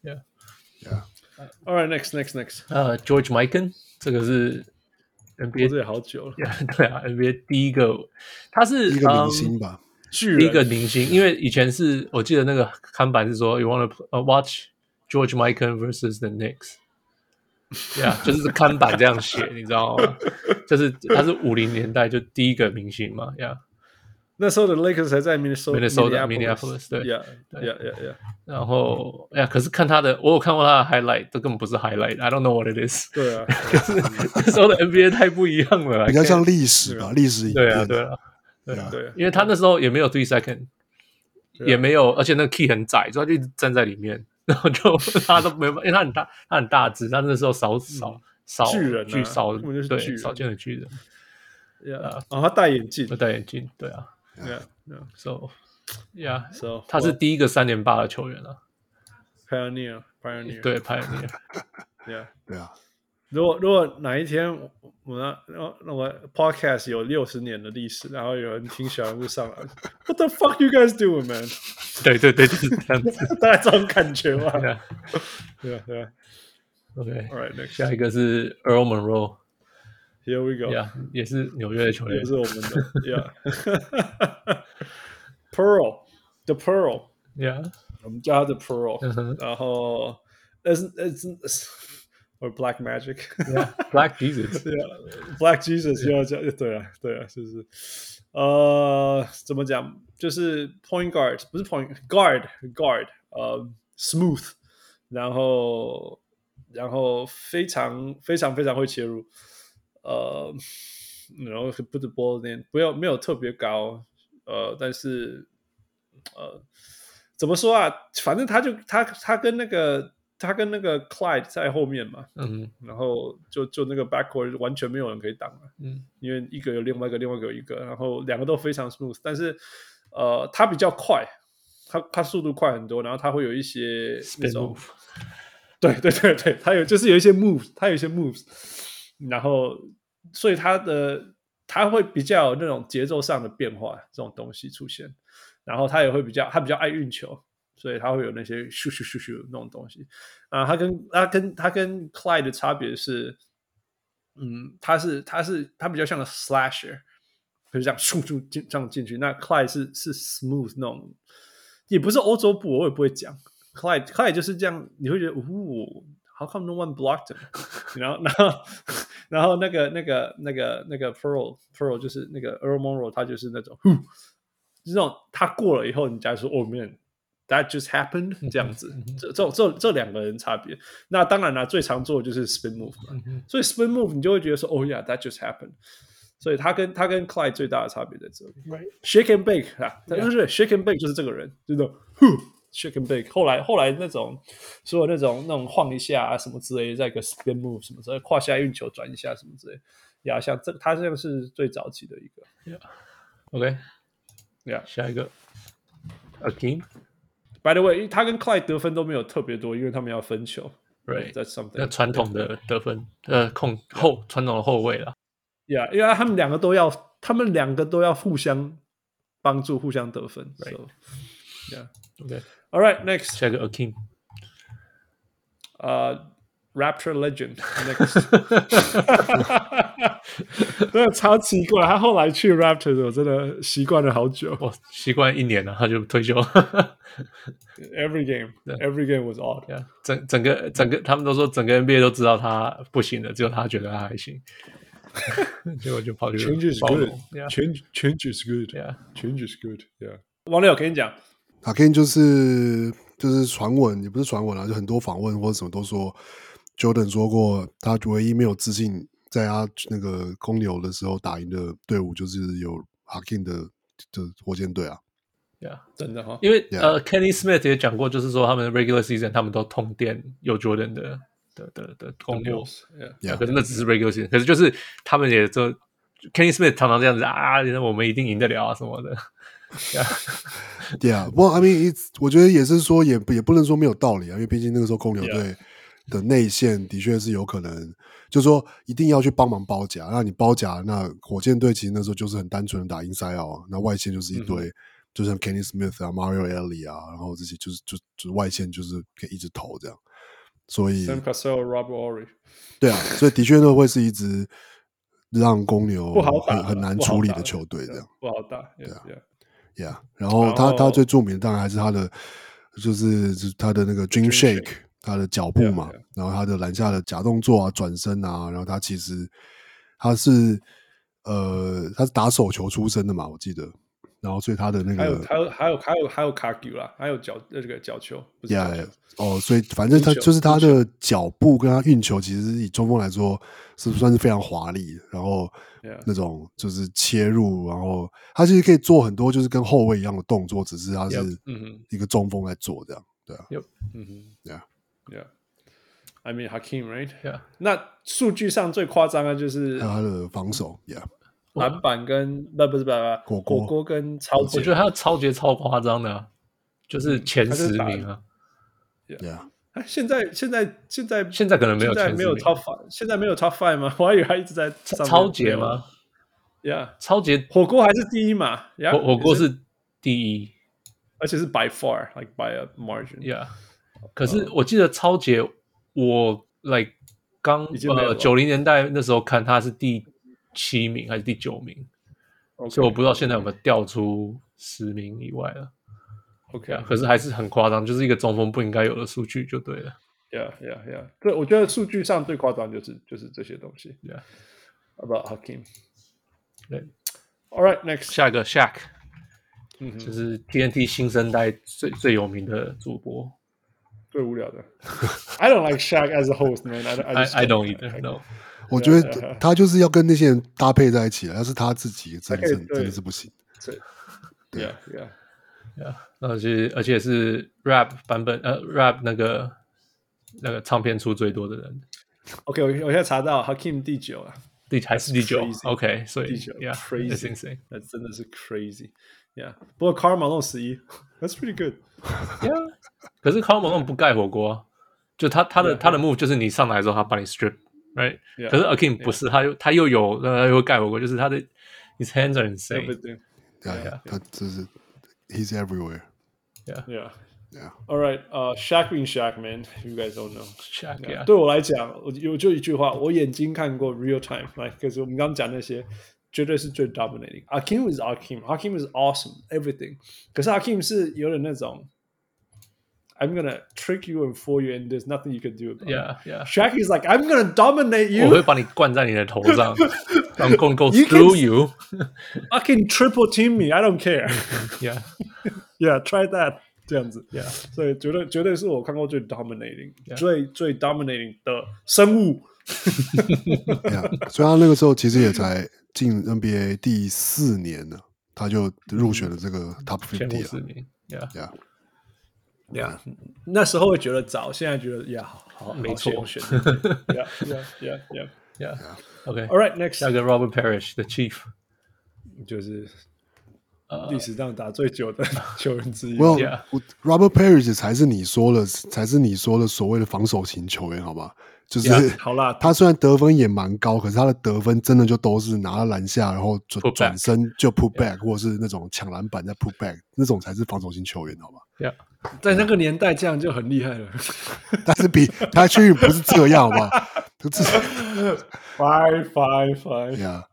All right, next. George Mikan， 這個是 NBA 這也好久了。 對啊 ，NBA 第一個，他是第一個明星吧。 第一個明星，因為以前是我記得那個看板是說 ，You want to watch George Mikan versus the Knicks， 就是看板這樣寫，你知道嗎？就是他是50年代就第一個明星嘛， 那時候的 Lakers 還在 Minneapolis， 對，然後 ， 可是看他的，我有看過他的 highlight， 這根本不是 highlight，I don't know what it is。 對啊， 可是那時候的 NBA 太不一樣了， 比較像歷史吧，歷史影片。 對，因為他那時候也沒有3 second， 也沒有，而且那個 key 很窄，所以他就一直站在裡面，然後就他都沒有，因為他很大只，他那時候少巨人， 對，少見的巨人。 他戴眼鏡， 对啊。So 他是第一個3連霸的球員啊。 Pioneer， 對 Pioneer， 對啊。 如果哪一天我 podcast 有60年的歷史，然後有人聽小人物上來 ，What the fuck you guys doing, man？ 對，就是這樣子， 大概這種感覺吧。對啊。 OK， all right, next. 下一個是 Earl Monroe。Here we go. 也是紐約的球員， 也是我們的。Pearl The Pearl， Yeah， 我們叫他 The Pearl， 然後 it's or Black Magic，Black Jesus，Black Jesus 又要講，對啊，就是怎麼講，就是 point guard 不是 point guard， smooth， 然後非常會切入，然後 put the ball in， 沒有特別高，但是怎麼說啊？反正他跟那個 Clyde 在後面嘛，然後就那個 backcourt 完全沒有人可以擋了，因為一個有另外一個有一個，然後兩個都非常 smooth， 但是他比較快，他速度快很多，然後他會有一些那種 spin move， 對，他有一些 moves， 然後所以他會比較有那種節奏上的變化這種東西出現，然後他比較愛運球。所以他會有那些咻那種東西啊，他跟 Clyde 的差別是，他比較像個 slasher， 就是這樣咻這樣進去。那 Clyde 是 smooth 那種，也不是歐洲步，我也不會講。Clyde 就是這樣，你會覺得how come no one blocked him？ 然後那個 Pearl 就是那個 Earl Monroe， 他就是那種就是那種他過了以後，你假如說oh man。That just happened 這樣子，這兩個人差別。那當然啦，最常做的就是 spin move 嘛。所以 spin move 你就會覺得說，oh yeah，that just happened。所以他跟 Clyde 最大的差別在這裡。Shake and bake 啊，對，shake and bake 就是這個人，就是shake and bake。後來那種所有那種晃一下啊什麼之類的，再一個 spin move 什麼之類的，胯下運球轉一下什麼之類的，呀，像他這個是最早期的一個。 OK， 下一個 Akeem。By the way， 他跟 Clyde 得分都沒有特別多，因為他們要分球。 Right， that's something。 那傳統的得分，傳統的後衛啦。 Yeah， 因為他們兩個都要互相幫助，互相得分。 Right。 So, yeah。 Okay。 All right， next。 下一個 Akeem。 Raptor Legend next。真的超奇怪，他後來去 Raptors， 我真的習慣了好久。 我習慣1年了，他就退休。 Every game was odd。 整個，他們都說整個 NBA 都知道他不行了，只有他覺得他還行。結果就跑去 Change is good。Change is good。Change is good。Yeah。王六，我跟你講 ，Akeem 就是傳聞，也不是傳聞啦，就很多訪問或者什麼都說 ，Jordan 說過，他唯一沒有自信。在他那個公牛的時候打贏的隊伍就是有 Akeem 的火箭隊啊， 真的哈，因為Kenny Smith 也講過，就是說他們的 regular season 他們都通電有 Jordan 的公牛，可是那只是 regular season， 可是就是他們也就 Kenny Smith 常常這樣子啊，我們一定贏得了啊什麼的， 對啊，不過 I mean 我覺得也是說也不能說沒有道理啊，因為畢竟那個時候公牛隊的內線的確是有可能。就是說一定要去幫忙包夾，那你包夾，那火箭隊其實那時候就是很單純的打inside out啊，那外線就是一堆，就像 Kenny Smith 啊、Mario Elie 啊，然後這些就是外線就是可以一直投這樣，所以 Sam Cassell、Robert Horry， 對啊，所以的確那會是一支讓公牛很難處理的球隊這樣， 不好打， 對啊 ，Yeah， 然後他最著名的當然還是他的就是他的那個 Dream Shake。他的腳步嘛，然後他的籃下的假動作啊、轉身啊，然後他其實他是打手球出身的嘛，我記得，然後所以他的那個還有卡球啦，還有這個腳球，不是腳球所以反正他就是他的腳步跟他運球，其實以中鋒來說是算是非常華麗的，然後那種就是切入，然後他其實可以做很多就是跟後衛一樣的動作，只是他是一個中鋒在做這樣，對啊 ，Yeah，I mean Hakeem, right? Yeah. 那數據上最誇張的就是他的防守 ，Yeah， 籃板跟不是火鍋跟抄截， 我覺得他的抄截超誇張的啊，就是前10名啊。 Yeah， 現在可能沒有前10名， 現在沒有 Top 5嗎？我還以為他一直在抄截嗎 ？Yeah， 抄截火鍋還是第一嘛？ 火鍋是第一， 而且是 by far, like by a margin. Yeah。可是我記得抄截，我剛90年代那時候看他是第7名還是第9名，所以我不知道現在有沒有掉出10名以外了。 OK， 可是還是很誇張，就是一個中鋒不應該有的數據就對了。 Yeah. 對，我覺得數據上最誇張就是這些東西。 Yeah. About Hakeem. 對。 All right, next. 下一個 Shaq，就是 TNT 新生代最有名的主播。 最無聊的。I don't like Shaq as a host, man. I don't either. No. 我覺得他就是要跟那些人搭配在一起了，要是他自己真的是不行。 Yeah. 而且是 rap 版本rap 那個唱片出最多的人。 OK， 我現在查到 Hakeem 第9啊， 還是第9 ？OK， 所以第9 ，crazy， insane， 那真的是 crazy。Yeah， 不過 Karl Malone 11 ，That's pretty good。Yeah， 可是 Karl Malone 不蓋火鍋啊，就他的 move 就是你上來之後他把你 strip，right？ 可是 Hakeem 不是，他又有又盖火鍋，就是他的 his hands are insane。 他就是 he's everywhere。 Yeah. All right, Shaq being Shaq, man. You guys don't know. Shaq, yeah. 对我來講，我就一句話，我眼睛看過 real time， 可是我們剛剛講那些，絕對是最 dominating. Hakeem is Hakeem is awesome, everything. 可是 Hakeem 是有點那種 I'm gonna trick you and fool you, and there's nothing you can do about it. Yeah. Shaq is like I'm gonna dominate you. 我會把你灌在你的頭上，I'm gonna go through you. I can triple team me. I don't care. Yeah, try that. 這樣子 ，Yeah， 所以絕對是我看過最 dominating、最 dominating 的生物。 所以他那個時候其實也才進 NBA 第4年了，他就入選了這個 Top 50了。 前50名 ，Yeah， 那時候會覺得早，現在覺得好， 沒錯， 選 Yeah，OK，All right, next， 下一個 Robert Parrish the Chief， 就是歷史上打最久的球員之一。 Robert Parrish 才是你說的所謂的防守型球員，好吧？就是好啦， 他雖然得分也蠻高，可是他的得分真的就都是拿到籃下，然後轉身就 put back， 或者是那種搶籃板再 put back， 那種才是防守型球員，好吧？ 在那個年代這樣就很厲害了。 但是比他確實不是這樣，好不好？Fine，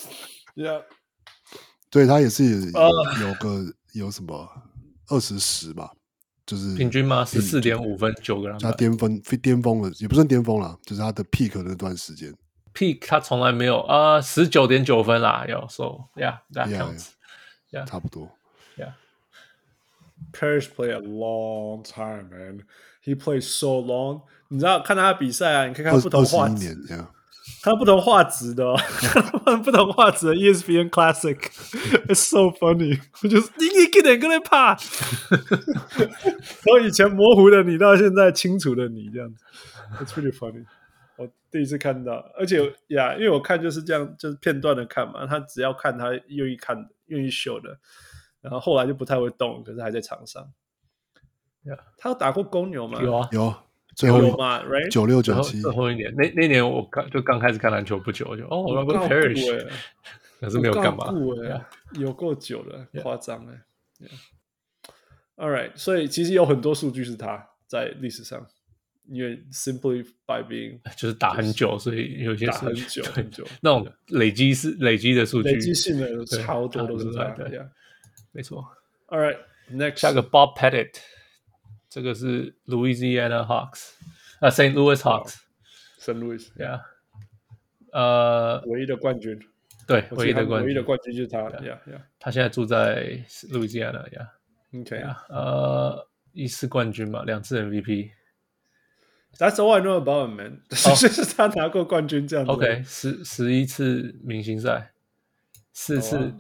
對，他也是有什麼20-10吧，就是平均嗎？14.5分，9個籃板。 他巔峰了，也不算巔峰啦，就是他的 peak 的那段時間。 peak 他從來沒有19.9分啦，有 so that counts， 差不多。 Parrish played a long time, man. He played so long. 你知道看他比賽啊，你可以看不同畫質，看不同畫質的，不同畫質的 ESPN Classic. It's so funny. 就是你一點跟他怕，從以前模糊的你到現在清楚的你這樣子。It's pretty funny. 我第一次看到，而且因為我看就是這樣，就是片段的看嘛。他只要看他願意看的、願意秀的。然後後來就不太會動，可是還在場上。他有打過公牛嗎？ 有，最後有嘛 ，right？ 96、97， 最後一年，那年我剛開始看籃球不久，就Robert Parrish， 可是沒有幹嘛， 有夠久了，誇張哎。All right， 所以其實有很多數據是他在歷史上，因為 simply by being 就是打很久，所以有些打很久那種累積的數據， 累積性的超多都是他，對。 沒錯 ，All right, next 下個 Bob Pettit， 這個是 Louisiana Hawks，St. Louis Hawks，St. Louis， yeah， 唯一的冠軍， 對，唯一的冠軍就是他 ，yeah， 他現在住在 Louisiana，yeah，OK， 1次冠軍嘛，2次 MVP。That's all I know about him, man. 就是他拿過冠軍這樣子。 OK， 11次明星賽，4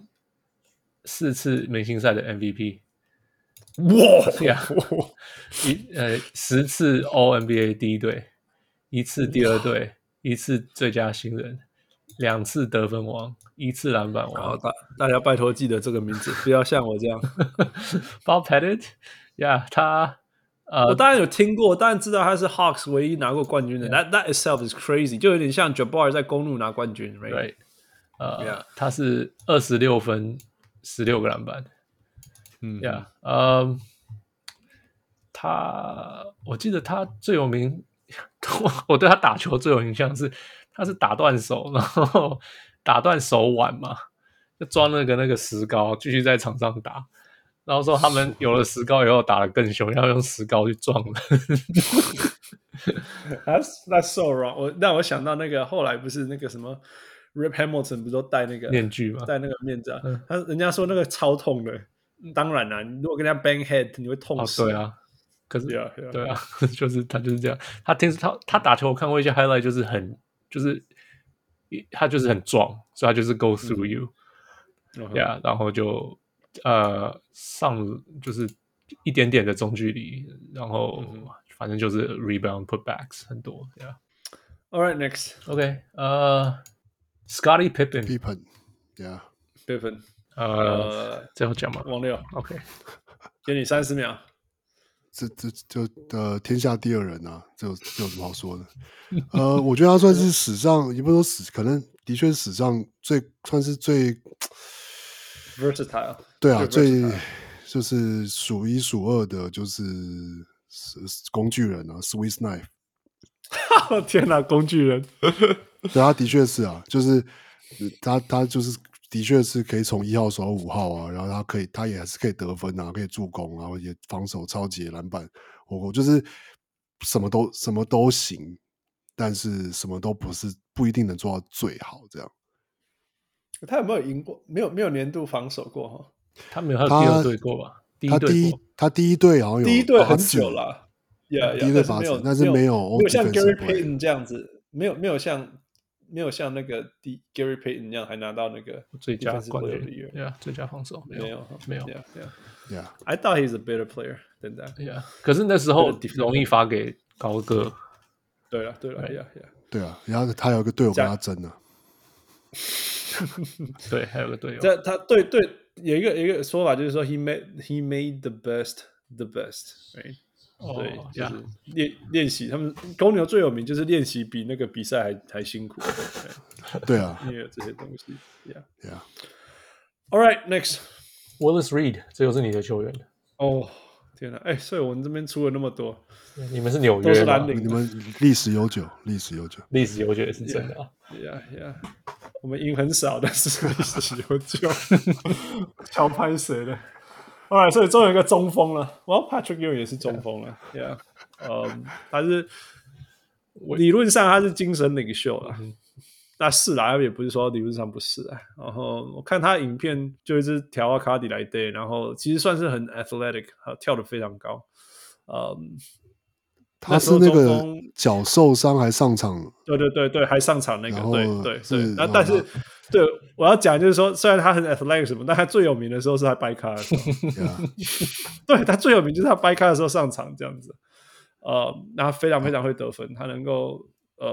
次明星賽的 MVP， 哇 ！10次 All NBA 第一隊，1次第二隊，1次最佳新人，2次得分王，1次籃板王。 大家拜託記得這個名字，不要像我這樣。 Bob Pettit， 他我當然有聽過，當然知道他是 Hawks 唯一拿過冠軍的。That itself is crazy， 就有點像 Jabbar 在公鹿拿冠軍 ，right？ 他是26分。16個籃板，我記得他最有名，我對他打球最有印象是，他是打斷手，然後打斷手腕嘛，就裝那個石膏，繼續在場上打， 然後說他們有了石膏以後打得更兇，要用石膏去撞人。 That's so wrong。讓我想到那個後來不是那個什麼 Rip Hamilton 不是都戴那個面具嗎？ 戴那個面罩，人家說那個超痛的。當然啦，你如果跟人家 bang head， 你會痛死。 對啊，可是 yeah. 對啊，就是他就是這樣。他打球，我看過一些 highlight， 就是他就是很壯，所以他就是 go through you。yeah， 然後就上就是一點點的中距離，然後反正就是 rebound putbacks 很多。 Yeah。All right, next. OK， Scottie Pippen。Yeah。 Pippen。 最後講嘛， 王六 ，OK， 給你30秒。 這天下第二人啊，這有什麼好說的？我覺得他算是史上，也不是說可能的確是史上算是最 versatile。 对啊，最就是數一數二的，就是工具人啊 ，Swiss Knife。 天哪，工具人！ 对，他的確是啊，就是他就是。的確是可以從1號守到5號啊，然後他也還是可以得分啊，可以助攻，然後也防守超級籃板，我就是什麼都行，但是什麼都不一定能做到最好這樣。 他有沒有贏過？沒有年度防守過哈？ 他沒有，他有第二隊過吧？ 他第一隊好像有第一隊很久了，yeah, 第一隊8次，但是沒有像 Gary Payton 這樣子，沒有像那個Gary Payton 一樣還拿到那個最佳冠軍，yeah， 最佳防守没有。 Yeah. I thought he's a better player than that. Yeah. 可是那時候容易發給高個。 對了 ，Yeah. 對啊，然後他有一個隊友跟他爭啊。 對，還有個隊友。 他對有一個說法就是說 he made the best，right？對，就是練習，他們公牛最有名就是練習比那個比賽還辛苦。 對啊， 因為有這些東西。 Yeah. All right, next. Willis Reed， 這又是你的球員。 哦，天哪！所以我們這邊出了那麼多， 你們是紐約嗎？ 你們歷史悠久也是真的啊。 Yeah. 我們贏很少，但是歷史悠久。超拍誰的？Alright， 所以終於有一個中鋒了。Patrick Ewing 也是中鋒了。Yeah， 他是理論上他是精神領袖了。那是啦，也不是說理論上不是啊。然後我看他影片就一直調到卡迪來對，然後其實算是很 athletic， 跳得非常高。 他是那個腳受傷還上場， 對，還上場那個，對。但是，對我要講就是說，雖然他很 athletic 什麼，但他最有名的時候是他掰咖的時候。對，他最有名就是他掰咖的時候上場這樣子。那他非常非常會得分，他能夠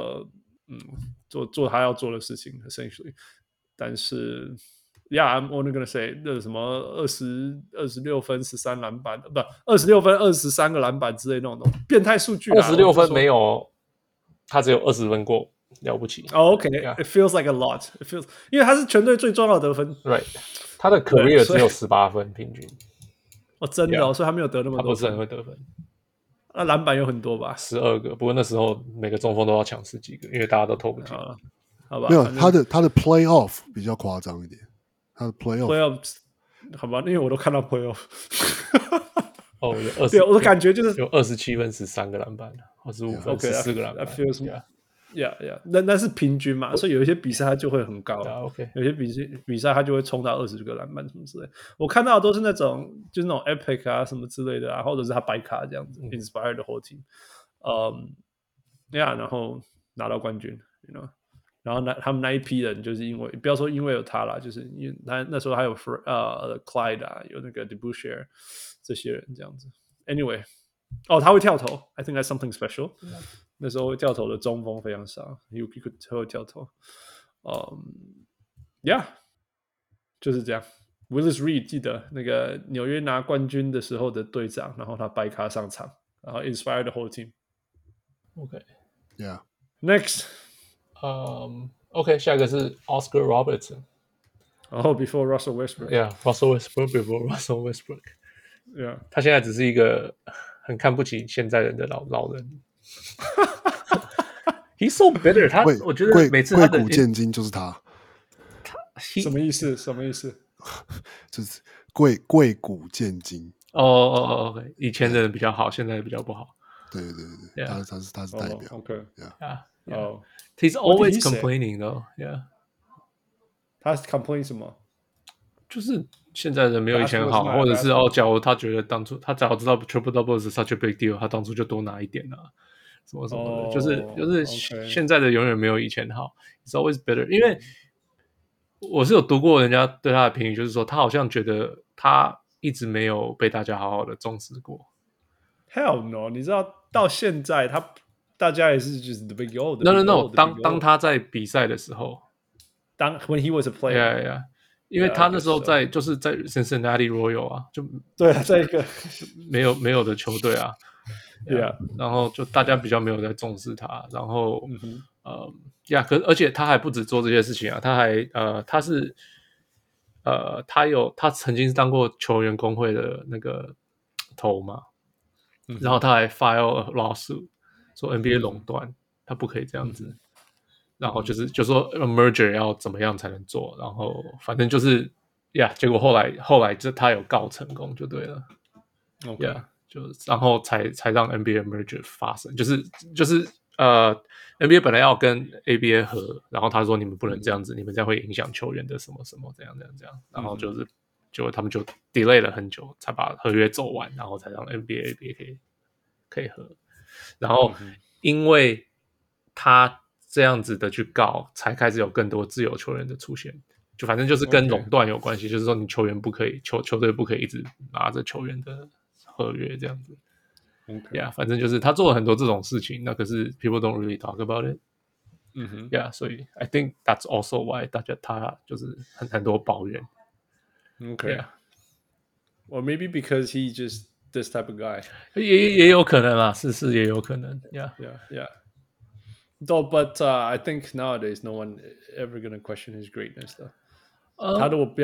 做他要做的事情 essentially。但是I'm only gonna say 那什麼26分13籃板，不26分23個籃板之類那種變態數據。 26分沒有，他只有20分過，了不起。 OK，it feels like a lot. It feels， 因為他是全隊最重要的得分。 Right， 他的 career 只有18分平均。 真的所以他没有得那麼多分。 他不是很會得分。 那籃板有很多吧 ？12個，不過那時候每個中鋒都要搶10幾個，因為大家都投不進。 好吧， 沒有他的 playoff 比較誇張一點。他的 playoff 好吧，因為我都看到 playoff。 有20， 對，我的感覺就是有27分13個籃板，25分14個籃板。 Yeah， 那是平均嘛，所以有一些比賽他就會很高。有些比賽他就會衝到20個籃板什麼之類的。我看到的都是那種就是那種 epic 啊什麼之類的啊，或者是他白卡這樣子，inspire the whole team。然後拿到冠軍 ，you know。然後他們那一批人就是因為不要說因為有他啦，就是因為他那時候還有Clyde 啊，有那個 DeBusschere 這些人這樣子。Anyway， 他會跳投 ，I think that's something special。那時候會跳投的中鋒非常少 ，he could 跳投。就是這樣。Willis Reed 記得那個紐約拿冠軍的時候的隊長，然後他白卡上場，然後 inspire the whole team。OK，Yeah。 下一個是 Oscar Robertson。 before Russell Westbrook。 Russell Westbrook before Russell Westbrook。 他現在只是一個很看不起現在人的老人。He's so bitter。我覺得每次他的貴古賤今就是他。 什麼意思？ 貴古見今。 OK， 以前的人比較好，現在的比較不好。 对，他是代表。 He's always complaining though. Yeah. 他 complain 什麼？ 就是現在人沒有以前好，或者是假如他覺得當初他早知道 triple double 是 such a big deal， 他當初就多拿一點啊，什麼的，就是現在的永遠沒有以前好。It's always better， 因為我是有讀過人家對他的評語，就是說他好像覺得他一直沒有被大家好好的重視過。 Hell no！ 你知道到現在大家也是就是 the big old。No， 当他在比賽的時候， when he was a player， 因为他那時候就是在 Cincinnati Royal 啊，就对啊，在一个没有的球队啊，然後就大家比较沒有在重視他，然後而且他還不止做這些事情啊，他還他曾經當過球員工會的那個頭嘛，然後他還 file a lawsuit 說 NBA 壟斷，他不可以這樣子。然後就說 merger 要怎麼樣才能做，然後反正就是結果後來就他有告成功就對了然後才讓 NBA merger 發生，就是NBA 本來要跟 ABA 合，然後他說你們不能這樣子，你們這樣會影響球員的什麼什麼這樣，然後就他們就 delay 了很久才把合約走完，然後才讓 NBA ABA 可以合，然後因為他這樣子的去告，才開始有更多自由球員的出現。就反正就是跟壟斷有關係，就是說你球員不可以，球隊不可以一直拿着球員的合約這樣子。反正就是他做了很多這種事情，那可是 people don't really talk about it。所以 I think that's also why 他就是很多抱怨。 Or maybe because he just this type of guy。 也有可能啦，是也有可能。 Though, but I think nowadays no one ever gonna question his greatness though. 他如果不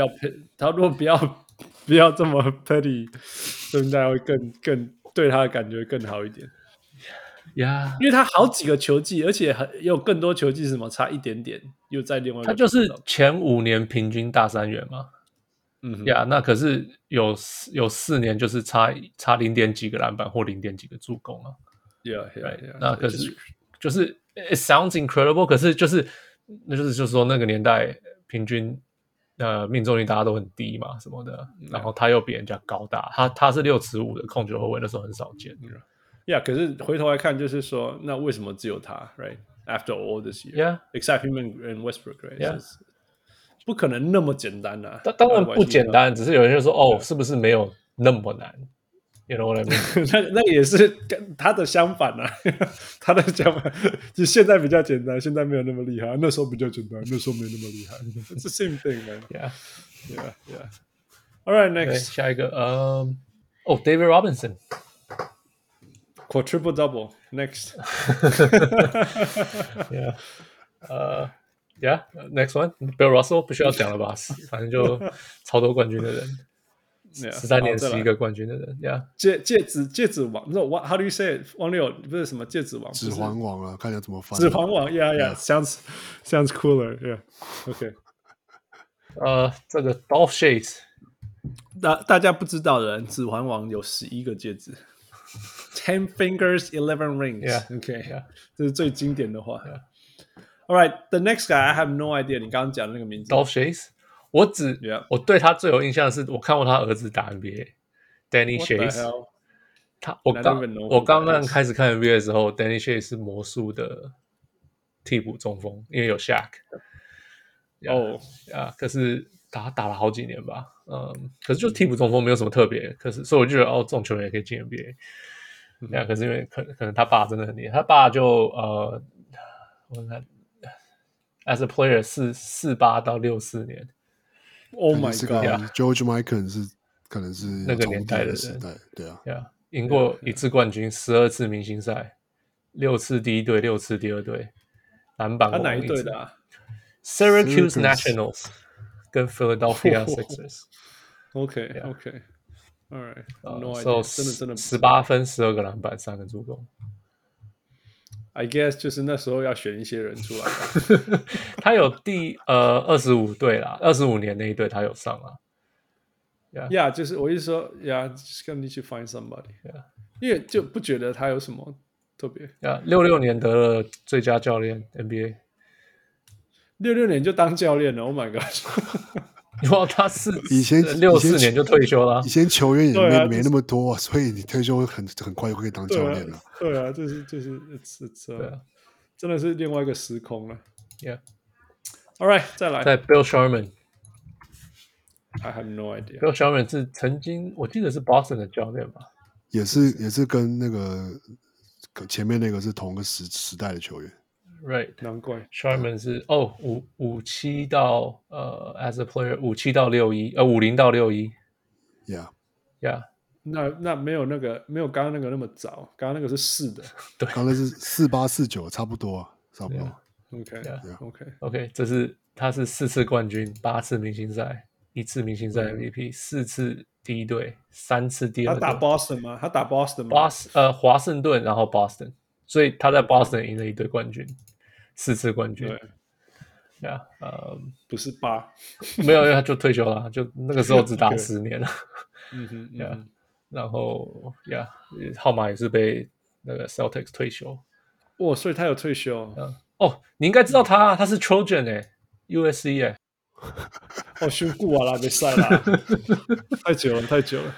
要這麼 petty， 應該會更對他的感覺更好一點。因為他好幾個球季，而且也有更多球季是什麼差一點點，又在另外一個。 他就是前5年平均大三元嘛。那可是有4年就是差0點幾個籃板或0點幾個助攻啊。那可是就是。It sounds incredible， 可是就是說那個年代平均命中率大家都很低嘛什麼的，然後他又比人家高大，他是6尺5的控球後衛，那時候很少見。 可是回頭來看，就是說那為什麼只有他 ？Right after all this year，except him and Westbrook，right？不可能那麼簡單啊！ 當然不簡單，只是有人就說是不是沒有那麼難？You know what I mean？ 那也是他的相反啊，他的相反就現在比較簡單，現在沒有那麼厲害，那時候比較簡單，那時候沒那麼厲害。It's the same thing, man. Yeah. All right, next， 下一個David Robinson quadruple double next. Next one, Bill Russell 不需要講了吧？反正就超多冠軍的人。13年11個冠軍的人， 戒指王，你知道 how do you say it？ 王六不是什麼戒指王， 指環王啊，看你要怎麼翻。 指環王 ，sounds cooler，OK。 這個 Dolph Schayes， 大家不知道的人，指環王有11個戒指，10 fingers, 11 rings，OK， 這是最經典的話。All right, the next guy I have no idea， 你剛剛講的那個名字 ，Dolph Schayes。我對他最有印象的是，我看過他兒子打 NBA，Danny Schayes。我剛開始看 NBA 的時候 ，Danny Schayes 是魔術的替補中鋒，因為有 Shaq。可是打了好幾年吧，可是就替補中鋒沒有什麼特別，可是所以我就覺得這種球員也可以進 NBA。可是因為可能他爸真的很厲害，他爸就我看 ，as a player 是48到64年。 Oh my God！George Mikan 可能是那個年代的時代，對啊， 贏過1次冠軍，12次明星賽，6次第一隊，6次第二隊，籃板王。他哪一隊的啊 ？Syracuse Nationals 跟 Philadelphia Sixers。OK，All right，No idea，真的18分，12個籃板，3個助攻。 I guess 就是那時候要選一些人出來吧。 他有第25隊啦，25年那一隊他有上啊。 Yeah， 就是我意思說 ，Yeah，just gonna need to find somebody。因為就不覺得他有什麼特別。 66年得了最佳教練 NBA。 66年就當教練了 ，Oh my god！ 哇，他以前 64年就退休了。 以前球員也沒那麼多，所以你退休很快就可以當教練了。 对啊，就是真的是另外一個時空了。Yeah。All right， 再來。 在 Bill Sharman。I have no idea. Bill Sharman 是曾經我記得是 Boston 的教練吧？ 也是跟那個前面那個是同個時代的球員。 Right， 難怪 Sharman 是57到as a player 57到6150到61 Yeah 那沒有剛剛那個那麼早，剛剛那個是4的， 對，剛剛是48、49差不多。 OK， 他是4次冠軍，8次明星賽，1次明星賽 MVP， 4次第一隊，3次第二隊。 他打 Boston 嗎？他打 Boston 嗎？ 華盛頓，然後 Boston， 所以他在 Boston 贏了一堆冠軍，4次冠軍。 不是8， 沒有，因為他就退休了，就那個時候只打10年了。然後號碼也是被那個 Celtics 退休。 所以他有退休。 你應該知道他是 Trojan USC 選過啊啦，沒賽啦，太久了，太久了。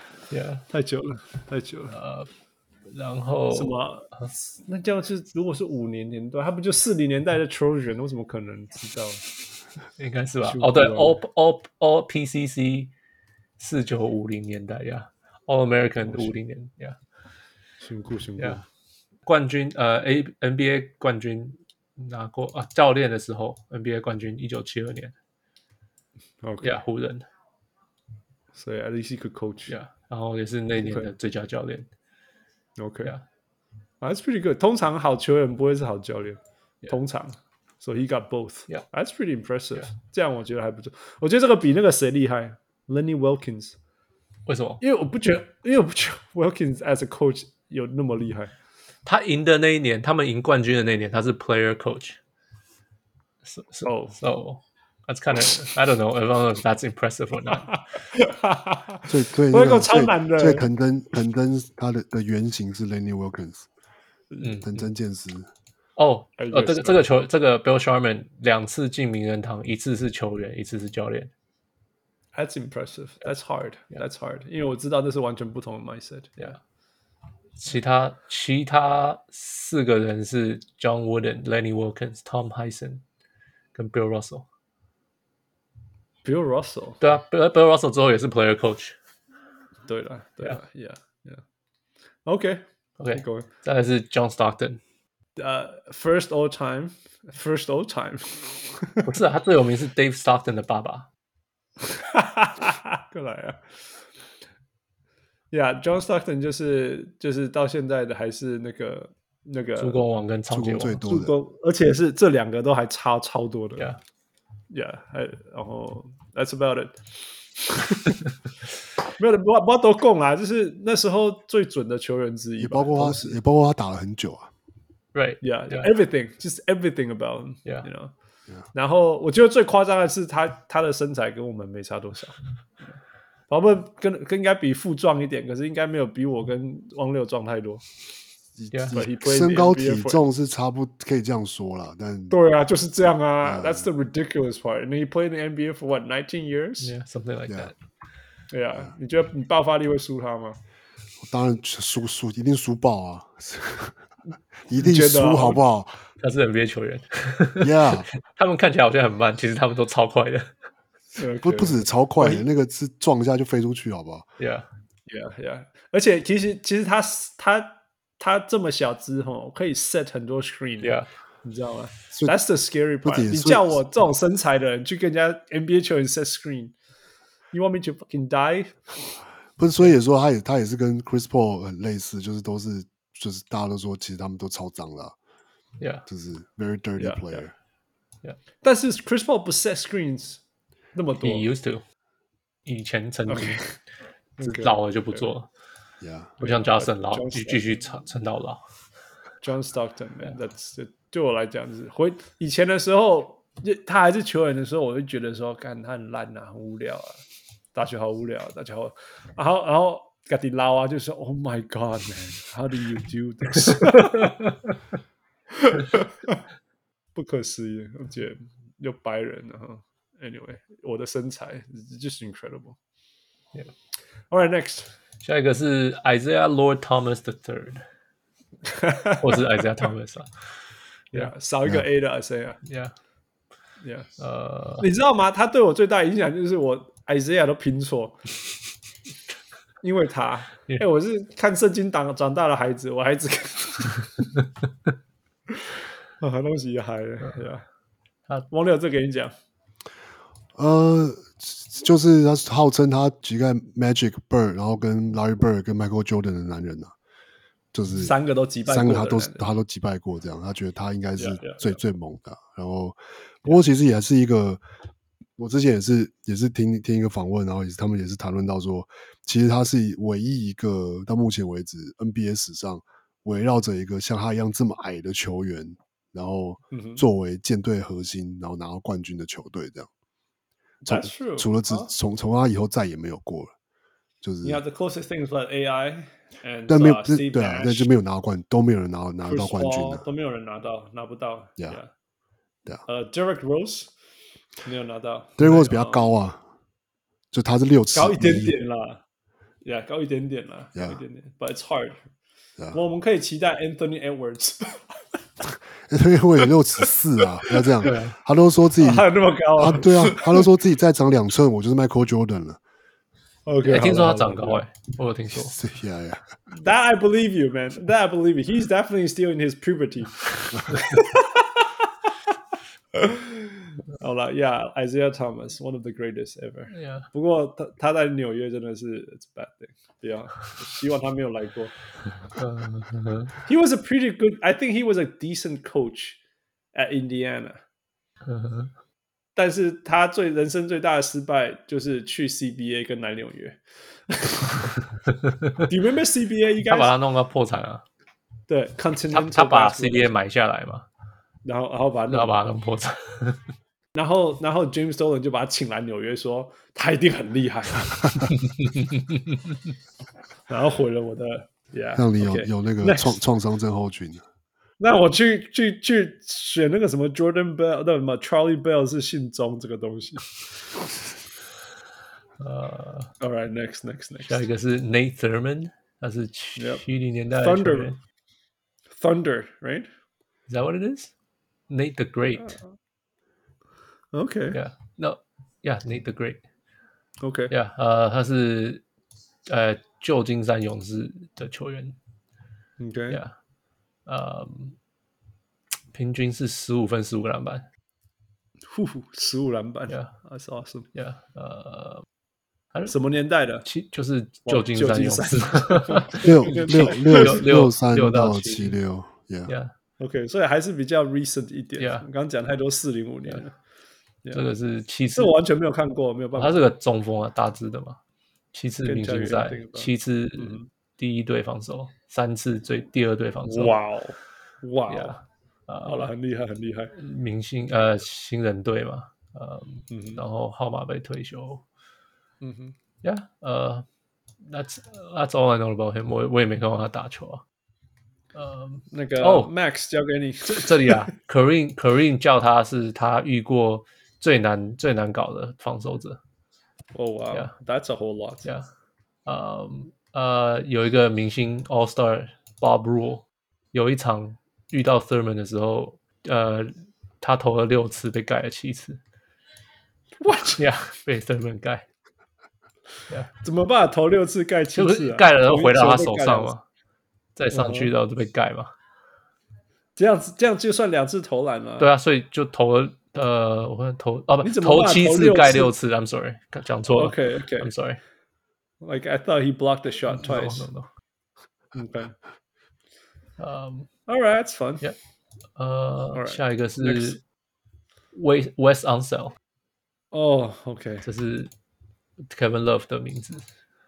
然後什麼？那這樣是如果是5年代，他不就40年代的 Trojan？ 我怎麼可能知道？ 應該是吧？對 ，All PCC 4950年代，All American 50年辛苦。 冠軍NBA 冠軍拿過教練的時候 NBA 冠軍1972年。湖人。 所以 at least he could coach。 然後也是那年的最佳教練。 That's pretty good。通常好球員不會是好教練，通常。So he got both. That's pretty impressive. 這樣我覺得還不錯。我覺得這個比那個誰厲害 ，Lenny Wilkins。 為什麼？ 因為我不覺得 Wilkins as a coach 有那麼厲害。 他贏的那一年，他們贏冠軍的那一年，他是 player coach。So that's kind of I don't know if that's impressive or not。 最超難的。 最藤真他的原型是 Lenny Wilkins。藤真健司。這個 Bill Sharman 2次進名人堂，1次是球員，1次是教練。 That's impressive. That's hard. That's hard. 因為我知道那是完全不同的 mindset. 其他4個人是 John Wooden、Lenny Wilkins、Tom Hyson 跟 Bill Russell。Bill Russell。 對啊 ，Bill Russell 之後也是 player coach。 對了 ，Yeah。OK。 再來是 John Stockton。First all time。 不是，他最有名是 Dave Stockton 的爸爸。 過來啊。John Stockton 就是到現在的還是那個助攻王跟長接王最多的， 而且是這2個都還差超多的。然後 That's about it 。沒有，不知道多共啦，就是那時候最準的球員之一， 也包括他打了很久啊。 Right, everything, just everything about him, you know. 然後我覺得最誇張的是他的身材跟我們沒差多少。我們跟應該比富壯一點，可是應該沒有比我跟汪六壯太多。 身高體重是差不可以這樣說啦，但對啊，就是這樣啊。That's the ridiculous part. And he played in the NBA for what, 19 years? Yeah, something like that. 對啊，你覺得你爆發力會輸他嗎？ 當然輸，一定輸爆啊！一定輸，好不好？ 他是 NBA 球員 ，Yeah， 他們看起來好像很慢，其實他們都超快的。 不止超快的，那個是撞一下就飛出去，好不好 ？Yeah。 而且其實他這麼小只吼，可以 set 很多 screen， 你知道嗎 ？That's the scary part。你叫我這種身材的人去跟人家 NBA 球員 set screen，you want me to fucking die？ 不是，所以也說他也是跟 Chris Paul 很類似，就是大家都說其實他們都超髒的就是 very dirty player。 但是 Chris Paul 不 set screens 那麼多 ，He used to， 以前曾經，老了就不做了。不像 Johnson 老，繼續撐到老。 John Stockton， 對我來講是以前的時候，他還是球員的時候，我就覺得說，幹他很爛啊，很無聊啊。 大學好無聊，大學好，然後自己撈啊，就說 Oh my God, man, how do you do this？ 不可思議，而且又白人，然後 anyway， 我的身材 just incredible。Yeah. All right, next， 下一個是 Isaiah Lord Thomas III， 或是 Isaiah Thomas 啊。 Yeah， 少一個 A 的 Isaiah。Yeah。你知道嗎？他對我最大的影響就是我 Isaiah 都拼錯，因為他，我是看聖經長大的孩子，我孩子很東西也嗨了，對吧？王六這給你講， 就是他號稱他擊敗 Magic Bird， 然後跟 Larry Bird 跟 Michael Jordan 的男人啊，就是三個都擊敗過， 三個他都擊敗過，這樣他覺得他應該是最猛的。然後，不過其實也是一個，我之前也是聽一個訪問，然後他們也是談論到說，其實他是唯一一個到目前為止 NBA 史上圍繞着一個像他一樣這麼矮的球員，然後作為艦隊核心，然後拿到冠軍的球隊這樣。除了從他以後再也沒有過了，就是。 Yeah, the closest thing is like AI and 但沒有 Steve 對啊，那就没有拿到都沒有人拿到冠軍了， 都没有人拿不到。 Yeah, 對啊。 Derrick Rose 沒有拿到。 Derrick Rose 比較高啊，就他是6尺， 高一點點啦。Yeah， 高一點點啦，高一點點。But it's hard。我們可以期待 Anthony Edwards。 Anthony Edwards 有6尺4啊，不要這樣。他都說自己還有那麼高啊？ 對啊，他都說自己再長2寸，我就是 Michael Jordan 了。 OK， 聽說他長高我有聽說。 Yeah. That I believe you, man. That I believe you. He's definitely still in his puberty. 好了 ，Yeah, Isaiah Thomas, one of the greatest ever. Yeah. 不過他在紐約真的是 it's a bad thing. 不要，希望他沒有來過。He was a pretty good. I think he was a decent coach at Indiana. 但是他人生最大的失敗就是去 CBA 跟來紐約。Do you remember CBA？ 他把他弄到破產啊。 對 ，Continental 他把 CBA 買下來嘛， 然後把他弄破產。 然後 James Dolan 就把他請來紐約，說他一定很厲害。然後毀了我的 ，Yeah， 讓你有那個創傷症候群。 那我去選那個什麼 Jordan Bell， 那什麼 Charlie Bell 是姓鍾這個東西。All right, next. 下一個是 Nate Thurmond， 他是70年代的球員。 Thunder, right? Is that what it is? Nate the Great. Okay. Yeah. No. Yeah, Nate the Great. Okay. Yeah. 他是舊金山勇士的球員。 Okay. Yeah. 平均是15分15個籃板 ，15籃板 ，Yeah, that's awesome. Yeah, 什麼年代的？ 就是舊金山勇士 ，63到76 ，Yeah, OK， 所以還是比較 recent 一點。 Yeah， 你剛剛講太多405年了。 這個是7次， 這我完全沒有看過，沒有辦法。 他是個中鋒啊，大致的嘛。7次明星賽，7次第一隊防守，3次第二隊防守。 哇， 好了，很厲害，很厲害。 明星新人隊嘛，然後號碼被退休。Yeah, that's all I know about him. 我也沒看過他打球啊。 那個 Max 交給你。 這裡啊，Kareem 叫他是他遇過最難搞的防守者。 Oh wow, yeah. That's a whole lot. Yeah. 有一個明星 All Star Bob Rule， 有一場遇到 Thurman 的時候，他投了6次，被蓋了7次。 What? Yeah, 被 Thurman 蓋。Yeah. 怎麼辦？投6次蓋7次、啊？ 蓋了然後回到他手上嘛，再上去然後就被蓋嘛。 這樣就算2次投籃了。 對啊，所以就投了我看投7次蓋6次。I'm sorry， 講錯了。 Okay. I'm sorry. Like I thought he blocked the shot twice. No. Okay. All right, that's fun. Yeah. Right. 下一個是 Wes Unseld。 哦 ，OK， 這是 Kevin Love 的名字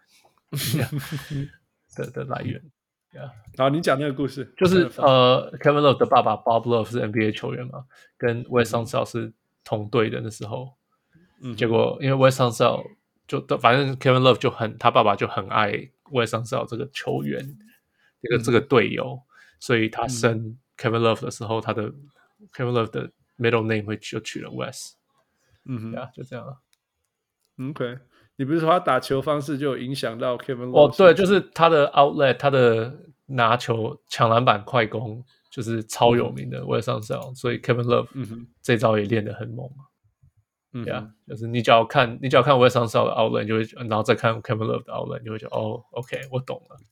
的來源。 好，你講那個故事， 就是Kevin Love 的爸爸 Bob Love 是 NBA 球員嘛，跟 Wes Unseld 是同隊的那時候，結果因為 Wes Unseld 就反正 Kevin Love 他爸爸就很愛Wes Unseld 這個球員，這個隊友，所以他生 Kevin Love 的時候，他的 Kevin Love 的 middle name 就取了 Wes。就這樣了。 OK， 你不是说他打球方式就有影響到 Kevin Love？ 哦，对，就是他的 outlet， 他的拿球、搶籃板、快攻，就是超有名的 Wes Unseld，所以 Kevin Love 這招也練得很猛。就是你只要看 Wes Unseld 的 outlet， 就會，然後再看 Kevin Love 的 outlet， 你就會覺得哦 ，OK， 我懂了。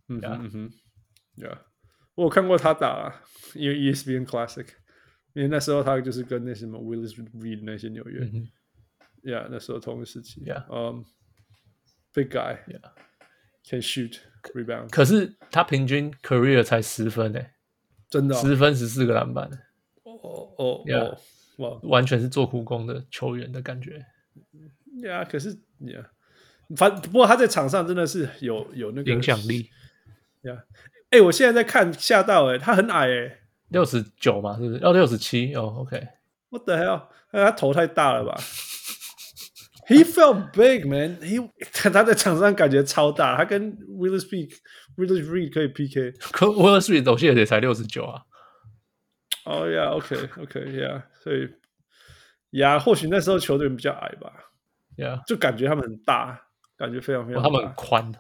我有看過他打，因為 ESPN Classic， 因為那時候他就是跟那什麼 Willis Reed 那些紐約。那時候同一時期。Big guy. Can shoot, rebound. 可是他平均 career 才10分欸， 真的 10分14個籃板。完全是做苦工的球員的感覺。 可是不過他在場上真的是有那個影響力。 我現在在看嚇到他很矮 69嘛，是不是？67哦 ，OK。What the hell？ 他頭太大了吧？He felt big, man. 他在場上感覺超大，他跟 Willis Reed 可以 PK。 可 Willis Reed 我記得也才69啊。 OK， 所以或許那時候球隊比較矮吧。就感覺他們很大，感覺非常非常大。 他們很寬。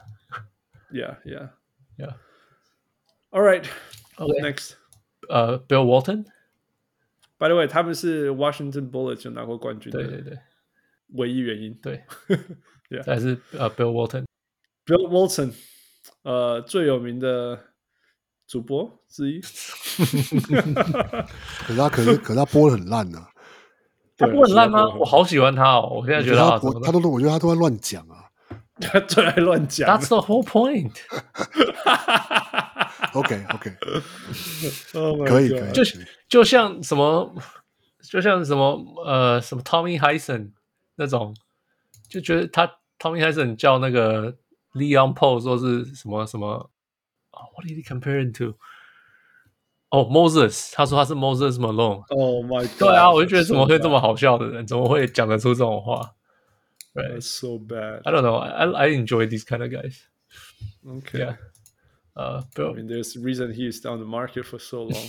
All right, next. Bill Walton. By the way, 他們是 Washington Bullets 就拿過冠軍的。 對。 唯一原因。 對。再來是Bill Walton。Bill Walton， 最有名的主播之一。 可是他播得很爛啊。 他播很爛嗎？我好喜歡他哦！我現在覺得我覺得他都在亂講啊。 他最愛亂講。 That's the whole point. OK， 可以。 就像什麼 Tommy Heinsohn 那種，就覺得他 Tommy Heinsohn 叫那個 Leon Poole 說是什麼，What did he compare him to？ Moses， 他說他是 Moses Malone。Oh my god！ 對啊，我就覺得怎麼會這麼好笑的人，怎麼會講得出這種話 ？That's so bad. I don't know. I enjoy these kind of guys. Okay. I mean, there's a reason he is on the market for so long.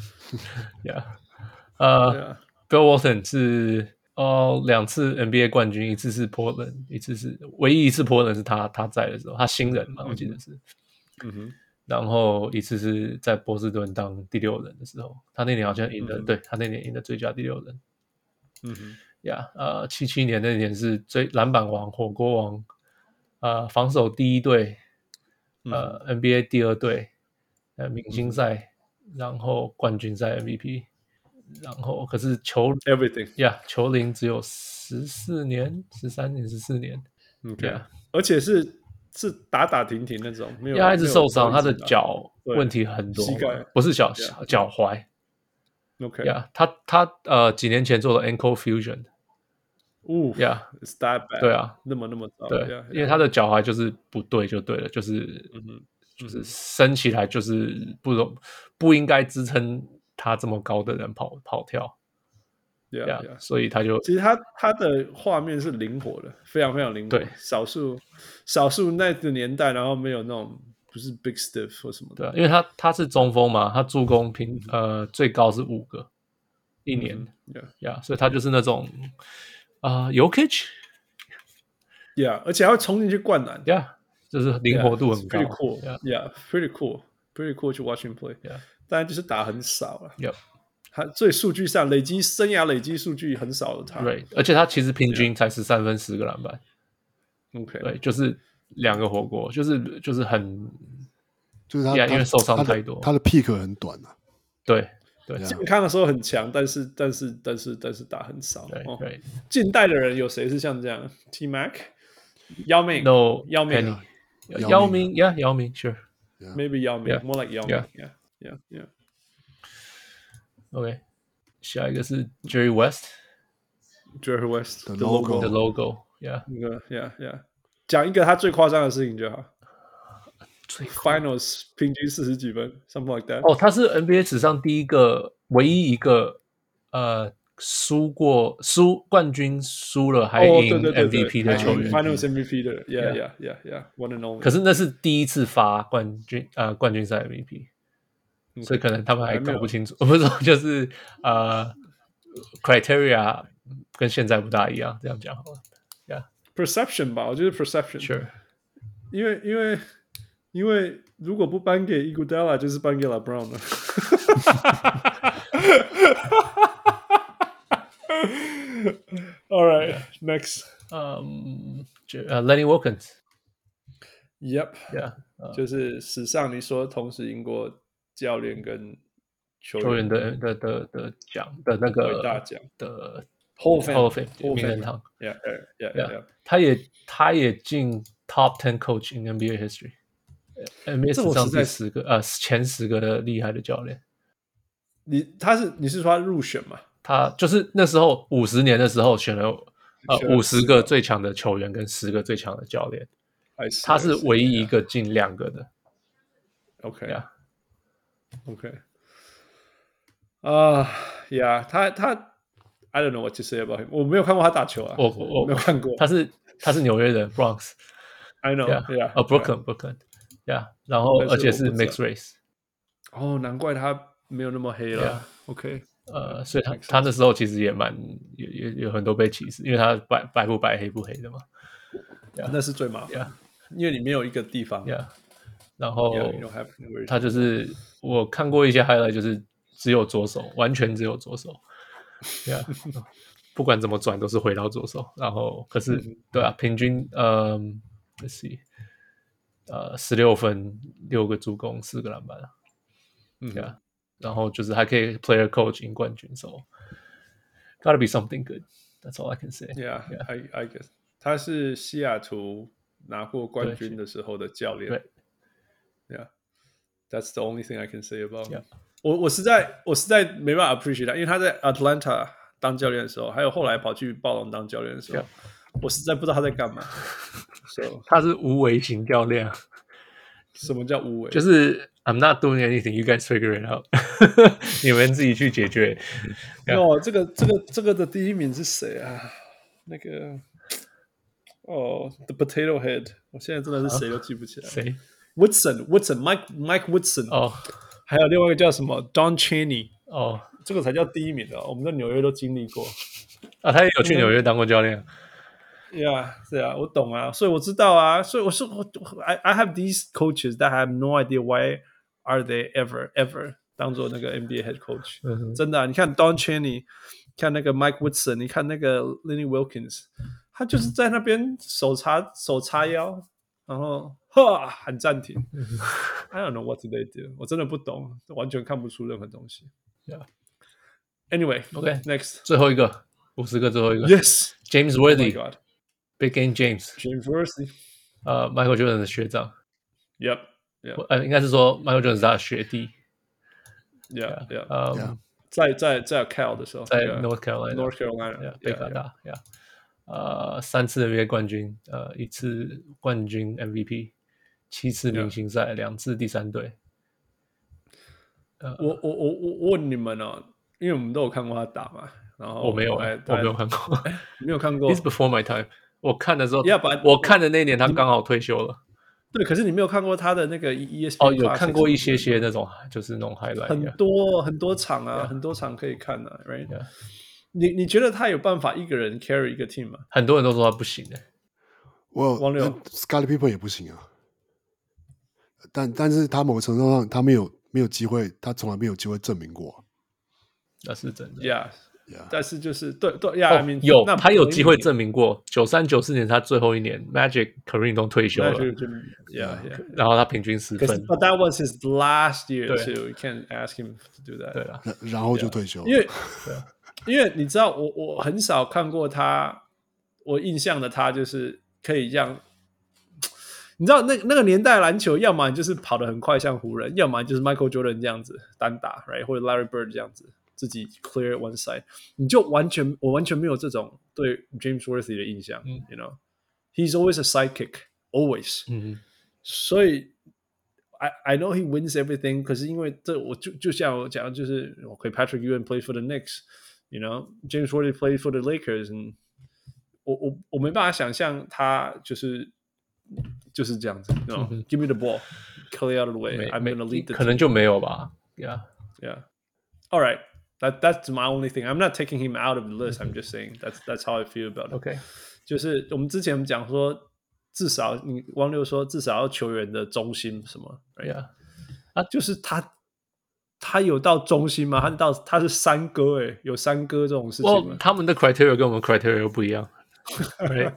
Bill Walton 是2次 NBA 冠軍，一次是 Portland， 唯一一次 Portland 是他在的時候，他新人嘛，我記得是。然後一次是在波士頓當第6人的時候，他那年好像贏了，对，他那年贏了最佳第6人。77年那年是籃板王、火鍋王，防守第1隊，NBA 第2隊，明星賽，然後冠軍賽 MVP， 然後可是球齡只有13年。 而且是打停那種，沒有。 他一直受傷，他的腳問題很多， 膝蓋不是腳踝。他幾年前做了 ankle fusion。 It's that bad。 對啊， 那麼糟。 對，因為他的腳踝就是不對就對了，就是升起來就是不應該支撐他這麼高的人跑跳。所以他就其實他的畫面是靈活的，非常非常靈活。 對， 少數那個年代，然後沒有那種不是 big stiff 或什麼的。 對，因為他是中鋒嘛，他助攻最高是5個一年。所以他就是那種Jokic。 而且他會衝進去灌籃。 就是靈活度很高。 Pretty cool. Pretty cool to watch him play. 當然就是打很少了。所以數據上生涯累積數據很少的他。 對，而且他其實平均才13分10個籃板。對，就是2個火鍋，就是很， 就是他因為受傷太多， 他的 peak 很短啊。 對， 健康的時候很強，但是打很少。 对， 近代的人有誰是像這樣 ？T Mac、姚明、 姚明 ，Sure。Maybe 姚明 ，more like 姚明。 OK， 下一個是 Jerry West。Jerry West the logo， 講一個他最誇張的事情就好。Finals 平均40幾分 ，something like that。 他是 NBA 史上唯一一個冠軍輸了還贏 MVP 的球員 ，Finals MVP 的 ，Yeah， one and only。 可是那是第一次发冠軍赛 MVP， 所以可能他們還搞不清楚，不是說就是criteria 跟現在不大一樣，這樣講好了 ，Yeah，perception 吧，我覺得 perception，Sure， 因為如果不頒給 Iguodala， 就是頒給 LeBron 了。All right, next. Lenny Wilkens. Yep. Yeah. 就是史上你說同時贏過教練跟球員的獎的那個大獎的 Hall of Fame 名人堂。 Yeah. 他也進 Top 10 Coach in NBA history。NBA 史上第10個前10個的厲害的教練。 你是說他入選嗎？ 他就是那時候50年的時候選了50個最強的球員跟10個最強的教練，他是唯一一個進2個的。 OK， Yeah， 他 I don't know what to say about him， 我沒有看過他打球啊，我沒有看過。 他是紐約的 Bronx。I know，Brooklyn，Yeah， 然後而且是 mixed race。 哦，難怪他沒有那麼黑了。OK。 所以他那時候其實也有很多被歧視，因為他白不白黑不黑的嘛。 那是最麻煩，因為你沒有一個地方。 然後他就是我看過一些 highlight， 就是只有左手，完全只有左手。不管怎麼轉都是回到左手。然後可是對啊，平均let's see 16分6個助攻4個籃板啊。然後就是還可以 player coach 贏冠軍 ，so gotta be something good. That's all I can say. Yeah, I guess 他是西雅圖拿過冠軍的時候的教練。 對 ，Yeah, that's the only thing I can say about him. 我實在沒辦法 appreciate 他，因為他在 Atlanta 當教練的時候，還有後來跑去暴龍當教練的時候，我實在不知道他在幹嘛。So 他是無為型教練啊。 什麼叫無為？ 就是 I'm not doing anything, you guys figure it out 。你們自己去解決。 哦，這個的第一名是誰啊？那個The Potato Head， 我現在真的是誰都記不起來。 誰 ？Woodson，Mike Woodson。 哦， 還有另外一個叫什麼 Don Chaney。 哦， 這個才叫第一名的。我們在紐約都經歷過。 啊，他也有去紐約當過教練。 Yeah， 是啊，我懂啊，所以我知道啊，所以我說I have these coaches that I have no idea why are they ever 當做那個 NBA head coach，真的啊，你看 Don Chaney， 看那個 Mike Woodson， 你看那個 Lenny Wilkens， 他就是在那邊手叉腰，然後喊暫停，I don't know what they do， 我真的不懂，完全看不出任何東西。Anyway，OK，Next， 最後一個50個最後一個 ，Yes，James Worthy。Big Game James Worthy， Michael Jordan 的學長 ，Yep， 應該是說 Michael Jordan 是他的學弟 ，Yeah， 在 Cal 的時候， 在 North Carolina， 北卡大 ，3次 NBA 冠軍，1次冠軍 MVP， 7次明星賽，2次第3隊。 我問你們哦，因為我們都有看過他打嘛，然後我沒有看過， 沒有看過 ，It's before my time。我看的時候，我看的那年他剛好退休了。 對，可是你沒有看過他的那個 ESPN？ 有看過一些那種，就是那種 highlight， 很多場啊，很多場可以看啊 ，right？ 你覺得他有辦法一個人 carry 一個 team 嗎？ 很多人都說他不行的。 王六 Scottie Pippen 也不行啊，但是他某個程度上他沒有機會，他從來沒有機會證明過。 那是真的。 Yeah。但是就是對他有機會證明過，93、94年他最後一年 ，Magic、Kareem 都退休了，然後他平均10分。 But that was his last year too. You can't ask him to do that. 对啊， 然後就退休了。 因為你知道，我很少看過他，我印象的他就是可以這樣。你知道那個年代籃球，要麼你就是跑得很快像湖人，要麼就是 Michael Jordan 這樣子單打 ，right， 或者 Larry Bird 這樣子。自己 clear one side， 我完全沒有這種對 James Worthy 的印象，you know， he's always a sidekick， always，所以 I know he wins everything， 可是因為這我就像我講，就是OK Patrick Ewing play for the Knicks， You know, James Worthy played for the Lakers, and我没办法想象他就是这樣子。No, give me the ball, clear out of the way. I'm gonna lead the team. 可能就没有吧。Yeah. All right. That's my only thing. I'm not taking him out of the list. I'm just saying that's how I feel about it. OK， 就是我們之前講說，至少你汪六說至少要球員的中心什麼 ，right？ 就是他有到中心嗎？他是三哥哎，有三哥這種事情嗎？ 他們的 criteria 跟我們 criteria 又不一樣。Right?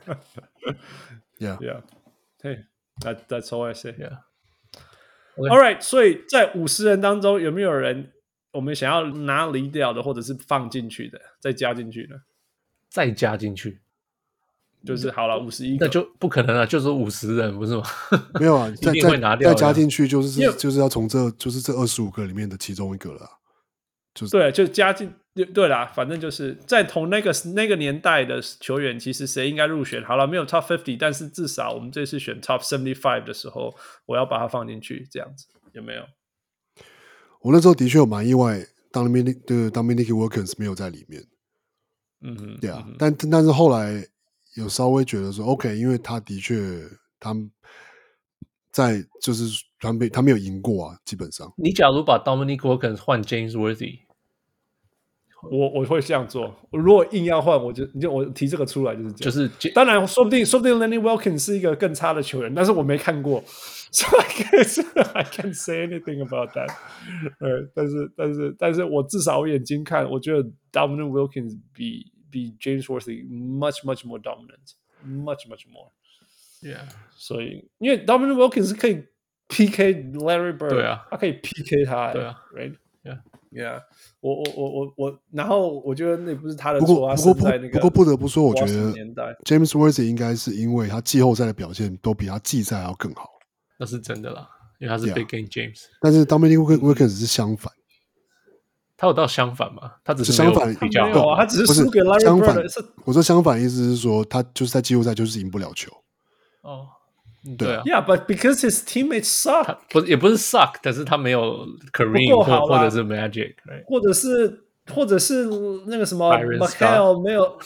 Yeah. Hey, that's all I say. Yeah. All right. 所以在50人當中，有沒有人我們想要拿離掉的，或者是放進去的，再加進去的？ 再加進去， 就是好了51個， 那就不可能了，就是50人不是嗎？ 沒有啊， 一定會拿掉的。 再加進去就是要從這25個裡面的其中一個了。 對，就加進對啦，反正就是在同那個年代的球員，其實誰應該入選？好了，沒有 Top 50，但是至少我們這次選 Top 75的時候，我要把它放進去，這樣子有沒有？ 我那時候的確有蠻意外 ，Dominique Wilkins 沒有在裡面。對啊，但是後來有稍微覺得說 ，OK， 因為他的確他在就是他沒有贏過啊，基本上。 你假如把 Dominique Wilkins 換 James Worthy， 我會這樣做。如果硬要換，我提這個出來就是這樣。當然，說不定 Lenny Wilkins 是一個更差的球員，但是我沒看過，所以 I can't say anything about that。但是我至少我眼睛看，我覺得 Dominique Wilkins 比 James Worthy much more dominant，much more。Yeah， 所以因為 Dominique Wilkins 可以 PK Larry Bird， 對啊， 他可以 PK 他， 對啊 ，right。Yeah， 我，然後我覺得那不是他的錯， 不過不得不說，我覺得 James Worthy 應該是因為他季後賽的表現都比他季賽還要更好， 那是真的啦，因為他是 Big Game James。 但是 Dominique Wilkins 是相反， 他有到相反嗎？他只是相反比較好，他只是輸給 Larry Bird。 我說相反意思是說，他就是在季後賽就是贏不了球。 哦。對啊 ，Yeah, but because his teammates suck， 也不是 suck， 但是他沒有 Kareem 或者是 Magic， 或者是那個什麼 Michael 沒有，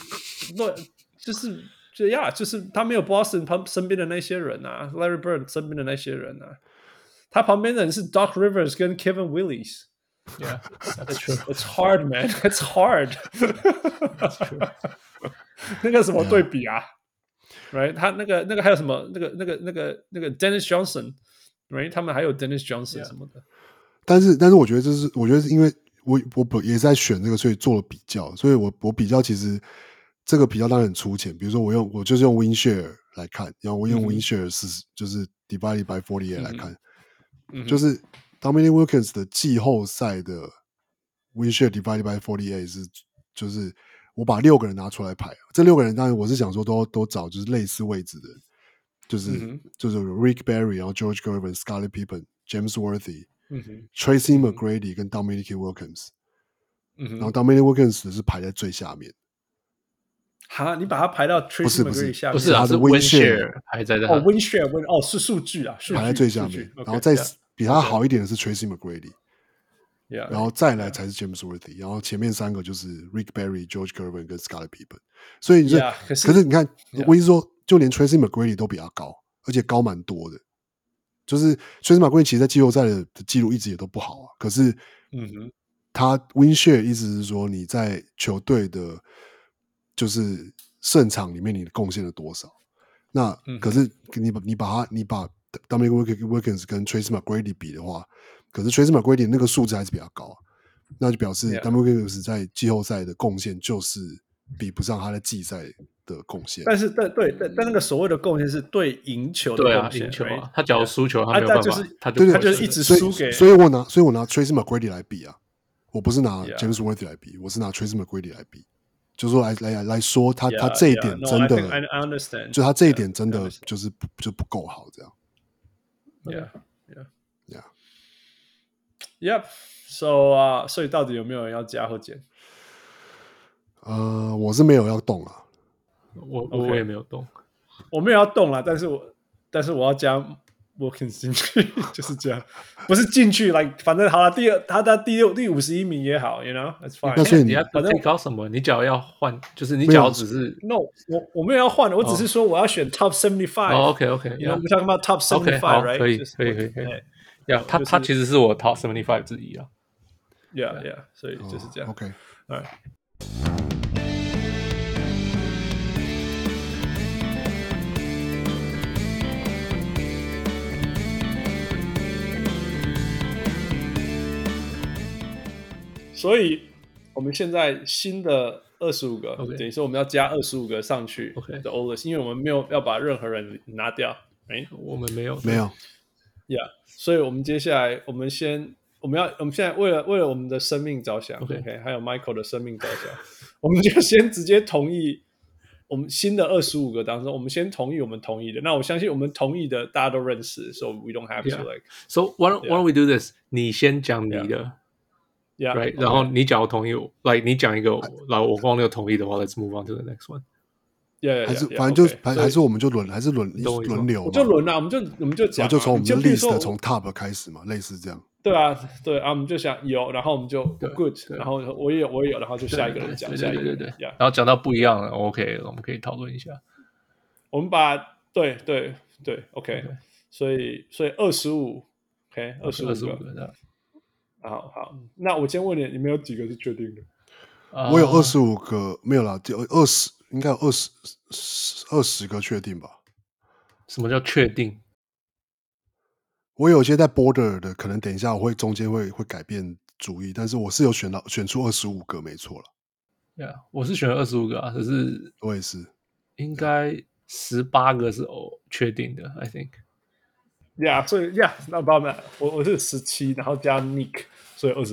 就是他沒有 Boston 他身邊的那些人啊 ，Larry Bird 身邊的那些人啊，他旁邊的人是 Doc Rivers 跟 Kevin Willis。Yeah, that's true. It's hard, man. It's hard. That's true. 那個什麼對比啊？ Right， 他那個還有什麼？那個 Dennis Johnson，right， 他們還有 Dennis Johnson 什麼的。 但是我覺得我覺得因為我也在選這個，所以做了比較，所以我比較其實這個比較當然很粗淺。比如說我就是用 win share 來看，然後我用 win share 就是 divided by 48來看，就是 Dominique Wilkins 的季後賽的 win share divided by 48是就是。我把6個人拿出來排，這6個人當然我是想說都找就是類似位置的，就是 Rick Barry， 然後 George Gervin、Scottie Pippen、James Worthy、Tracy McGrady 跟 Dominique Wilkins， 然後 Dominique Wilkins 是排在最下面。 哈，你把它排到 Tracy McGrady 下面？ 不是啊，是 win share 排在哦 win share 是數據啊， 排在最下面，然後再比他好一點的是 Tracy McGrady。Yeah, 然後再來才是 James Worthy， 然後前面3個就是 Rick Barry、George Gervin 跟 Scottie Pippen， 所以你可是你看，我意思說，就連 Tracy McGrady 都比他高，而且高蠻多的。就是 Tracy McGrady 其實在季後賽的記錄一直也都不好啊，可是他 win share 意思是說你在球隊的，就是勝場裡面你的貢獻了多少？那可是你把 Dominique Wilkins 跟 Tracy McGrady 比的話。可是 Tracy McGrady 那個數字還是比較高，那就表示 Dominique Wilkins 在季後賽的貢獻就是比不上他在季賽的貢獻。但那個所謂的貢獻是對贏球的貢獻，贏球啊， 他假如輸球他沒有辦法，他就是一直輸給。 所以我拿 Tracy McGrady 來比啊，我不是拿 James Worthy 來比，我是拿 Tracy McGrady 來比，就是說來說他這一點真的， I understand， 就他這一點真的就是就不夠好這樣。 Yep， 所以到底有沒有人要加或減？ 我是沒有要動啊， 我也沒有動， 我沒有要動啦，但是我要加 Wilkins 進去，就是這樣，不是進去，like 反正好了，他第51名也好 ，you know，that's fine。 那所以你要反正搞什么？你只要换，就是你只要只是 no，我没有要換的，我只是說我要選 top 75。 OK， you know， we're talking about top 75，right？ 可以。他其實是我 top 75之一啊。 Yeah， 所以就是這樣。 OK，alright。 所以我們現在新的25個， okay. 等於說我們要加25個上去的 old list， 因為我們沒有要把任何人拿掉， 我們沒有 ，Yeah， 所以我們接下來我們現在為了我們的生命着想 ，OK， 還有 Michael 的生命着想，我們就先直接同意我們新的25個當中，我們先同意我們同意的。那我相信我們同意的大家都認識 ，so we don't have to like. So why don't we do this？ 你先講你的。 Yeah, right， 然後你假如同意我 ，like 你講一個，然後我光有同意的話 ，let's move on to the next one。 還是反正就還是我們就輪流， 我就輪啊，我们就講， 就從我們的 list 從 top 開始嘛，類似這樣。 對啊，我們就想有，然後我們就 good， 然後我也有，然後就下一個人講，下一個人對， 然後講到不一樣了 ，OK， 我們可以討論一下。 我們把對 ，OK， 所以25 ，OK， 25個。好，那我先問你，你們有幾個是確定的？ 我有25個，沒有啦，20應該有20個確定吧？ 什麼叫確定？ 我有些在 border 的，可能等一下我會中間會改變主意，但是我是有選出25個，沒錯了。 Yeah， 我是選了25個啊，可是我也是， 應該18個是確定的 ，I think。Yeah， 所以 no problem， 我是17，然後加 Nick， 所以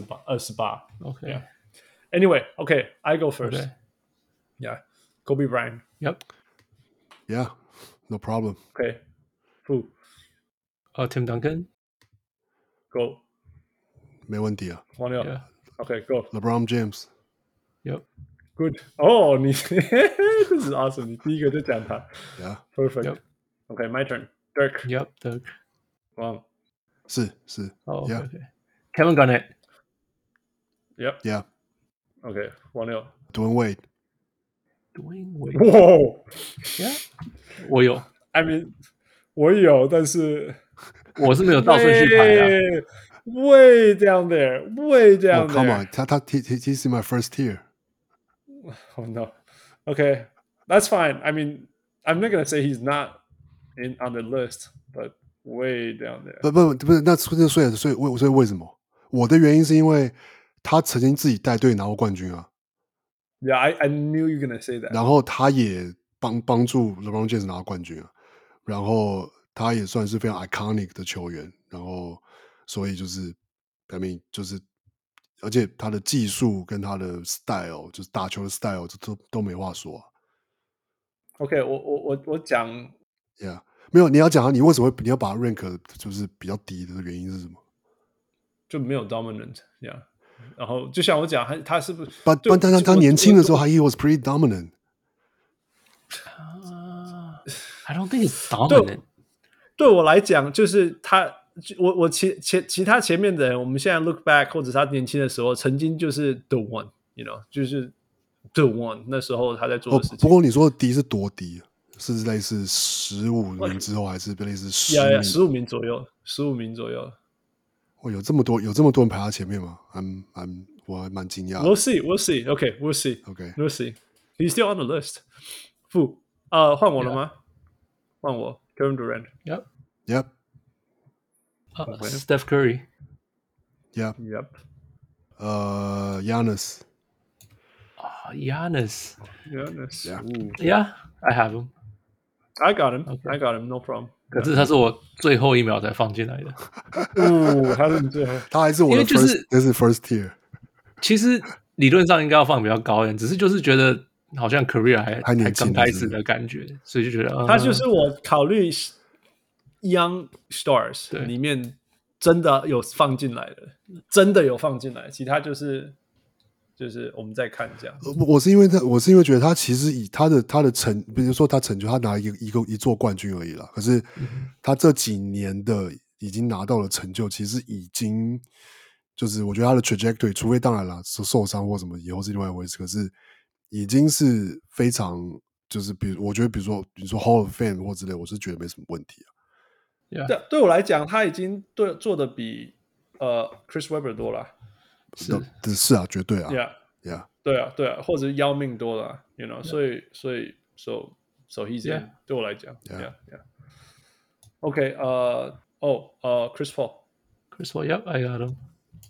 28。OK。Anyway，I go first。Yeah，Kobe Bryant。Yep。Yeah，no problem。 OK。Who？ Tim Duncan。Go。 沒問題啊。 黃牛。OK，Go。 LeBron James。 Yep。 Good。哦，你這是 awesome， 你第一個就講他。 Yeah。Perfect。 OK，my turn。Dirk。 Yep，Dirk。 Wow， 是 ，OK。Kevin Garnett。Yep。OK， 黄牛。 Dwayne Wade。 哇 ，Yeah， 我有。 I mean， 我有，但是我是沒有倒順序排的。 Way down there， way down there。 Come on， he's in my first tier。Oh no。Okay，that's fine. I mean, I'm not gonna say he's not on the list, but.Way down there。 不是，那所以為什麼？我的原因是因為他曾經自己帶隊拿過冠軍啊。 Yeah, I knew you were gonna say that。 然後他也幫助 LeBron James 拿冠軍啊。然後他也算是非常 iconic 的球員。然後所以就是，I mean 就是，而且他的技術跟他的 style， 就是打球的 style， 都沒話說啊。 OK， 我講 ，Yeah。沒有，你要講你為什麼你要把它 rank 就是比較低的原因是什麼？ 就沒有 dominant， yeah。然後就像我講，他是不是？ 但他年輕的時候，he was pretty dominant。 I don't think it's dominant。 對我來講，就是他，我其他前面的人，我們現在 look back， 或者他年輕的時候，曾經就是 the one，you know， 就是 the one。那時候他在做的事情。 不過你說的低是多低？是類似15名之後，還是類似10名 ？15名左右，15名左右。 有這麼多人排他前面嗎？我還蠻驚訝。 We'll see. Okay, we'll see. He's still on the list. 換我了嗎？換我 ，Kevin Durant. Yep. Steph Curry. Yep. Giannis. Giannis. Yeah, I have him. I got him. No problem. 可是他是我最後一秒才放進來的。 他是你最後， 他還是我的 first tier。 其實理論上應該要放比較高一點，只是就是覺得好像 career 還剛開始的感覺，所以就覺得他就是我考慮 young stars 裡面真的有放進來的，真的有放進來，其他就是就是我們再看這樣。 我是因為觉得他其實以他的比如說他成就，他拿一座冠軍而已啦。可是他這幾年的已經拿到了成就，其實已經就是我覺得他的 trajectory， 除非當然啦受傷或什麼以後是另外一回事，可是已經是非常就是我觉得比如说 Hall of Fame 或之類，我是觉得沒什麼問題啊。 对我來講，他已經做的比Chris Webber 多了。 是啊，絕對啊 ，Yeah， 對啊，或者是要命多了 ，you know， 所以 so he's in， 對我來講 ，Yeah，OK， Chris Paul，Yep， I got him。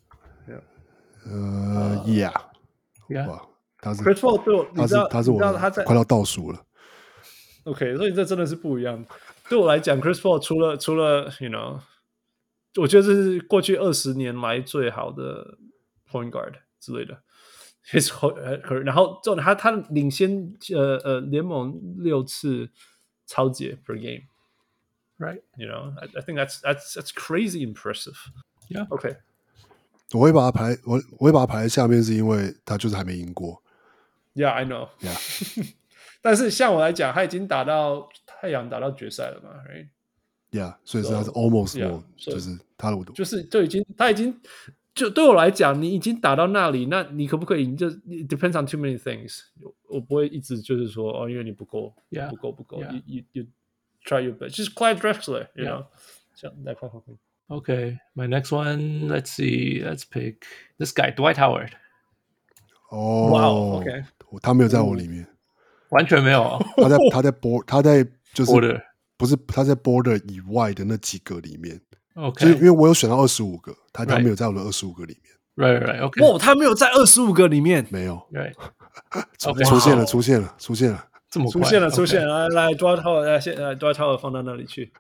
Yeah， 哇，他是 Chris Paul 对我， 他是我快要倒數了。 OK， 所以這真的是不一樣。對我來講 ，Chris Paul 除了 you know， 我覺得這是過去20年來最好的 point guard 之類的。然後他領先聯盟6次抄截 per game，right？ You know， I think that's crazy impressive. Yeah. OK， 我会把它排在下面，是因為他就是還沒贏過。 Yeah, I know. Yeah. 但是像我來講，他已經打到太陽打到決賽了嘛 ，right？ Yeah， 所以他是 almost yeah, 就是他的他已經就對我來講，你已經打到那裡，那你可不可以？就 depends on too many things。我不會一直就是說因為你不夠，不夠。You try your best. Just Clyde Drexler, you know. 這樣來看。 Okay, my next one. Let's see. Let's pick this guy, Dwight Howard. 哦 ，OK， 他沒有在我裡面， 完全沒有。 他在就是 Border， 不是他在 Border 以外的那幾個裡面。 OK， 就是因為我有選到25個，他沒有在我的25個裡面。 Right, OK。 哦，他沒有在25個裡面， 沒有。 Right， 出現了， 這麼快出現了，來 Dwight Howard 放到那裡去。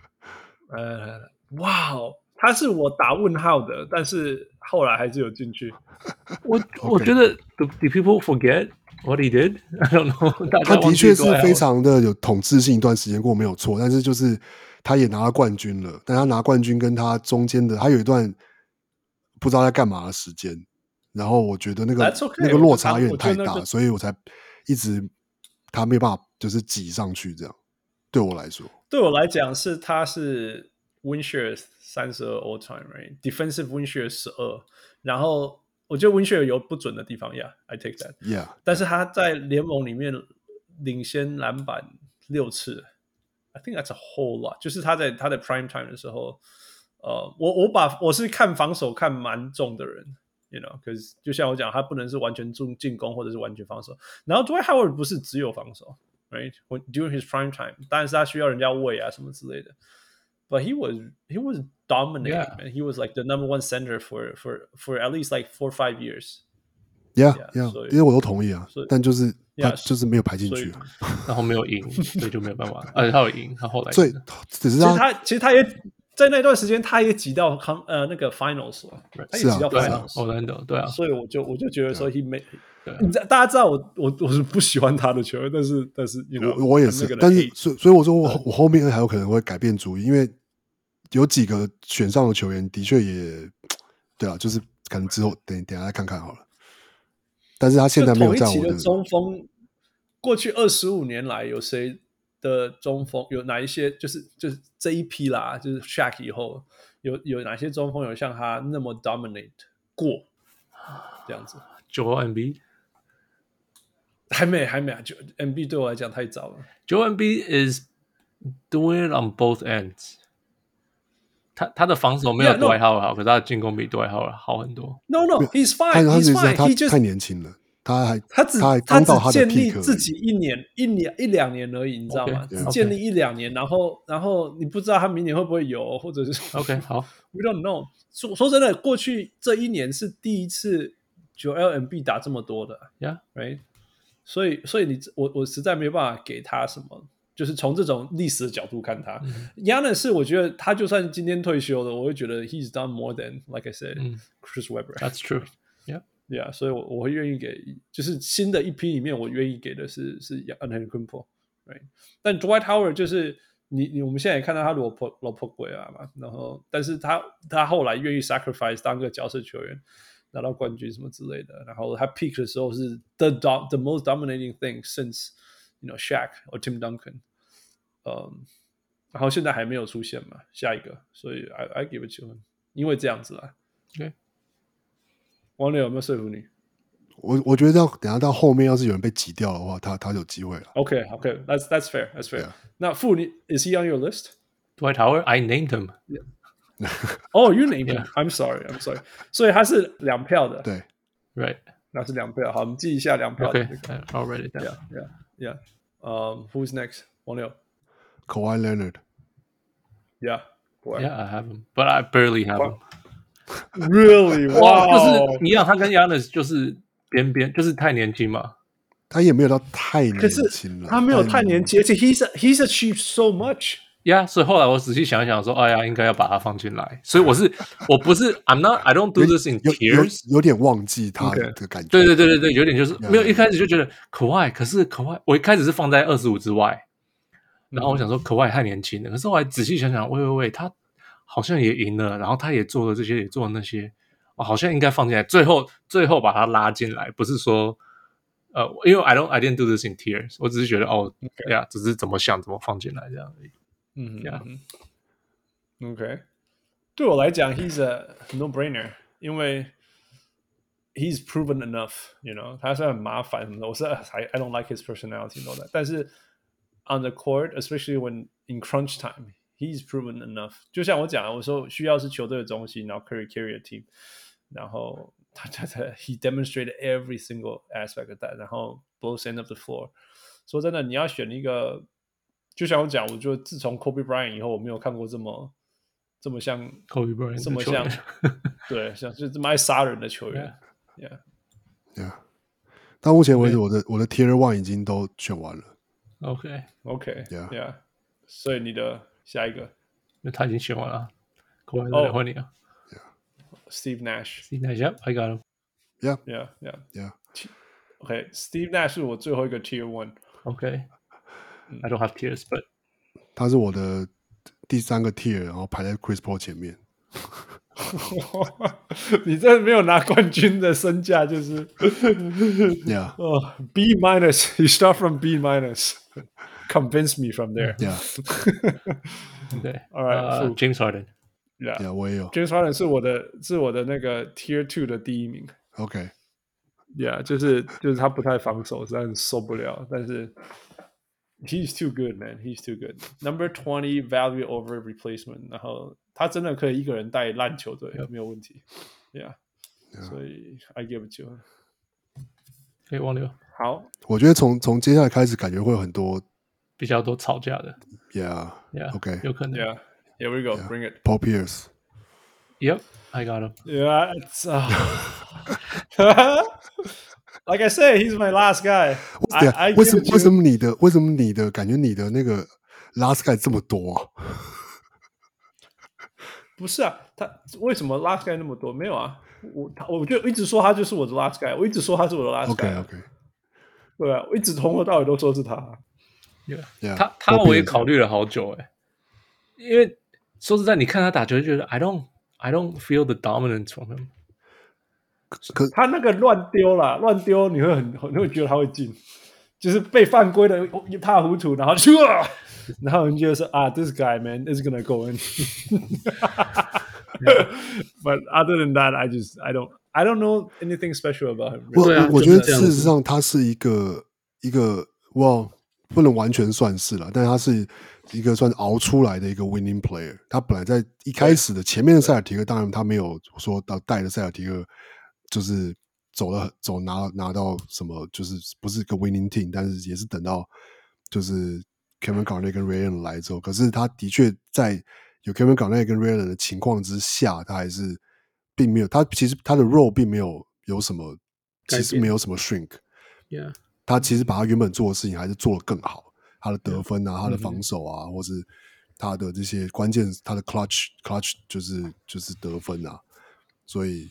哇哦，他是我打問號的，但是後來還是有進去。 我覺得 do people forget what he did? I don't know。 他的確是非常的有統治性，一段時間過沒有錯，但是就是他也拿了冠軍了，但他拿冠軍跟他中間的他有一段不知道在幹嘛的時間，然後我覺得那個落差有點太大，所以我才一直他沒有辦法就是擠上去這樣。對我來說， 他是 win share 32 all time, right? Defensive win share 12，然後我覺得 win share 有不準的地方 ，Yeah, I take that. Yeah， 但是他在聯盟裡面領先籃板6次 ，I think that's a whole lot。就是他在 prime time 的時候，我是看防守看蠻重的人 ，you know， 可是就像我講，他不能是完全進攻或者是完全防守。然後 Dwight Howard 不是只有防守 ，right? During his prime time， 當然是他需要人家餵啊什麼之類的。But he was dominating, man. He was like the number one center for at least like 4 or 5 years. Yeah. 因為我都同意啊，但就是他就是沒有排進去， 然後沒有贏，所以就沒有辦法。他有贏，他後來所以只是其實他也在那段時間他也擠到那個 finals 了，他也擠到 finals。 對啊， 所以我就覺得說 he made。大家知道我是不喜歡他的球員，但是 you know， 我也是，但是所以我說我後面還有可能會改變主意，因為有幾個選上的球員的確也對啊，就是可能之後等一下再看看好了。但是他現在沒有在我的同一期的中鋒，過去25年來有誰的中鋒有哪一些？就是這一批啦，就是 Shaq 以後有哪些中鋒有像他那麼 dominate 過這樣子 ？Joel Embiid。 還沒啊！Embiid 對我來講太早了。 Joel Embiid is doing it on both ends。他的防守沒有Dwight Howard好，可是他的進攻比Dwight Howard好很多。 No, he's fine. He's fine. 他太年輕了，他只建立自己一兩年而已，你知道嗎？只建立1-2年，然後你不知道他明年會不會有，或者是 OK 好 ，We don't know。說真的，過去這1年是第一次Joel Embiid打這麼多的 ，Yeah, right。所以我實在沒有辦法給他什麼，就是從這種歷史的角度看他。Giannis 我覺得他就算今天退休了，我會覺得 he's done more than like I said, Chris Webber. That's true. Yeah, 所以我會願意給，就是新的一批裡面，我願意給的是 Antetokounmpo, right? 但 Dwight Howard 就是我們現在也看到他落魄鬼啊嘛，然後但是他後來願意 sacrifice 當個角色球員。 拿到冠軍什麼之類的。然後他 peak 的時候是 the most dominating thing since Shaq or Tim Duncan。然後现在還沒有出現嘛，下一個，所以 I give it to him， 因為這樣子啦。 Okay. 王磊有沒有說服你？ 我覺得等一下到後面要是有人被擠掉的話，他有機會了。 Okay, that's fair. Yeah. 那傅你 is he on your list? Dwight Howard, I named him. Oh, you named him. I'm sorry. 所以他是2票的。 对 Right. 那是2票。好，我們記一下2票的。 Okay, I'll write it down. Yeah. Who's next? 王六。 Kawhi Leonard. Yeah, I have him, but I barely have him. Really? Wow. 就是一樣，他跟 Giannis 就是邊邊，就是太年輕嘛。 他也沒有到太年輕了， 他沒有太年輕，而且 he's achieved so much. Yeah, 所以後來我仔細想一想說，哎呀，應該要把他放進來。所以我不是 I don't do this in tears， 有點忘記他的感覺。 對，有點就是沒有一開始就覺得Kawhi，可是Kawhi我一開始是放在25之外，然後我想說Kawhi太年輕了，可是後來仔細想想，喂，他好像也贏了，然後他也做了這些，也做了那些，好像應該放進來，最後把他拉進來，不是說因為I didn't do this in tears， 我只是覺得呀，只是怎麼想怎麼放進來這樣而已。 OK， 對我來講 ，he's a no-brainer， 因為 he's proven enough，you know， 他雖然很麻煩什麼的，我是 I don't like his personality and all that， 但是 on the court, especially when in crunch time。He's proven enough。就像我講的，我說需要是球隊的中心，然後 carry a team， 然後he demonstrated every single aspect of that， 然後 both ends of the floor。說真的，你要選一個，就像我講，我覺得自從 Kobe Bryant 以後，我沒有看過這麼像 Kobe Bryant， 這麼像對，像就這麼愛殺人的球員。 Yeah。到目前為止，我的 Tier 1已經都選完了。 OK，Yeah。所以你的下一個， 他已經選完了，換你了。 Steve Nash。Steve Nash, I got him. Yeah. Okay, Steve Nash 是我最後一個 Tier 1。 Okay, I don't have tiers, but 他是我的第3個 Tier， 然後排在 Chris Paul 前面。 你這沒有拿冠軍的身價就是 ，Yeah. B minus. You start from B minus.Convince me from there. Yeah. Okay. All right. James Harden. Yeah. 我也有。 James Harden 是我的那個 Tier 2的第1名。 Okay. Yeah， 就是他不太防守，實在很受不了。但是 he's too good, man. He's too good. Number 20 value over replacement. 然後他真的可以一個人帶爛球隊，沒有問題。Yeah. 所以 I give it to him. 可以忘掉。 好， 我覺得從接下來開始，感覺會有很多比較多吵架的。 Yeah. Okay. 有可能。 Yeah. Here we go. Bring it. Paul Pierce. Yep. I got him. Yeah. It's, like I say, he's my last guy. 為什麼你的感覺你的那個 last guy 這麼多啊？ 不是啊，他為什麼 last guy 那麼多？沒有啊，我就一直說他就是我的 last guy， 我一直說他是我的 last guy。 Okay. 對啊，我一直從頭到尾都說是他。 Yeah. 他我也考慮了好久因為說實在，你看他打球就覺得 I don't feel the dominance from him。 他那個亂丟你會覺得他會進，就是被犯規的一塌糊塗，然後你覺得說this guy man is gonna go in。But other than that, I don't know anything special about him. 我覺得事實上他是一個不能完全算是啦，但他是一個算熬出來的一個 winning player。他本來在一開始的前面的塞爾提克，當然他沒有說到帶着塞爾提克就是拿到什麼，就是不是一個 winning team， 但是也是等到就是 Kevin Garnett 跟 Ray Allen 來之後，可是他的確在有 Kevin Garnett 跟 Ray Allen 的情況之下，他還是並沒有，他其實他的 role 並沒有什麼，其實沒有什麼 shrink。Yeah.他其實把他原本做的事情還是做得更好，他的得分啊，他的防守啊，或是他的這些關鍵，他的 clutch 就是得分啊，所以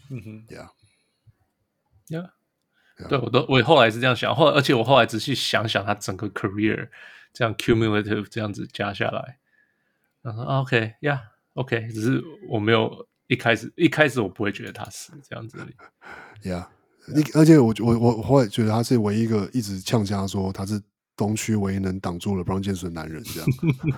，Yeah， 對，我後來是這樣想，而且我後來仔細想想他整個 career 這樣 cumulative 這樣子加下來，然後OK，Yeah，OK， 只是我沒有一開始我不會覺得他是這樣子而已。 Yeah， 而且我後來覺得他是唯一一個一直嗆家說他是東區唯一能擋住了 LeBron James 的男人，這樣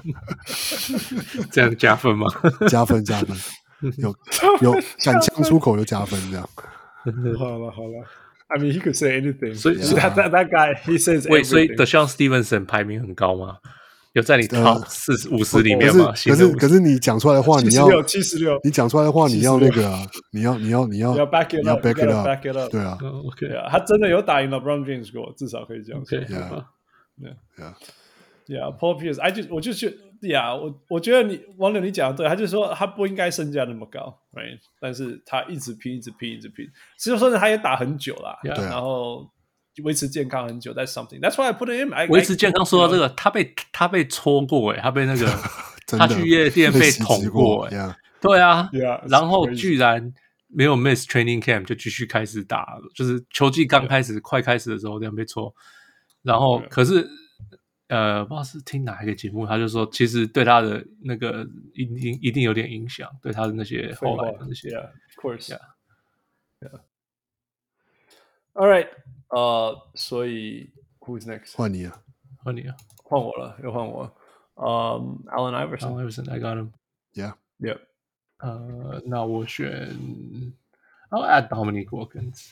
這樣加分嗎？ 加分，有敢嗆出口就加分，這樣。 好了。I mean, he could say anything. 所以 that guy, he says everything. 所以 DeShaun Stevenson 排名很高嗎？有在你 Top 50里面嗎？ 可是你講出來的話，你要 76， 你講出來的話，你要那個啊，你要 back it up， 對啊， OK， 他真的有打贏了 LeBron James 過，至少可以這樣說。Yeah，Paul Pierce， 我就覺得 ，Yeah， 我覺得網友你講的對，他就說他不應該身價那麼高 ，right？ 但是他一直拼，其實說他也打很久啦，然後維持健康很久。That's something. That's why I put him. 維持健康說到這個，他被戳過他被那個他去夜店被捅過對啊，然後居然沒有 miss training camp 就繼續開始打，就是球季剛開始快開始的時候這樣被戳，然後可是。不知道是聽哪一個節目，他就說，其實對他的那個一定有點影響，對他的那些後來的那些 ，Of course, yeah. All right, 所以 Who's next? 換你啊， 換我了，又換我。Allen Iverson, I got him. Yeah. 那我選 I'll add Dominique Wilkins.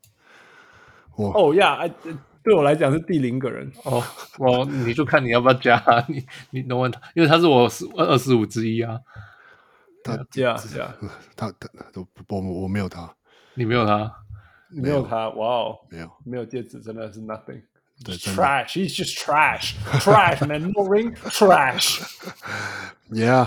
Oh yeah, 對我來講是第0個人你就看你要不要加你能問他，因為他是我25之一啊。 他我沒有他， 你沒有他， 沒有他，哇哦，沒有戒指真的是 nothing。Trash, he's just trash, man. No ring, trash. Yeah.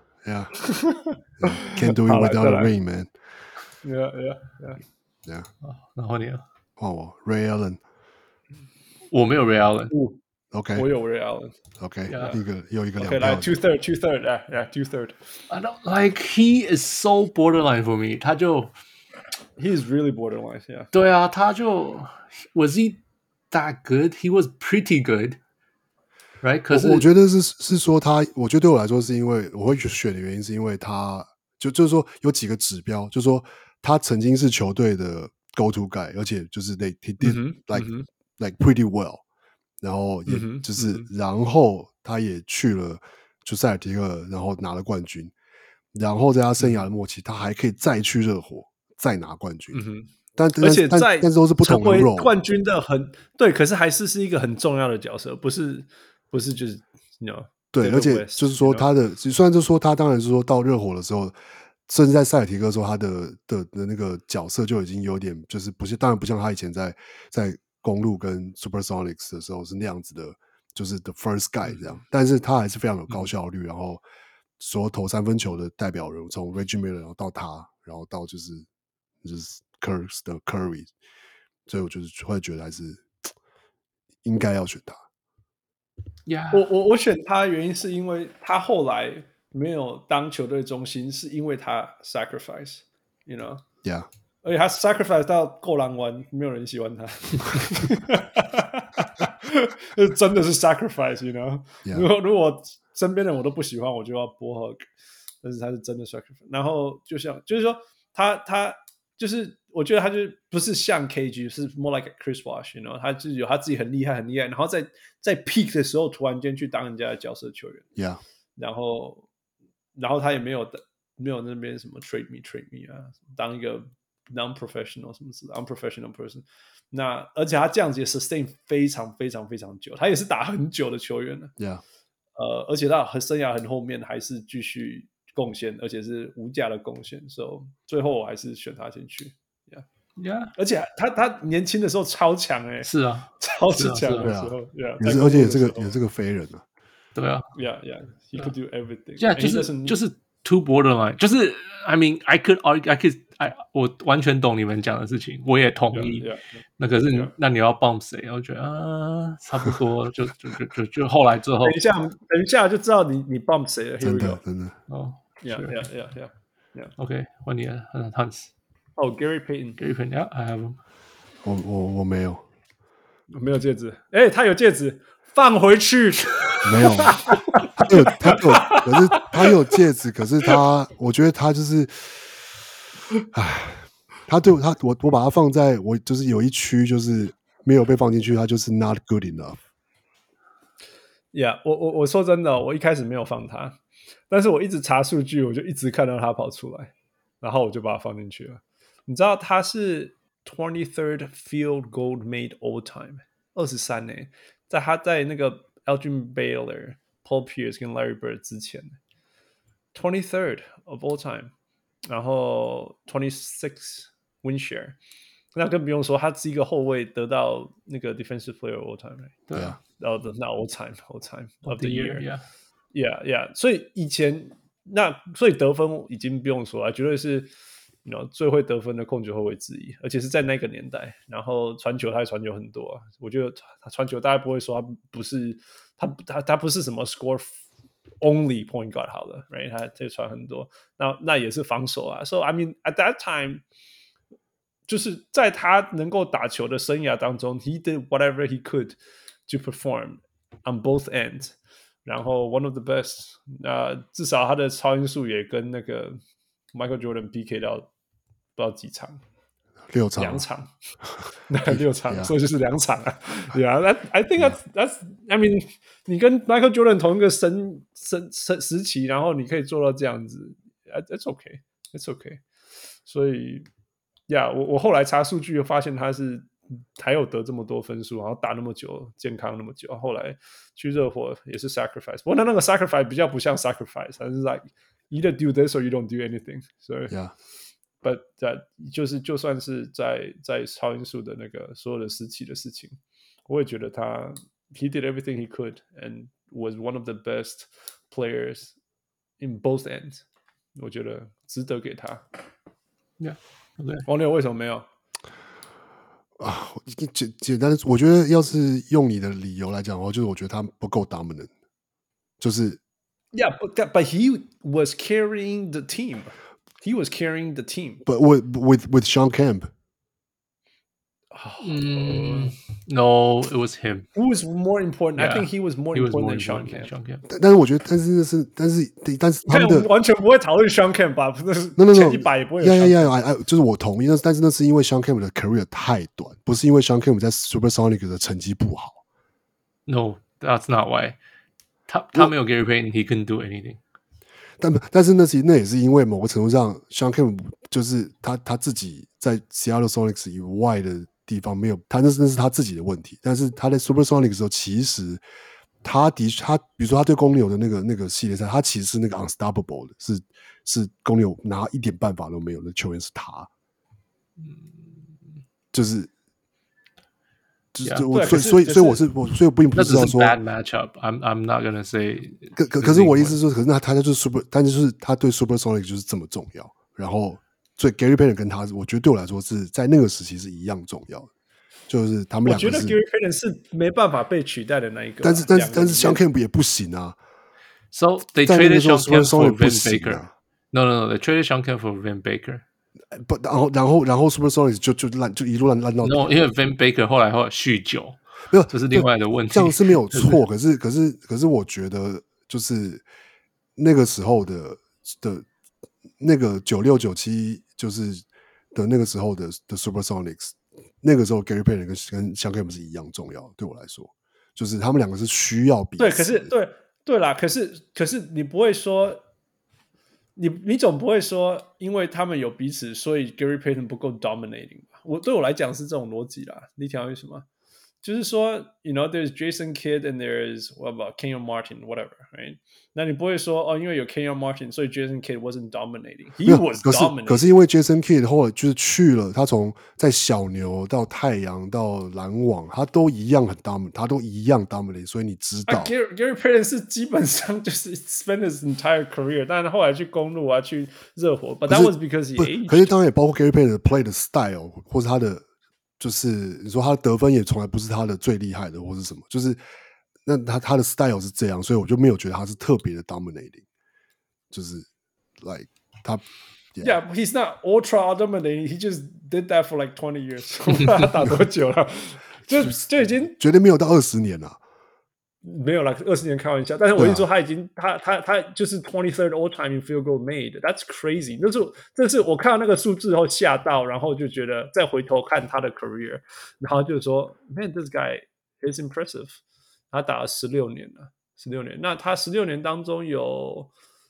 Can't do it without a ring, man. Yeah. 然後你呢？ 換我 Ray Allen。 我沒有 Ray Allen。OK， 我有 Ray Allen。OK， 又一個兩票。 OK， 來 two third。 I don't like he is so borderline for me。 he is really borderline， yeah。 對啊，他就 was he that good? He was pretty good, right？ 可是我覺得是說他，我覺得對我來說是因為我會選的原因是因為他就是說有幾個指標，就是說他曾經是球隊的 go to guy， 而且就是 he did like pretty well， 然後也就是然後他也去了就塞爾提克，然後拿了冠軍，然後在他生涯的末期，他還可以再去熱火再拿冠軍。但是都是不同的 role， 成為冠軍的对，可是還是一個很重要的角色，不是就是对，而且就是說他的，雖然就是說他當然是說到熱火的時候，甚至在塞爾提克的時候，他的那個角色就已經有點就是不是，當然不像他以前在公鹿跟 Supersonics 的時候是那樣子的，就是 the first guy 這樣，但是他還是非常有高效率，然後所有投3分球的代表人，從 Reggie Miller 然後到他，然後到就是 Curry 的 Curry， 所以我就是會覺得還是應該要選他。 我選他的原因是因為他後來沒有當球隊中心，是因為他 sacrifice，you know？Yeah。而且他 sacrifice 到夠狼灣，沒有人喜歡他，真的是 sacrifice，you know？ 如果身邊的人我都不喜歡，我就要播 hug， 但是他是真的 sacrifice。然後就是說他就是我覺得他就不是像 KG， 是 more like a Chris Bosh，you know？ 他就是有他自己很厲害，然後在 peak 的時候突然間去當人家的角色球員，yeah。然後他也沒有那邊什麼 trade me 啊，當一個non-professional 什麼之類的 unprofessional person， 那而且他這樣子也 sustain 非常非常非常久，他也是打很久的球員了 ，yeah。 而且他生涯很后面還是繼續貢獻，而且是無價的貢獻，所以最後我還是選他進去 ，yeah。而且他年輕的時候超強是啊， 超級強的時候 ，yeah。而且也是個飛人啊， 對啊 ，yeah，he could do everything， 就是 too borderline， 就是 I mean I could 我完全懂你們講的事情，我也同意。那可是那你要 bump 誰？我覺得差不多就後來最後。等一下就知道你 bump 誰了。 真的。 Yeah. OK， 換你了 ，Hans。 Gary Payton。Yeah，I have him。 我沒有。 沒有戒指。他有戒指，放回去。 沒有。他有戒指，可是我覺得他就是他對我把他放在我就是有一區就是沒有被放進去，他就是 not good enough。Yeah， 我說真的，我一開始沒有放他，但是我一直查數據，我就一直看到他跑出來，然後我就把他放進去了。你知道他是 23rd field goal made all time 23呢，在他在那個 Elgin Baylor、Paul Pierce 跟 Larry Bird 之前 23rd of all time， 然後26 win share， 那更不用說他是一個後衛得到那個 defensive player all time， 對啊， 然後那 all time of the year，yeah， 所以以前所以得分已經不用說了，絕對是最會得分的控球後衛之一，而且是在那個年代。然後傳球他也傳球很多啊，我覺得他傳球大家不會說他不是他不是什麼 score only point guard 好了 ，right？ 他这傳很多，那也是防守啊。So I mean at that time， 就是在他能夠打球的生涯當中 ，he did whatever he could to perform on both ends。然後 one of the best， 至少他的超音速也跟那個 Michael Jordan PK 到不知道幾場 ，2場 ，2場，6場，所以就是2場啊。Yeah， I think that's I mean， 你跟 Michael Jordan 同一個時期，然後你可以做到這樣子 ，it's okay，it's okay。所以 ，Yeah， 我後來查數據發現他是還有得這麼多分數，然後打那麼久，健康那麼久，後來去熱火也是 sacrifice。不過那個 sacrifice 比較不像 sacrifice， 它是 like either do this or you don't do anything。所以 ，But 就算是在超音速的那個所有的時期的事情，我也覺得他 he did everything he could and was one of the best players in both ends。我覺得值得給他。 Yeah，okay。 王六為什麼沒有？ 簡單的，我覺得要是用你的理由來講的話，就是我覺得他不夠 dominant， 就是 Yeah, but he was carrying the team. He was carrying the team. But with Sean Kemp. No, it was him. Who was more important? Yeah, I think he was more important than Sean Kemp. 但是我覺得，但是他們的完全不會討論 Sean Kemp 吧？ No， 前100也不會有 Sean Kemp。 就是我同意，但是那是因為 Sean Kemp 的 career 太短，不是因為 Sean Kemp 在 Supersonic 的成績不好。 No, that's not why. 他沒有 Gary Payton, he couldn't do anything. 但是那也是因為某個程度上 ，Sean Kemp 就是他自己在 Seattle Sonics 以外的地方沒有，那是他自己的問題。但是他在 Supersonic 的時候，其實他比如說他對公牛的那個系列賽，他其實是那個 unstoppable 的，是公牛拿一點辦法都沒有的球員是他，所以我並不知道說 bad matchup. I'm not gonna say. 可是我的意思是说，可是他就是 但就是他對 Supersonic 就是這麼重要，然後。所以 Gary Payton 跟他，我覺得對我來說是在那個時期是一樣重要的，就是他們兩個是。 我覺得 Gary Payton 是沒辦法被取代的那一個。 但是 Sean Kemp 也不行啊。 So they traded Sean Kemp for Vin Baker. No, they traded Sean Kemp for Vin Baker. 不，然後 Supersonics 就一路爛到。 No， 因為 Vin Baker 後來酗酒，沒有，這是另外的問題。 這樣是沒有錯，可是我覺得就是那個時候的那個96、97。就是的那個時候的 Supersonics， 那個時候 Gary Payton 跟 Sean Kemp 是一樣重要的，對我來說，就是他們兩個是需要彼此。 對，可是對啦，可是你不會說，你總不會說，因為他們有彼此，所以 Gary Payton 不夠 dominating 吧？對我來講是這種邏輯啦。你聽到為什麼？就是說 ，you know, there's Jason Kidd and there's what about Kenyon Martin, whatever, right? 那你不會說因為有 Kenyon Martin, 所以 Jason Kidd wasn't dominating. He was dominating. 可是因為 Jason Kidd 後來就是去了，他從在小牛到太陽到籃網，他都一樣很 dominant, 他都一樣 dominating, 所以你知道。 Gary Payton 是基本上就是 spend his entire career, 但是後來去公鹿啊，去熱火 ，but that was because he aged. 可是當然也包括 Gary Payton 的 play 的 style 或是他的。就是你說他的得分也從來不是他的最厲害的，或是什麼，就是那他的 style 是這樣，所以我就沒有覺得他是特別的 dominating， 就是 like 他 yeah, he's not ultra dominating, he just did that for like 20 years 。他打多久了？就已經絕對沒有到20年了。 沒有啦，20年開玩笑。但是我一說他已經，他就是 23rd all time in field goal made. That's crazy. 這是我看到那个數字後嚇到，然後就覺得再回頭看他的 career， 然後就說 ，Man, this guy is impressive. 他打了16年了，16年。那他16年當中有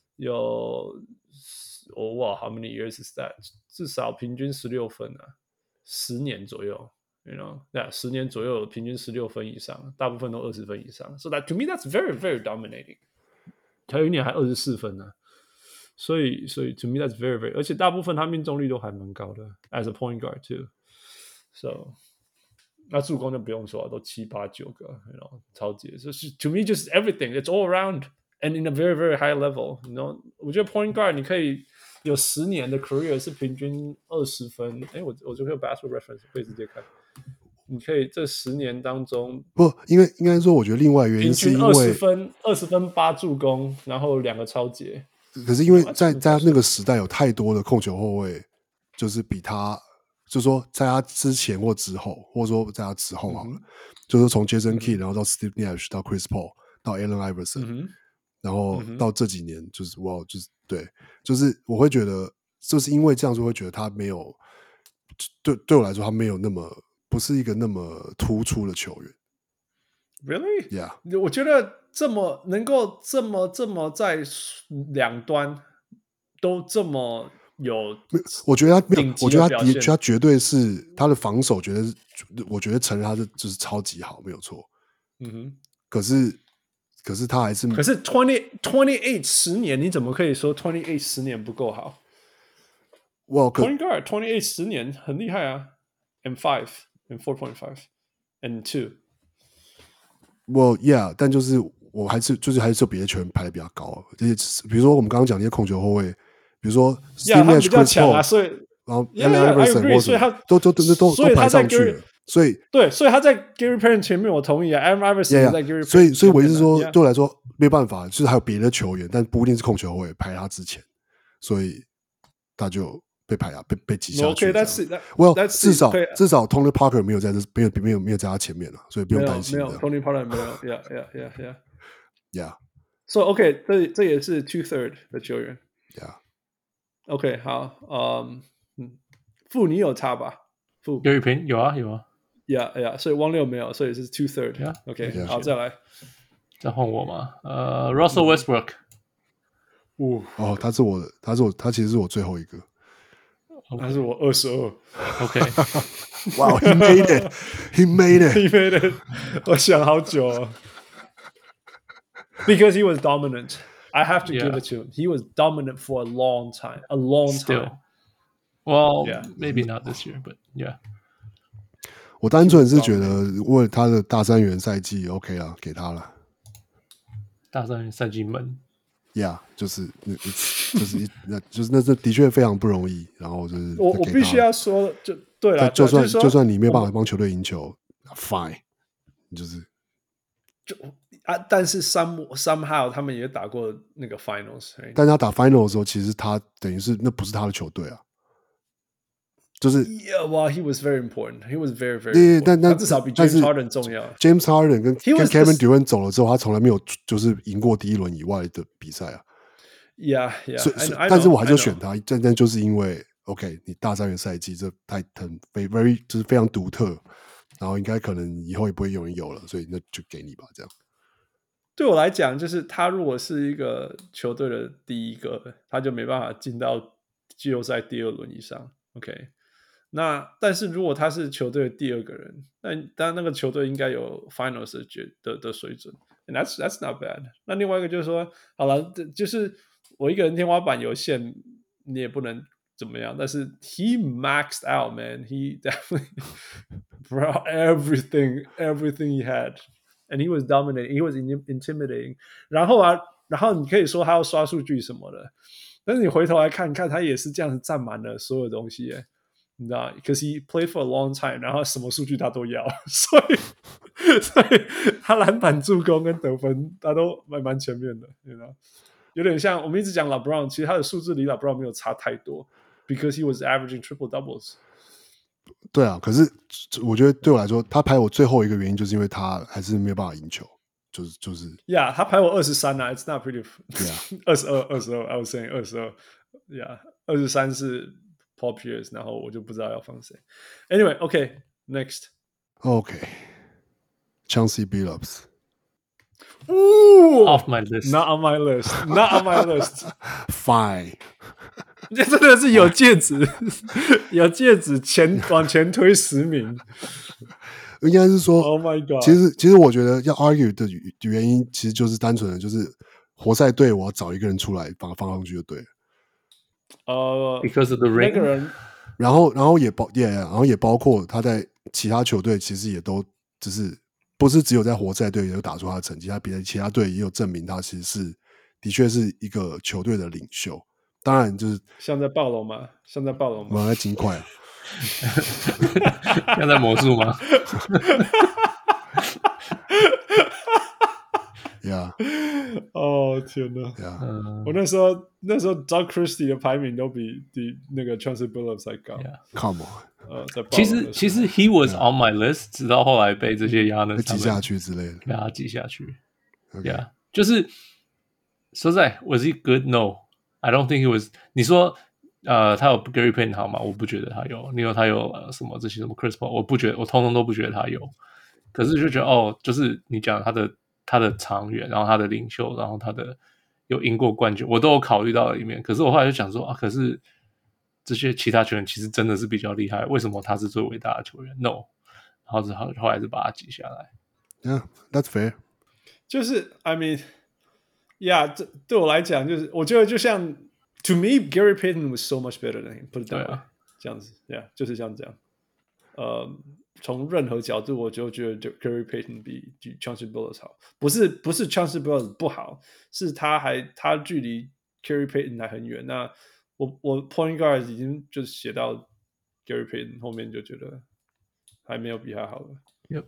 how many years is that? 至少平均16分啊，10年左右。You know, yeah, 10年左右平均16分以上，大部分都20分以上。So that to me, that's very, very dominating. 還有一年還24分呢，所以 to me that's very, very， 而且大部分他命中率都還蠻高的 ，as a point guard too. So 那助攻就不用說了，都7、8、9個 ，you know， 超級。So to me, just everything, it's all around and in a very, very high level. You know, 我覺得 point guard 你可以有10年的 career 是平均20分。哎，我就可以有 basketball reference 可以直接看。你可以這10年當中不，應該說，我覺得另外原因是因為 20分8助攻，然後2個抄截。 可是因為在那個時代有太多的控球後衛，就是比他，就是說在他之前或之後，或者說在他之後好了，就是從 Jason Kidd 然後到 Steve Nash 到 Chris Paul 到 Allen Iverson，然後到這幾年就是就是對，就是我會覺得就是因為這樣就會覺得他沒有對我來說他沒有那麼。不是一個那麼突出的球員 ，Really？ Yeah， 我覺得能夠這麼在兩端都這麼有， 我覺得他沒有，我覺得他絕對是他的防守，我覺得承認他是就是超級好，沒有錯。可是他還是 28 10年，你怎麼可以說28 10年不夠好？Point guard 28 10年很厲害啊 ，and 5。And 4.5 and 2。 Well, yeah， 但就是我還是有別的球員排的比較高，而且比如說我們剛剛講那些控球後衛，比如說 Steve Nash、Chris Paul， 所以然後 Allen Iverson 或者都排上去了，所以他在 Gary Payton 前面，我同意啊 ，Allen Iverson 在 Gary Payton， 所以我意思是說，對我來說沒辦法，就是還有別的球員，但不一定是控球後衛排他之前，所以他就。被排啊，被擠下去。至少 Tony Parker 沒有在在他前面了，所以不用擔心。 沒有 Tony Parker 沒有 ，Yeah。 So OK， 這也是 2/3 的球員。 Yeah。OK， 好，傅你有差吧？傅有一瓶有啊。 Yeah， 所以汪六沒有，所以是 2/3。OK， 好，再來， 再換我嘛。Russell Westbrook。 哦，他其實是我最後一個。 他是我22。 OK， Wow, he made it. 我想好久哦。Because he was dominant. I have to give it to him. He was dominant for a long time. Still. Well, maybe not this year, but yeah. 我單純是覺得，為他的大三元賽季 OK 了，給他了。 大三元賽季悶。 Yeah， 就是那的確非常不容易。然後就是我必須要說，就對了，就算你沒有辦法幫球隊贏球 ，fine， 就是但是 somehow 他們也打過那個 finals， 但他打 finals 的時候，其實他等於是那不是他的球隊啊，就是 well, he was very important. He was very, very important. 但他至少比 James Harden 重要。 James Harden 跟 Kevin Durant 走了之後，他從來沒有就是贏過第一輪以外的比賽啊。 Yeah. 但是我還是選他，但就是因為 OK， 你大三元賽季這very 就是非常獨特，然後應該可能以後也不會有人有了，所以那就給你吧，這樣。 對我來講，就是他如果是一個球隊的第一個，他就沒辦法進到季後賽第二輪以上。OK。但是如果他是球隊的第二個人，當然那個球隊應該有 Finals 的水準 ，and that's not bad。那另外一個就是說，好了，就是我一個人天花板有限，你也不能怎麼樣。但是 he maxed out, man. He definitely brought everything he had, and he was dominating. He was intimidating. 然後你可以說他要刷數據什麼的，但是你回頭來看看，他也是這樣子占滿了所有東西耶。你知道 ，because he played for a long time， 然後什麼數據他都要，所以他籃板、助攻跟得分他都蠻前面的，你知道，有點像我們一直講 LeBron， 其實他的數字離 LeBron 沒有差太多 ，because he was averaging triple doubles。 對啊，可是我覺得對我來說，他排我最後一個原因就是因為他還是沒有辦法贏球， ，Yeah， 他排我23啊 ，It's not pretty， Yeah 22 ，I was saying 22 ，Yeah， 23是 Paul Pierce， 然后我就不知道要放谁。 Anyway，OK，Next，Chauncey Billups。 Ooh, off my list. Not on my list. Not on my list. Fine， 这真的是有戒指，有戒指往前推10名。 应該是說 ，Oh my god！ 其實我覺得要 argue 的原因，其實就是單純的，就是活塞隊我要找一個人出來把他放上去就對了。 Because of the ring， 那個人， 然後也包括他在其他球隊，其實也都只是不是只有在活塞隊有打出他的成績，他別的其他隊也有證明他其實是的確是一個球隊的領袖。當然就是像在暴龍嗎？ 我在金塊啊。 像在魔術嗎 ？Yeah， 哦天哪 ！Yeah， 我那時候 Doug Christie 的排名都比那個 Chauncey Billups 還高。 Come on， 其實 he was on my list， 直到後來被這些亞人擠下去之類的， 被他擠下去。Yeah， 就是說實在 ，was he good? No, I don't think he was。你說他有 Gary Payton 好嗎？我不覺得他有。你有他有什麼這些什麼 Chris Paul， 我不覺得，我通通都不覺得他有。可是就覺得就是你講他的長遠，然後他的領袖，然後他的有贏過冠軍，我都有考慮到裡面。可是我後來就想說可是這些其他球員其實真的是比較厲害，為什麼他是最偉大的球員 ？No， 然後後來是把他擠下來。 Yeah, that's fair。 就是 I mean， yeah， 這對我來講就是我覺得就像。To me, Gary Payton was so much better than him. Put it that way， 這樣子 ，Yeah， 就是像這樣。從任何角度，我就覺得 Gary Payton 比 Chauncey Billups 好。不是 Chauncey Billups 不好，是他距離 Gary Payton 還很遠。那我 Point Guard 已經就是寫到 Gary Payton 後面，就覺得還沒有比他好了。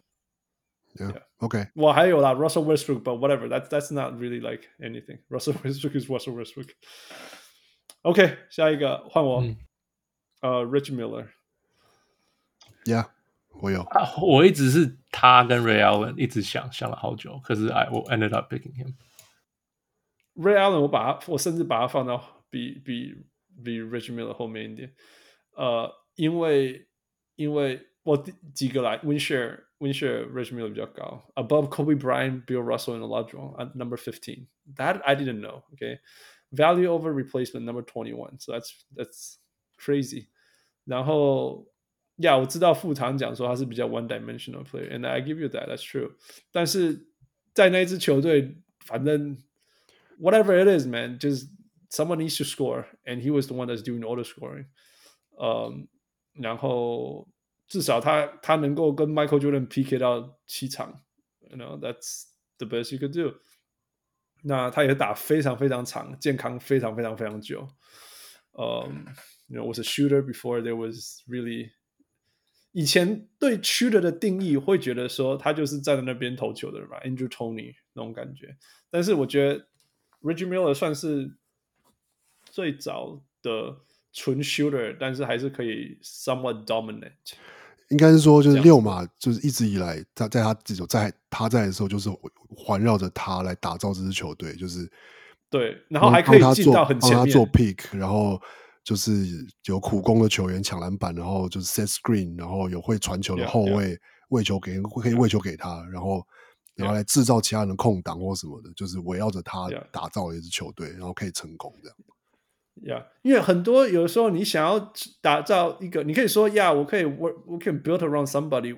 Yeah, OK。 我還有啦 Russell Westbrook，but whatever. That's not really like anything. Russell Westbrook is Russell Westbrook。OK， 下一個換我。Rich Miller。Yeah， 我有。 我一直是他跟 Ray Allen 一直想了好久，可是我 ended up picking him。Ray Allen 我甚至把他放到比 Rich Miller 後面一點。因為我幾個來 Winshare Rich Miller 比較高 ，above Kobe Bryant, Bill Russell and Oladipo at number 15. That I didn't know. Okay.Value over replacement number 21, so that's crazy. 然後我知道副堂講說他是比較 one-dimensional player, and I give you that, that's true. 但是在那一支球隊，反正 whatever it is, man, just someone needs to score, and he was the one that's doing all the scoring. 然後至少他能夠跟 Michael Jordan PK 到7場 ，you know, that's the best you could do.那他也打非常非常長，健康非常非常非常久。was a shooter before there was really 以前對 shooter 的定義會覺得說他就是站在那邊投球的人吧 ，Andrew Toney 那種感覺。但是我覺得 Reggie Miller 算是最早的純 shooter， 但是還是可以 somewhat dominant。 應該是說，就是六馬就是一直以來在他在的時候，就是環繞着他來打造這支球隊，就是對，然後還可以進到很前面， 幫他做 pick， 然後就是有苦攻的球員搶籃板，然後就是 set screen， 然後有會傳球的後衛可以餵球給他，然後來製造其他人的空檔或什麼的，就是圍繞着他打造了一支球隊，然後可以成功這樣。 因為很多有的時候你想要打造一個，你可以說我可以 we can build around somebody,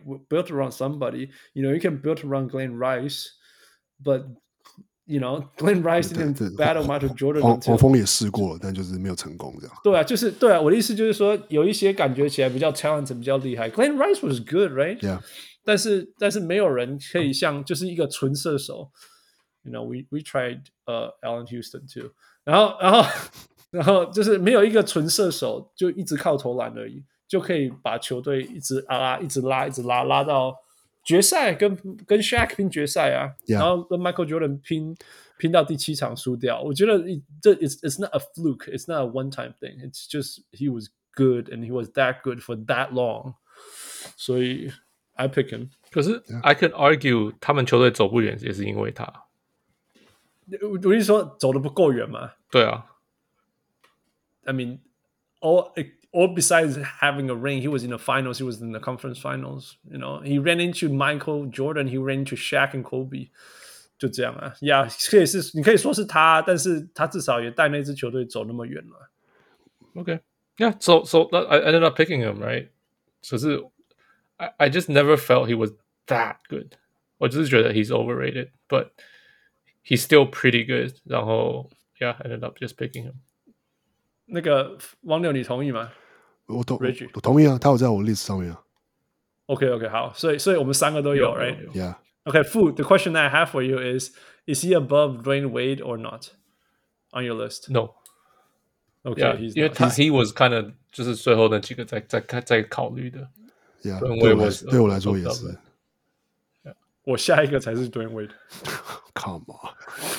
you know, you can build around Glenn Rice, but you know, Glenn Rice didn't battle Michael Jordan。 黄蜂也試過了，但就是沒有成功這樣。 對啊，我的意思就是說，有一些感覺起來比較 talented 比較厲害 ，Glenn Rice was good, right? Yeah. 但是沒有人可以像就是一個純射手 ，you know, we tried Allen Houston too， 然後就是沒有一個純射手，就一直靠投籃而已，就可以把球隊一直拉到決賽，跟 Shaq 拼決賽啊， yeah. 然後跟 Michael Jordan 拼到第7場輸掉。我覺得這 it's not a fluke, it's not a one-time thing. It's just he was good and he was that good for that long. 所以 I pick him. 可是 I can argue 他們球隊走不遠也是因為他。 我意思說走得不夠遠嘛？ 對啊。 I mean, all besides having a ring, he was in the finals. He was in the conference finals. You know, he ran into Michael Jordan. He ran into Shaq and Kobe. 就這樣啊，呀，你可以說是他，但是他至少也帶那支球隊走那麼遠了。 Okay, yeah. So I ended up picking him, right? 可是 I just never felt he was that good. 我只是覺得 he's overrated, but he's still pretty good. 然後 yeah, I ended up just picking him. 那個王柳，你同意嗎？ 我同意啊，他有在我 list 上面啊。 OK， 好，所以我們三個都有 ，right？ Yeah. Okay, Fu, the question that I have for you is he above Dwayne Wade or not on your list? No. Okay, yeah, 因為he was kind of 就是最後那幾個在考慮的。 Yeah, 對我來說也是。 我下一個才是 Dwayne Wade. Come on.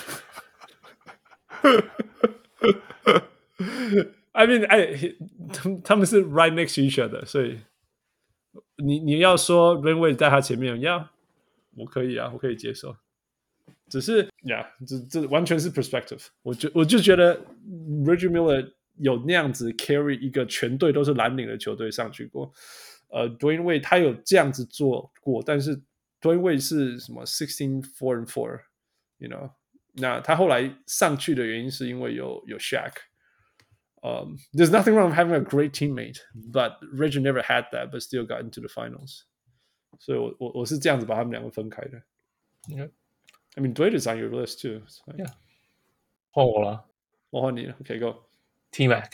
I mean, 他們是 right next to each other, 所以你要說 Dwayne Wade 在他前面 ，Yeah.我可以啊，我可以接受。只是这完全是 perspective。我就覺得 Reggie Miller 有那樣子 carry 一個全隊都是藍領的球隊上去過。Dwayne Wade 他有這樣子做過，但是 Dwayne Wade 是什麼 16-4-4 ，you know？ 那他後來上去的原因是因為有 Shaq。There's nothing wrong with having a great teammate, but Reggie never had that, but still got into the finals. 所以我是這樣子把他們兩個分開的。 Okay. I mean, Dwayne is on your list too. Yeah. 換我了， 我換你了。Okay, go. T-Mac。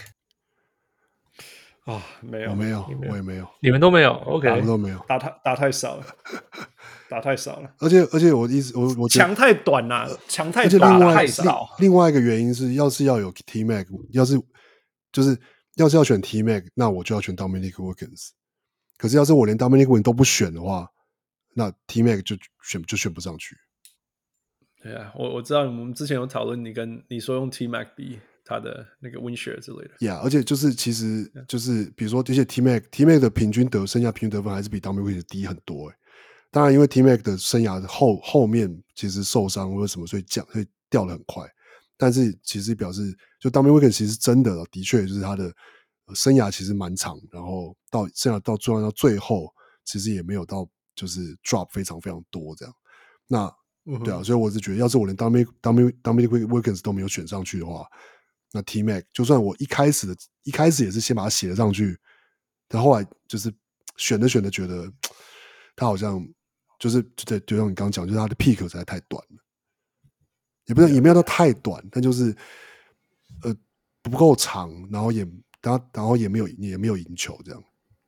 沒有， 我也沒有， 你們都沒有 ，OK， 我們都沒有， 打太少了，打太少了。 而且我意思，我强太短了，强太短太少。 另外一個原因是，要有 T-Mac， 要是要選 T-Mac， 那我就要選 Dominique Wilkins。可是要是我連 Dominique Wilkins 都不選的話，那 T-Mac 就選不上去。 對啊，我知道我們之前有討論，你說用 T-Mac 比他的那個 win share 之類的。 Yeah， 而且其實比如說這些 T-Mac 的生涯平均得分還是比 Dominique Wilkins 低很多。當然，因為 T-Mac 的生涯後面其實受傷或者什麼，所以掉得很快。但是其實表示，就 Dominique Wilkins 其實真的確就是他的生涯其實蠻長，然後到最後，其實也沒有到就是 drop 非常非常多這樣。那對啊，所以我是覺得，要是我連 Dominique Wilkins 都沒有選上去的話，那 T-Mac 就算我一開始也是先把他寫了上去，但後來就是選着覺得他好像就像你剛剛講，就是他的 peak 實在太短了。也沒有到太短，但就是不夠長，然後也沒有贏球這樣。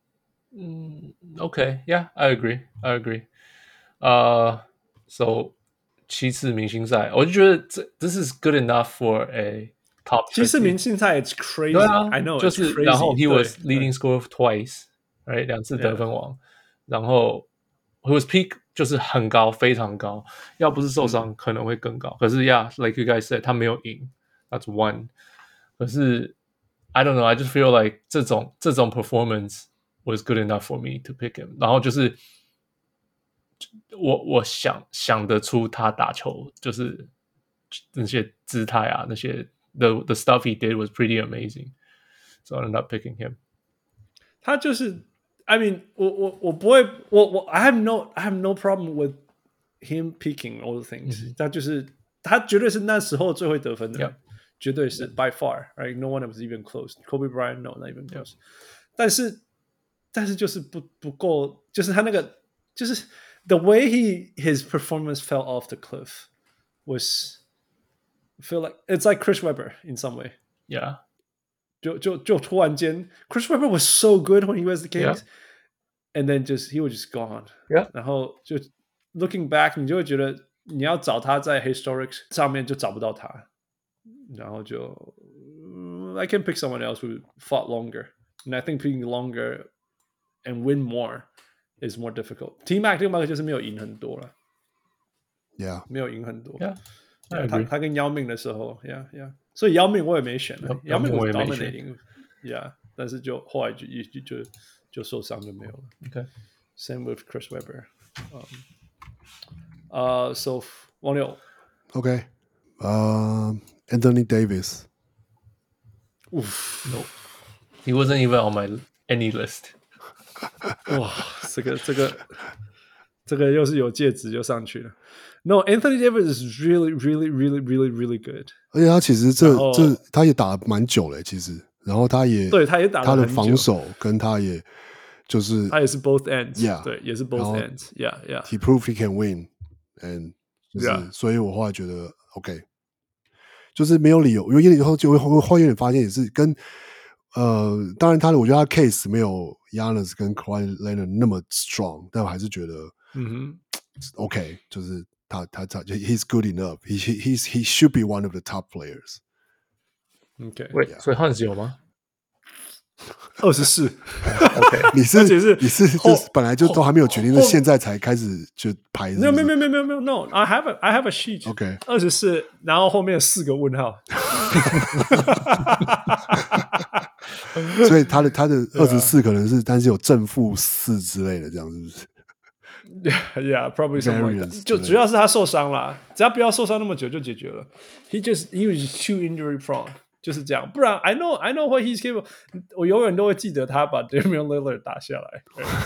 Okay, yeah, I agree. So 七次明星賽，我就覺得this is good enough for a top 50。 七次明星賽 it's crazy. 對啊 I know. 就是 it's crazy. 然後 he was leading scorer twice, right? 2次得分王，然後 he was peak 就是很高，非常高。要不是受傷，可能會更高。可是 yeah, like you guys said, 他沒有贏 ，that's one. 可是 I don't know, I just feel like 這種 performance was good enough for me to pick him. 然後就是我想得出他打球，就是那些姿態啊，那些 the stuff he did was pretty amazing. So I ended up picking him. 他就是I mean, 我不會，I have no problem with him picking all the things. 他絕對是那時候最會得分的人，絕對是 by far, right? No one was even close. Kobe Bryant, no, not even close. 但是就是不夠，就是他那個就是 the way his performance fell off the cliff was feel like it's like Chris Webber in some way. Yeah. 就突然間 Chris Webber was so good when he was the Kings, yeah. and then he was just gone. Yeah. 然後就 looking back, 你就會覺得你要找他在 historics 上面就找不到他，然後就I can pick someone else who fought longer, and I think picking longer and win more is more difficult. T-Mac 另外一個就是沒有贏很多了 ，Yeah， 沒有贏很多。 Yeah. 他跟姚明的時候 ，Yeah， 所以姚明我也沒選了，姚明我也沒選 ，Yeah， 但是就後來就受傷就沒有了。 Okay. Same with Chris Webber. So 王六 OK， Anthony Davis。 Oof. No, he wasn't even on my any list. 哇，这个又是有戒指就上去了。No, Anthony Davis is really, really, really, really, really good. 而且他其實他也打了蠻久了，其實，然後他也打了他的防守跟他也就是他也是 both ends， yeah, 对，也是 both ends， yeah. He proved he can win, and 就是 Yeah. 所以我后來覺得 OK， 就是沒有理由，因為以後後來發現也是跟當然我覺得他 case 沒有 Giannis 跟 Kawhi Leonard 那麼 strong， 但我還是覺得OK， 就是他 he's good enough. He should be one of the top players. OK， 喂，所以 Hans 有嗎 ？24。 OK， 你是就是本來就都還沒有決定，是現在才開始就排。 沒有 No, I have a sheet. OK， 24，然後後面有4個問號。 所以他的24可能是，但是有正負4之類的，這樣是不是？ Yeah, probably something like that. 就主要是他受傷了，只要不要受傷那麼久就解決了。He was too injury prone， 就是這樣。不然 I know what he's capable。我永遠都會記得他把 Damian Lillard 打下來。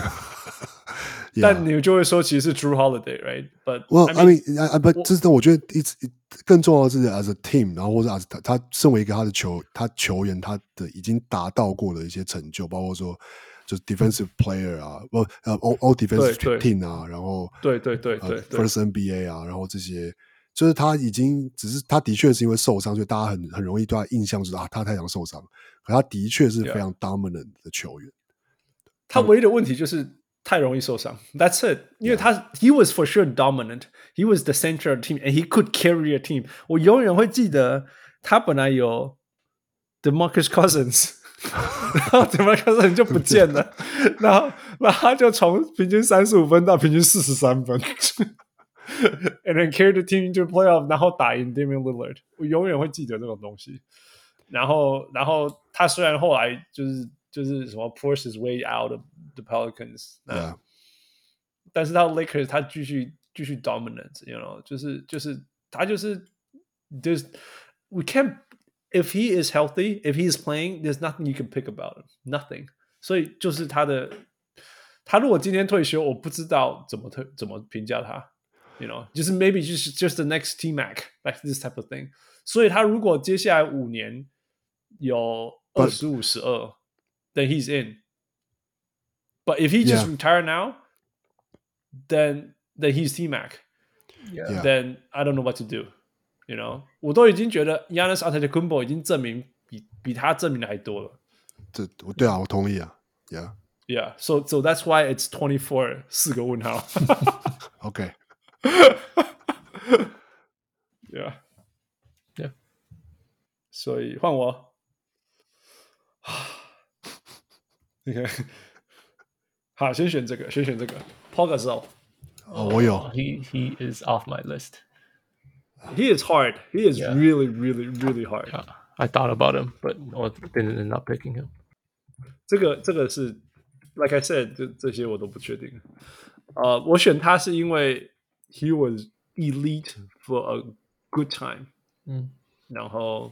Yeah. 但你就會說其實是 Drew Holiday, right? But well, I mean, but 這是我覺得更重要的是 as a team， 然後或者 as 他身為一個他球員，他的已經達到過的一些成就，包括說就是 defensive player 啊，all defensive team 啊，然後對 first NBA 啊，然後這些就是他已經只是他的確是因為受傷，所以大家很容易對他印象就是他太常受傷，可他的確是非常 dominant 的球員。 他唯一的問題就是太容易受傷 ，That's it。因為he was for sure dominant. He was the center of the team, and he could carry a team. 我永遠會記得他本來有 DeMarcus Cousins， 然後 DeMarcus Cousins 就不見了，然後他就從平均35分到平均43分，and then carry the team into playoff， 然後打贏 Damian Lillard。我永遠會記得這種東西。然後他雖然後來就是什麼 force his way out of the Pelicans， 但是他 Lakers 他繼續 dominant，you know， 就是他就是we can't if he is healthy, if he is playing, there's nothing you can pick about him, nothing。所以就是他如果今天退休，我不知道怎麼評價他 ，you know， 就是 maybe just the next T-Mac like this type of thing。所以他如果接下來5年有25-12。then he's in. But if he just retire now, then he's T-Mac. Yeah. Then I don't know what to do. You know, 我都已經覺得 Giannis Antetokounmpo 已經證明比他證明的還多了。 對啊，我同意啊。 Yeah. So that's why it's 24 4個問號。 OK. Yeah. 所以換我。OK， 好，先選這個 Paul Gasol。 我有。 He is off my list. He is hard. He is really, really, really hard. I thought about him, but I didn't end up picking him. 這個是 like I said， 這些我都不確定。我選他是因為 he was elite for a good time。然後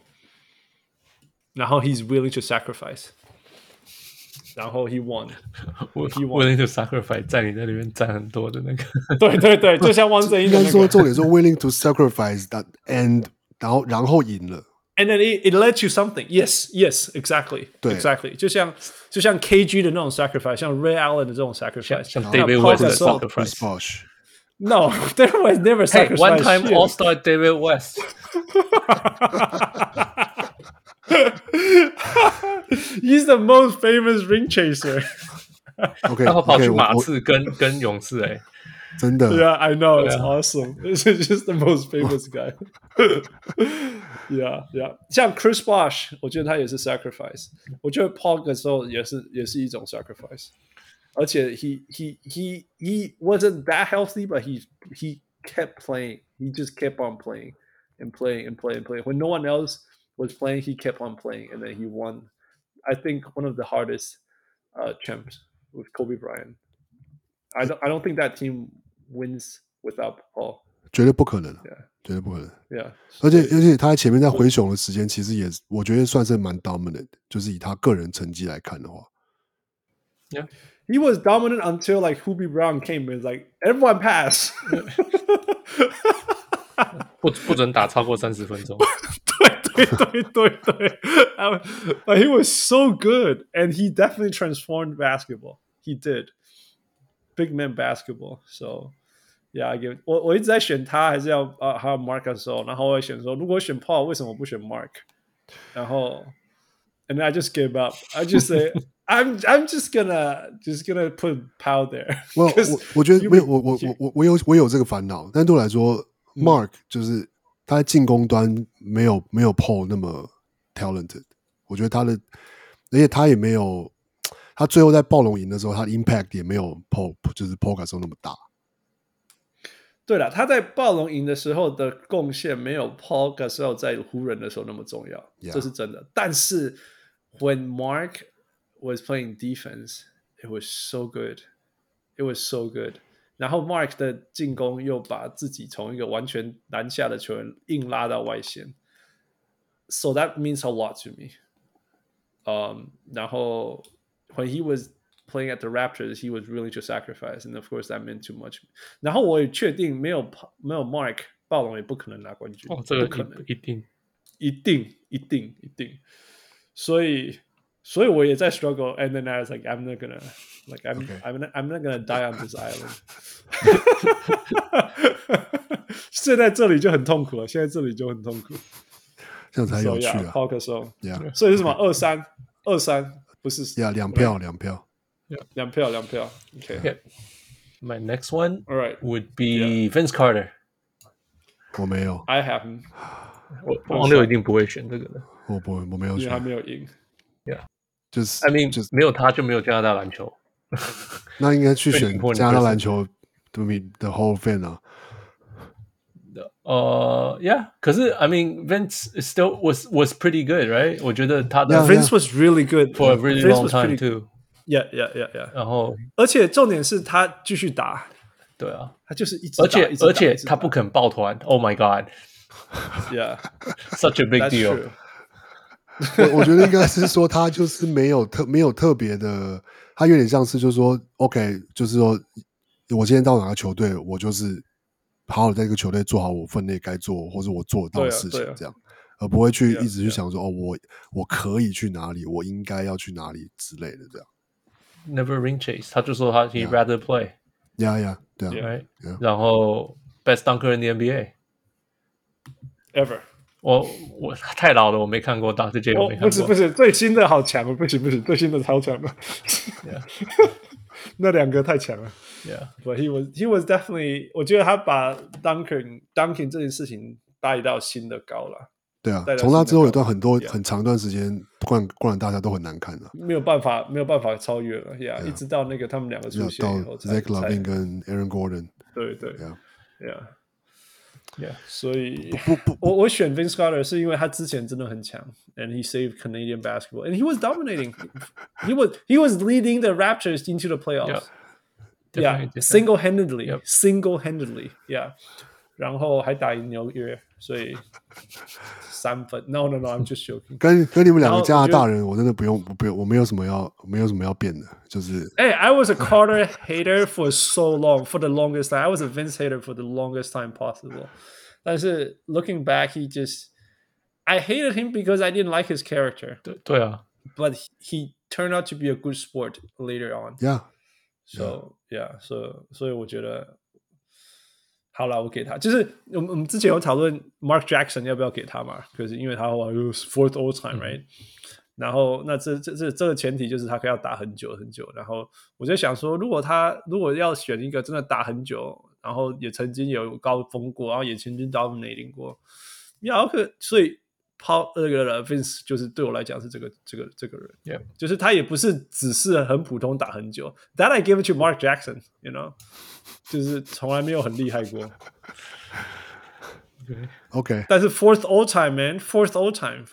he's willing to sacrifice。然後 he won. Willing to sacrifice 在你那裡面佔很多的那個。 對，就像汪正英的那個。 應該說重點說 willing to sacrifice that and 然後贏了。 And then it led you something. Yes, exactly. 對 exactly. 就像 KG 的那種 sacrifice， 像 Ray Allen 的這種 sacrifice， 像 David West 的 sacrifice。 No, David West never sacrificed. One time All-Star David West. He's the most famous ring chaser. OK， 他跑去馬刺跟勇士真的。 Yeah, I know. It's awesome. It's just the most famous guy. Yeah. 像 Chris Bosh， 我覺得他也是 sacrifice。我覺得 Paul Gasol 也是一種 sacrifice。而且 he wasn't that healthy, but he kept playing. He just kept on playing and playing and playing and playing. When no one else was playing, he kept on playing, and then he won. I think one of the hardest champs with Kobe Bryant. I don't think that team wins without Paul， 絕對不可能， yeah. 絕對不可能。 Yeah. 而且他在前面在灰熊的時間，其實也我覺得算是蠻 dominant， 就是以他個人成績來看的話。 Yeah. He was dominant until like Hubie Brown came and like everyone pass 不准打超過30分鐘。 對 But he was so good and he definitely transformed basketball. He did. Big man basketball. So yeah, I give it. 我一直在選他還是要還有 Marc Gasol， 然後我會選說如果選 Paul 為什麼我不選 Marc， 然後 and then I just gave up. I just say I'm just gonna put Paul there. 我覺得没有我有這個煩惱，但對我來說，Marc 就是他在進攻端沒有 Paul 那麼 talented。我覺得而且他也沒有，他最後在暴龍贏的時候，他的 impact 也沒有 Paul 就是 Paul Gasol 那麼大。 對了，他在暴龍贏的時候的貢獻沒有 Paul Gasol 在湖人的時候那麼重要， Yeah. 這是真的。但是 when Marc was playing defense, it was so good. It was so good. 然後 Marc 的進攻又把自己從一個完全籃下的球員硬拉到外線。So that means a lot to me. 然後 when he was playing at the Raptors, he was willing to sacrifice, and of course that meant too much. 然後我也確定沒有 Marc， 暴龍也不可能拿冠軍。 這個一定。所以我也在 struggle, and then I was like, I'm not gonna die on this island. 現在這裡就很痛苦了，這樣才有趣啊。 Paul Gasol， yeah. 所以是什麼2-3，不是 2票。 2票。Okay. My next one right. would be Vince Carter. 我沒有 I haven't. 王六一定不會選這個的。 我沒有選， 因為他沒有贏。 Yeah. 就是 I mean， 沒有他就沒有加拿大籃球。 那應該去選加拿大籃球的 Hall of Fame 啊。 Yeah， 可是 I mean Vince still was pretty good, right？ 我覺得他的 Vince was really good for a really long time too. Yeah. 然後， 而且重點是他繼續打， 對啊， 他就是一直打， 而且他不肯抱團。Oh my God！Yeah，such a big deal。 我覺得應該是說他就是沒有特別的，他有點像是就是說 OK， 就是說我今天到哪個球隊，我就是好好在這個球隊做好我分內該做或者我做得到的事情，這樣，而不會去一直去想說我可以去哪裡，我應該要去哪裡之類的這樣。 Never ring chase， 他就說he'd rather play。 Yeah， 對啊。 Right? Yeah. 然後 best dunker in the NBA ever。 我太老了，我沒看過，大這屆我沒看過。 不是，最新的好強，不行，最新的超強的。 Yeah. 那兩個太強了。 Yeah. But he was definitely， 我覺得他把 dunking 這件事情帶到新的高了。 對啊，從他之後有段很長段時間，灌籃大家都很難看了， 沒有辦法超越了。Yeah， 一直到那個他們兩個出現以後， Zach LaVine 跟 Aaron Gordon。 對。 Yeah， 所以我選 Vince Carter 是因為他之前真的很強 ，and he saved Canadian basketball, and he was dominating. he was leading the Raptors into the playoffs. Yeah, single-handedly. Yeah. 然後還打贏紐約，所以3分。No, I'm just joking. 跟你們兩個加拿大人，我真的不用，我沒有什麼要變的，就是。 I was a Carter hater for so long, for the longest time. I was a Vince hater for the longest time possible. 但是 looking back, I hated him because I didn't like his character. 對啊。 But he turned out to be a good sport later on. Yeah. So所以我覺得。好了，我給他。就是我們之前有討論 Mark Jackson 要不要給他嘛？可是因為他話 fourth all time, right？、然後那這個前提就是他可以要打很久。然後我就想說，如果要選一個真的打很久，然後也曾經有高峰過，然後也曾經 dominating 過，所以Vince 就是對我來講是這個人， yeah. 就是他也不是只是很普通打很久。That I give it to Mark Jackson, you know， 就是從來沒有很厲害過。 OK， 但是 fourth all time, man, fourth all time，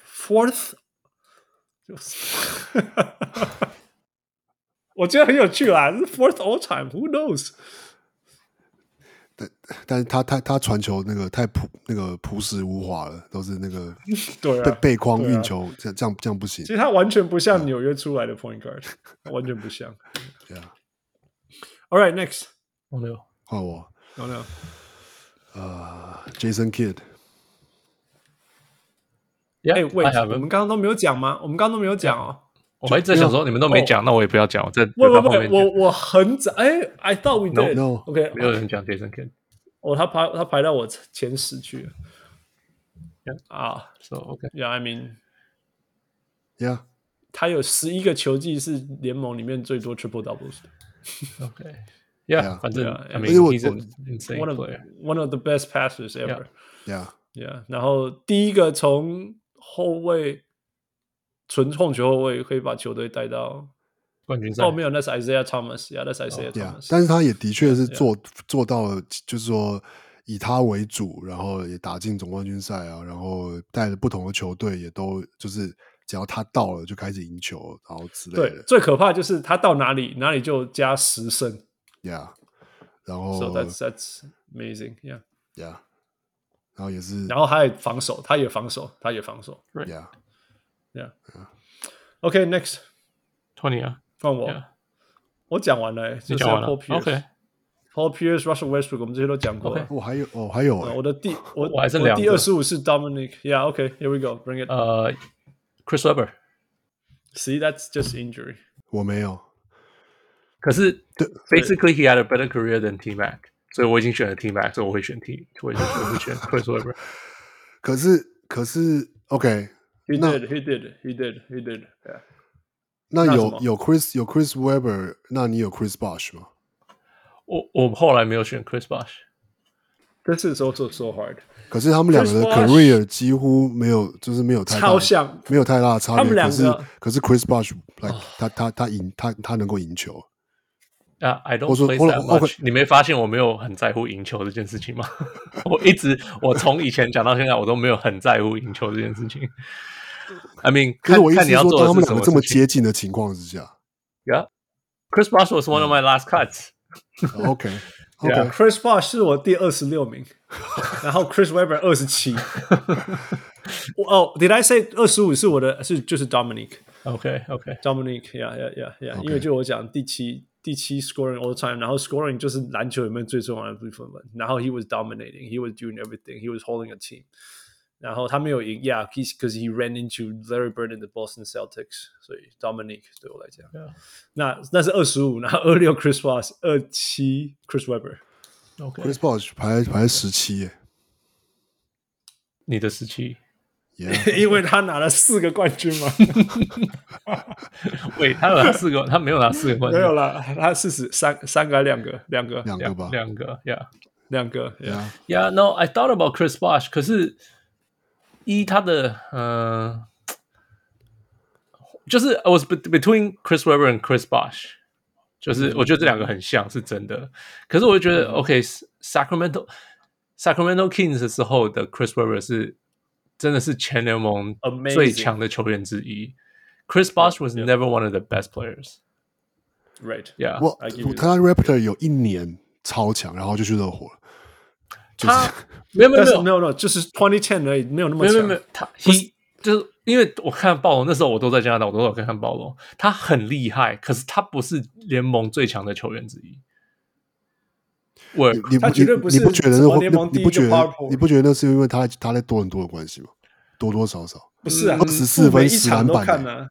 我覺得很有趣啦。fourth all time, who knows？ 但是他傳球那個太樸實無華了，都是那個對啊背框運球，這樣不行。 其實他完全不像紐約出來的 point guard，完全不像。All right, next， 没有換我。 Jason Kidd。 哎，喂，我們剛剛都沒有講嗎？我們剛剛都沒有講哦。 我還在想說你們都沒講，那我也不要講。 我很早I thought we did. No. 沒有人講 Jason Kidd。 他排到我前10去了。 So okay. Yeah, I mean, yeah. 他有11個球季是聯盟裡面最多 triple doubles 的。 Okay. Yeah. 反正 I mean, he's an insane player. One of the best passers ever. Yeah. 然後第一個從後衛純控球後衛可以把球隊帶到冠軍賽。 沒有，那是 Isaiah Thomas。那是 Isaiah Thomas。 但是他也的確是做到了，就是說以他為主，然後也打進總冠軍賽啊，然後帶着不同的球隊也都就是只要他到了就開始贏球，然後之類的。 對，最可怕就是他到哪裡就加10勝。 Yeah， 然後 So that's amazing. Yeah. 然後也是， 然后他也防守。 Right. Yeah. Okay, next. 20啊， 換我。我講完了， 你講完了。 OK。Paul Pierce、Russell Westbrook， 我們這些都講過。 我還有。 我還剩2個。 第25是 Dominic。Yeah, okay, here we go. Bring it. Chris Webber. See, that's just injury. 我沒有。 可是 basically he had a better career than T-Mac， 所以我已經選了 T-Mac， 所以我會選 Chris Webber。 可是 OK。He did. Yeah. 那有 Chris Webber， 那你有 Chris Bosh 嗎？ 我後來沒有選 Chris Bosh。This is also so hard。 可是他們兩個的 career 幾乎沒有，就是沒有太大， 超像， 沒有太大的差別。 他們兩個， 可是 Chris Bosh， 他能夠贏球。 I don't play that much。你沒發現我沒有很在乎贏球這件事情嗎？我從以前講到現在，我都沒有很在乎贏球這件事情。I mean， 可是我意思是說，當他們兩個這麼接近的情況之下 ，Yeah，Chris Bosh was one of my last cuts。OK，Chris Bosh 是我第26名，然後 Chris Webber 27。Did I say 25是我的？就是 Dominic。Dominic，Yeah，因為就我講第七 scoring all time， 然後 scoring 就是籃球裡面最重要的部分嘛。然後 he was dominating， he was doing everything，he was holding a team。然後他沒有贏 ，Yeah，because he ran into Larry Bird and the Boston Celtics， 所以 Dominic 對我來講，那是25，然後26 Chris Bosh，27 Chris Webber。Chris Bosh 排17耶， 你的17。 因為他拿了4個冠軍嘛。 喂，他有拿4個，他沒有拿4個冠軍。 沒有啦，他3個還2個，2個吧 ，2個 ，2個 ，Yeah。No, I thought about Chris Bosh， 可是他的就是 I was between Chris Webber and Chris Bosh， 就是我覺得這兩個很像，是真的。可是我覺得，OK，Sacramento Kings 的時候的 Chris Webber 是。真的是全聯盟最強的球員之一。Chris Bosh was never one of the best players. Right. Yeah. 他 Raptor 有1年超強，然後就去熱火了。 他沒有，就是2010而已，沒有那麼強。沒有， 他就是因為我看暴龍那時候，我都在加拿大，我都有看暴龍。他很厲害，可是他不是聯盟最強的球員之一。 他絕對不是聯盟第一個 power forward。 你不覺得那是因為他在多倫多的關係嗎？多多少少不是啊 ，24分10籃板啊。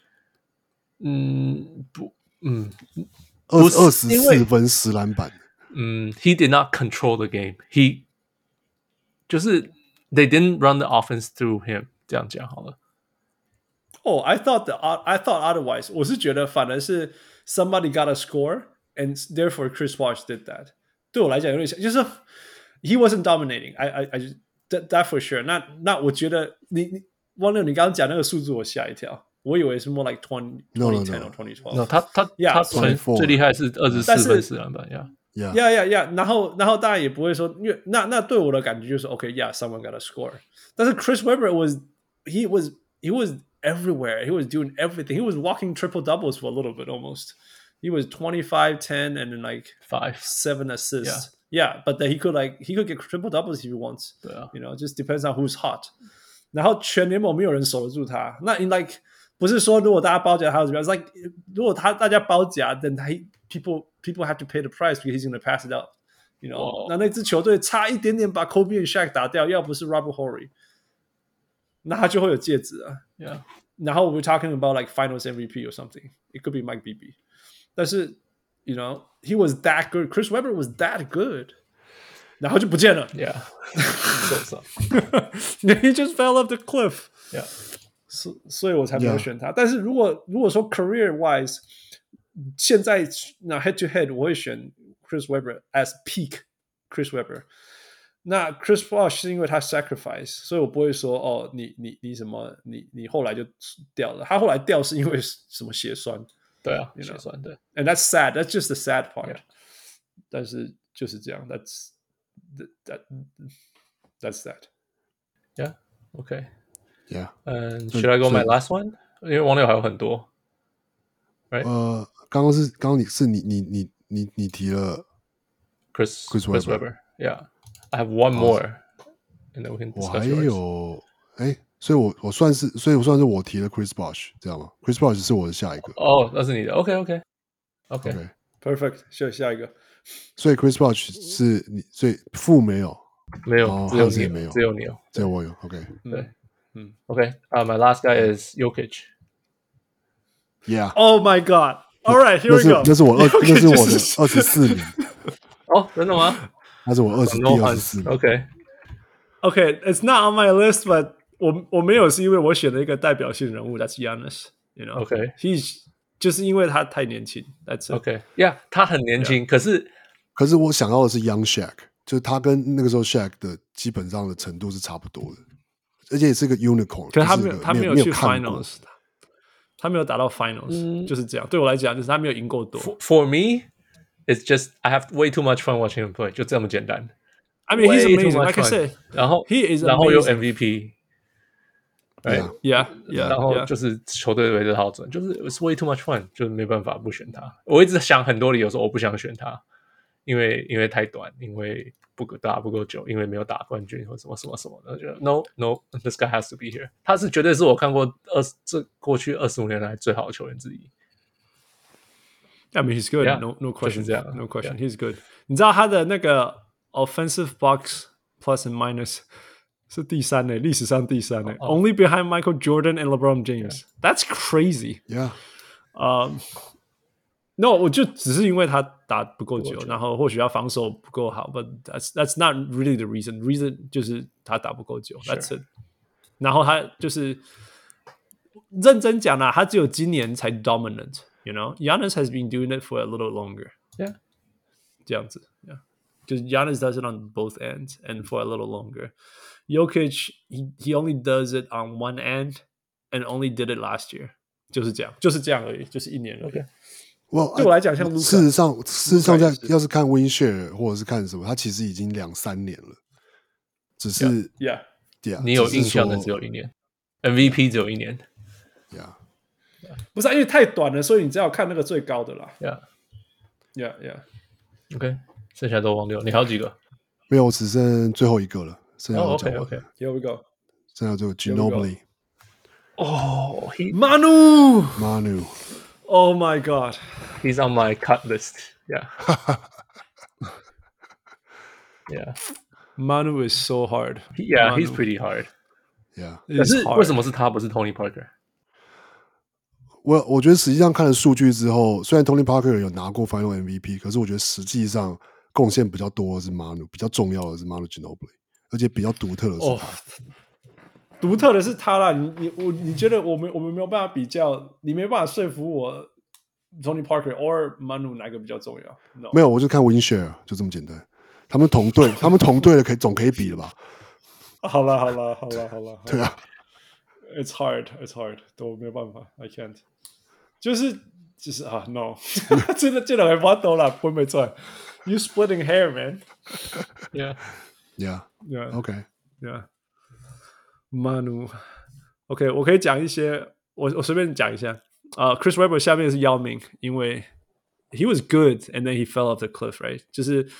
24分10籃板。 He did not control the game. He 就是 they didn't run the offense through him。這樣講好了。 I thought otherwise。我是覺得反而是 somebody got a score and therefore Chris Bosh did that。對我來講有點像，就是 he wasn't dominating. I that for sure. 那我覺得汪六，你剛剛講那個數字我嚇一跳，我以為是 more like 2010 or 2012。 No， 他最厲害是24分4籃板 ，Yeah。然後當然也不會說，因為那對我的感覺就是 OK，Yeah，someone got a score。但是 Chris Webber he was everywhere. He was doing everything. He was walking triple doubles for a little bit almost. He was 25, 10, and then like 7 assists. Yeah, but then he could get triple doubles if he wants. 对啊 You know, just depends on who's hot. 然后全联盟没有人守得住他。那 in like 不是说如果大家包夹他怎麼樣 ？It's like 如果大家包夾 ，then people have to pay the price because he's going to pass it out. You know， 那支球隊差一點點把 Kobe and Shaq 打掉，要不是 Robert Horry， 那他就會有戒指啊。 Yeah. 然後 we're talking about like Finals MVP or something. It could be Mike Bibby. 但是 you know, he was that good. Chris Webber was that good. 然後就不見了。 Yeah. So. He just fell off the cliff. Yeah. 所以我才沒有選他。但是如果說 career wise， 現在那 head to head， 我會選 Chris Webber as peak Chris Webber。那 Chris Bosh 是因為他 sacrifice， 所以我不會說哦，你什麼，你後來就掉了。他後來掉是因為什麼血栓？ 對啊，血栓對。 And that's sad. That's just the sad part. Yeah. 但是就是這樣。That's that. Yeah. Okay. Yeah. Should I go my last one? 因為網友還有很多。Right? 剛剛你提了 Chris Webber. Webber. Yeah. I have one more. And then we can discuss 我還有所以我算是我提了 Chris Bosh 這樣嗎 ？Chris Bosh 是我的下一個。 哦，那是你的。OK. Perfect. 下一個。 所以 Chris Bosh 是你，所以負沒有， 只有你没有， 只有你有， 只有我有。OK. 對，OK. My last guy is Jokic. Yeah. Oh my God. All right, here we go. 那是我的24名。 哦，真的嗎？ 那是我第24名。 Okay, it's not on my list, but 我沒有是因為我選了一個代表性人物 ，That's Giannis. You know, OK. He's 就是因為他太年輕 ，That's it. OK. Yeah, 他很年輕，可是我想要的是 Young Shaq， 就是他跟那個時候 Shaq 的基本上的程度是差不多的，而且也是個 unicorn。 可是他沒有去 finals， 他沒有打到 finals，就是這樣。對我來講，就是他沒有贏夠多。 For me, it's just I have way too much fun watching him play， 就這麼簡單。 I mean, he's amazing. Like I said, 然後 he is amazing. 然後有 MVP。Yeah. 然後就是球隊圍着他轉，就是 it's way too much fun， 就是沒辦法不選他。我一直想很多理由說我不想選他，因為太短，因為打不夠久，因為沒有打冠軍或什麼的。就 No, this guy has to be here。他是絕對是我看過過去25年來最好的球員之一。 I mean, he's good. Yeah, No question. 就是這樣 No question. Yeah. He's good. 你知道他的那個 offensive box plus and minus 是第三呢，歷史上第三呢。Only behind Michael Jordan and LeBron James. Yeah. That's crazy. Yeah. No, 我就只是因為他打不夠久，然後或許他防守不夠好 ，but that's not really the reason. Reason 就是他打不夠久 ，That's it. 然後他就是認真講啦，他只有今年才 dominant. You know, Giannis has been doing it for a little longer. Yeah. 這樣子 ，Yeah. 就是 Giannis does it on both ends and for a little longer. Jokic, he only does it on one end and only did it last year. 就是這樣而已，就是一年而已。 Okay. 對我來講，像盧卡， 事實上要是看 win share 或者是看什麼，他其實已經2-3年了，只是 Yeah. 你有印象的只有一年 ，MVP 只有一年 ，Yeah. 不是因為太短了，所以你只要看那個最高的啦。Yeah. OK， 剩下都忘掉，你還有幾個？ 沒有，我只剩最後一個了。剩下都講完了。 OK. Here we go. 剩下就 Ginobili。 哦 Manu. Oh my God. He's on my cut list. Yeah. Yeah. Manu is so hard. Yeah, he's pretty hard. Yeah. 可是為什麼是他不是 Tony Parker？ 我覺得實際上看了數據之後，雖然 Tony Parker 有拿過 Final MVP， 可是我覺得實際上貢獻比較多的是 Manu， 比較重要的是 Manu Ginobili， 而且比較獨特的是他。 獨特的是他啦，你覺得我們沒有辦法比較，你沒辦法說服我 Tony Parker or Manu 哪個比較重要？ No. 沒有，我就看 win share 就這麼簡單。他們同隊的總可以比了吧？ 好了。 對啊 ，It's hard， 都沒有辦法 ，I can't。就是啊 ，No， 這兩個發抖了，不會錯。You splitting hair, man. Yeah. Okay. Yeah. Manu. OK， 我可以講一些，我隨便講一下。Chris Webber 下面是姚明，因為 he was good and then he fell off the cliff, right？ 就是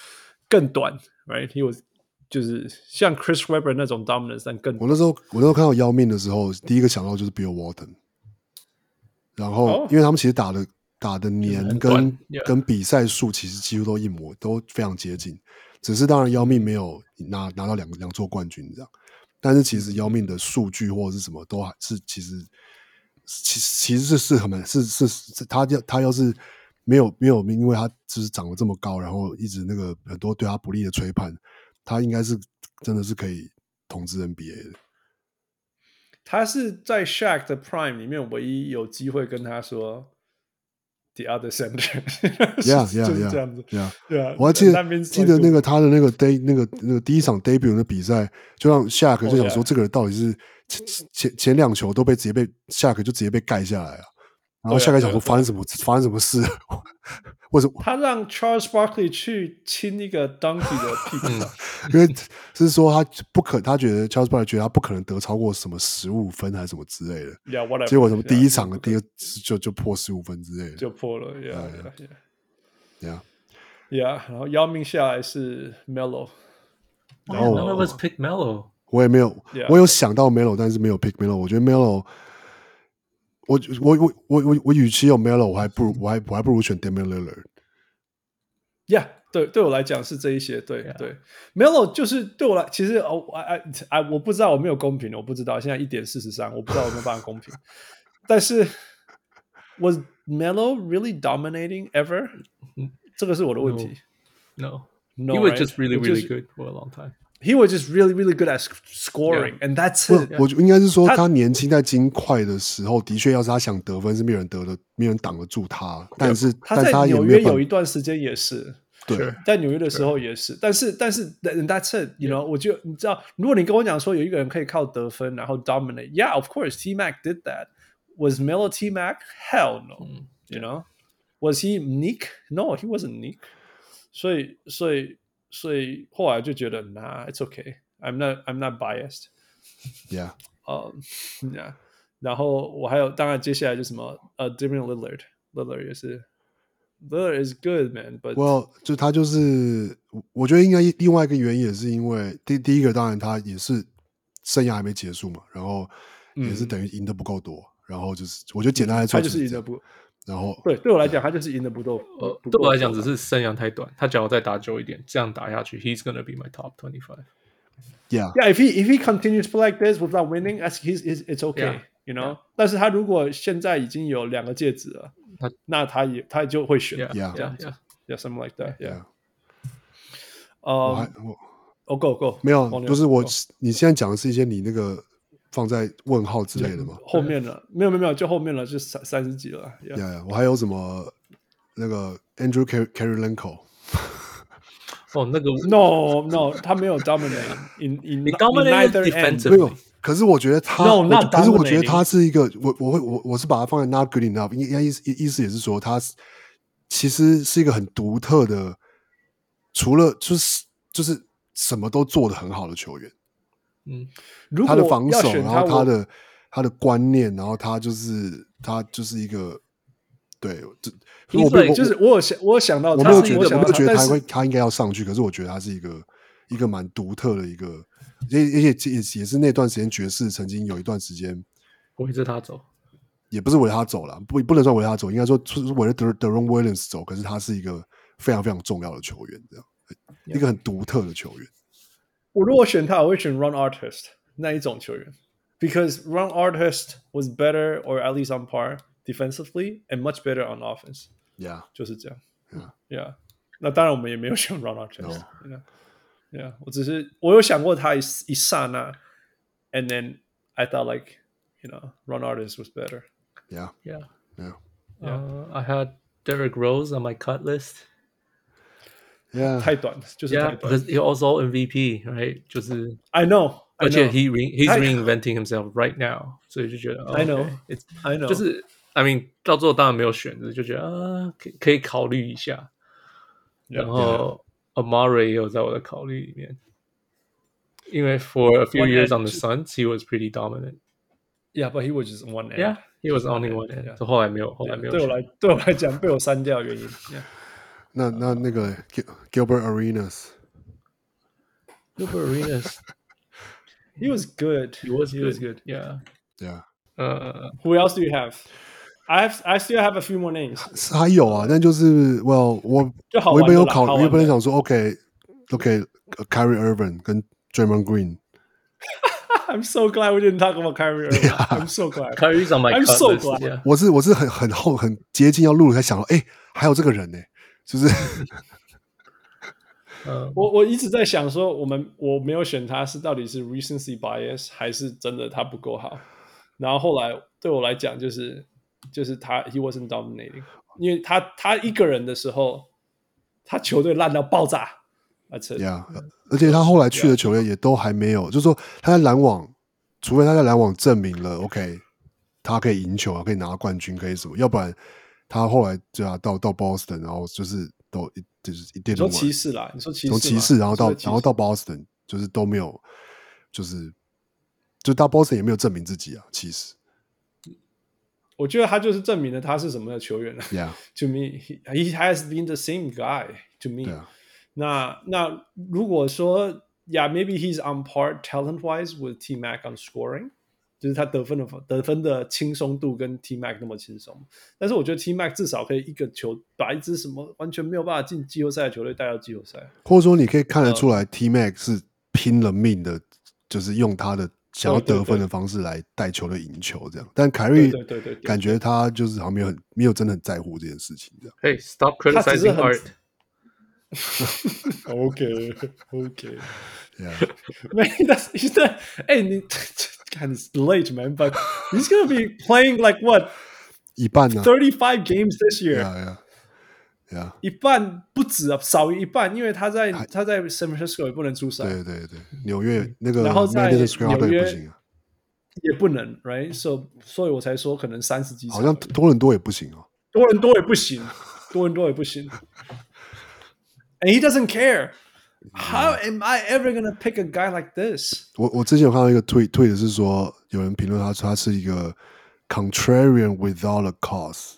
更短 ，right？ He was 就是像 Chris Webber 那種 dominance， 但更我那时候看到姚明的时候，第一個想到就是 Bill Walton， 然後因為他們其實打的年跟比賽數其實幾乎都一模，都非常接近，只是當然姚明沒有拿到兩座冠軍這樣，但是其實姚明的數據或者是什麼都還是其實是很是他要是沒有因為他就是長得這麼高，然後一直那個很多對他不利的吹判，他應該是真的是可以統治 NBA 的。 他是在 Shaq 的 Prime 裡面唯一有機會跟他說 The other center， 就是這樣子。Yeah, 我還記得那個他的那個第一場 debut 的比賽，就讓 Shaq 就想說這個人到底是前兩球都直接被 Shaq 就直接被蓋下來啊，然後 Shaq 想說發生什麼事？為什麼他讓 Charles Barkley 去親一個 Donkey 的屁股上？ 因為是說他覺得 Charles Barkley 覺得他不可能得超過什麼15分還是什麼之類的。 Yeah, 結果什麼第一場的第二就破15分之類的， 就破了。 Yeah. 然後姚明下來是 Melo， 然後 None of us pick Melo。 我也沒有，我有想到 Melo， 但是沒有 pick Melo。我覺得 Melo。我與其有 Melo， 我還不如選 Damian Lillard。 對我來講是這一些，對。Melo 就是對我來，其實我不知道，我沒有公平，我不知道現在1.43，我不知道有沒有辦法公平。但是 Was Melo really dominating ever？ 這個是我的問題。 No, he was just really good for a long time.He was just really, really good at scoring, and that's it. 我應該是說，他年輕在金塊的時候，的確，要是他想得分，是沒有人擋得住他。但是他在紐約有一段時間也是， 對， 在紐約的時候也是。但是 that's it, you know？ 我就你知道，如果你跟我講說有一個人可以靠得分然後 dominate, yeah, of course, T-Mac did that. Was Melo T-Mac? Hell no. You know? Was he Nick? No, he wasn't Nick. 所以後來就覺得 Nah, it's okay. I'm not biased. Yeah. Yeah. 然後我還有，當然接下來就什麼Damian Lillard 也是 Lillard is good, man. But well, 就他就是，我覺得應該另外一個原因也是因為第一個，當然他也是生涯還沒結束嘛，然後也是等於贏得不夠多，然後就是我覺得簡單來說， 他就是贏得不。 然後對我來講，他就是贏得不夠。 對我來講，只是生涯太短。他只要再打久一點，這樣打下去 ，He's gonna be my top 25. Yeah. If he continues to play like this without winning, it's okay. You know. 但是他如果現在已經有2個戒指了，那他就會選。 Yeah. Something like that. Yeah. Go. 沒有，不是我。你現在講的是一些你那個。放在問號之類的嗎？ 後面了，沒有，就後面了，就30幾了。 我還有什麼那個 Andrew Kirilenko？ 那個 No， 他沒有 dominate in neither end。 沒有，可是我覺得他，可是我覺得他是一個，我是把它放在 not good enough， 意思也是說他其實是一個很獨特的，除了就是什麼都做得很好的球員。他的防守，然後他的觀念，然後他就是一個對， 就是我有想到， 我沒有覺得他應該要上去，可是我覺得他是一個蠻獨特的一個，而且也是那段時間爵士曾經有一段時間圍着他走， 也不是圍着他走啦，不能算圍着他走，應該說是圍着 Deron Williams 走，可是他是一個非常非常重要的球員，這樣一個很獨特的球員。 我如果選他，我會選 Ron Artest 那一種球員 ，because Ron Artest was better or at least on par defensively and much better on offense. Yeah， 就是這樣。Yeah， 那當然我們也沒有選 Ron Artest。Yeah， 我有想過他一剎那 ，and then I thought like Ron Artest was better. Yeah. I had Derrick Rose on my cut list. Yeah. 太短，就是太短。 Because he also MVP, right? 就是 I know. 而且 he's reinventing himself right now， 所以就覺得 I know. 就是 I mean 到最後當然沒有選擇，就覺得可以考慮一下。然後 Amare 也有在我的考慮裡面，因為 for a few years on the Suns, he was pretty dominant. Yeah, but he was just one end. Yeah, he was only one end. 後來沒有。 對我來講被我刪掉的原因。 那個 Gilbert Arenas。Gilbert Arenas he was good. He was good. Yeah. Who else do you have? I still have a few more names. 還有啊，但就是我原本有考，原本想說 OK Kyrie Irving 跟 Draymond Green。I'm so glad we didn't talk about Kyrie Irving. Yeah. I'm so glad. Kyrie's on my I'm cut so list. glad. Yeah. 我是很接近要錄才想到，還有這個人呢，就是我一直在想說，我沒有選他是到底是 recency bias 還是真的他不夠好。然後後來對我來講就是他 he wasn't dominating， 因為他一個人的時候，他球隊爛到爆炸。 Yeah， 而且他後來去的球隊也都還沒有，就是說他在籃網，除非他在籃網證明了 OK， 他可以贏球啊，可以拿冠軍，可以什麼，要不然他後來就要到 Boston， 然後就是一定。 你說騎士啦，你說騎士， 從騎士然後到 Boston， 就是都沒有，就到 Boston 也沒有證明自己啊，其實。 我覺得他就是證明了他是什麼的球員了。 Yeah. To me, he has been the same guy to me. Yeah. 那如果說 Yeah, maybe he's on par talent-wise with T-Mac on scoring， 就是他得分的輕鬆度跟 T-Mac 那麼輕鬆。但是我覺得 T-Mac 至少可以一個球把一支什麼完全沒有辦法進季後賽的球隊帶到季後賽。 或者說你可以看得出來 T-Mac 是拼了命的，就是用他的想要得分的方式來帶球隊贏球這樣。但凱瑞感覺他就是好像沒有真的很在乎這件事情這樣。 Hey, stop criticizing art. Okay. Yeah. Man, he's that. Hey, God, it's late, man. But he's gonna be playing like what? 一半呢 ？35 games this year. Yeah. 一半不止啊，少於一半，因為他在 San Francisco 也不能出賽。 對，紐約那個， 然後在紐約不行啊， 也不能 ，right？ 所以我才說可能30幾場。 好像多倫多也不行哦。 多倫多也不行。And he doesn't care. How am I ever gonna pick a guy like this? 我之前有看到一個tweet 的是說，有人評論他說他是一個 contrarian without a cause.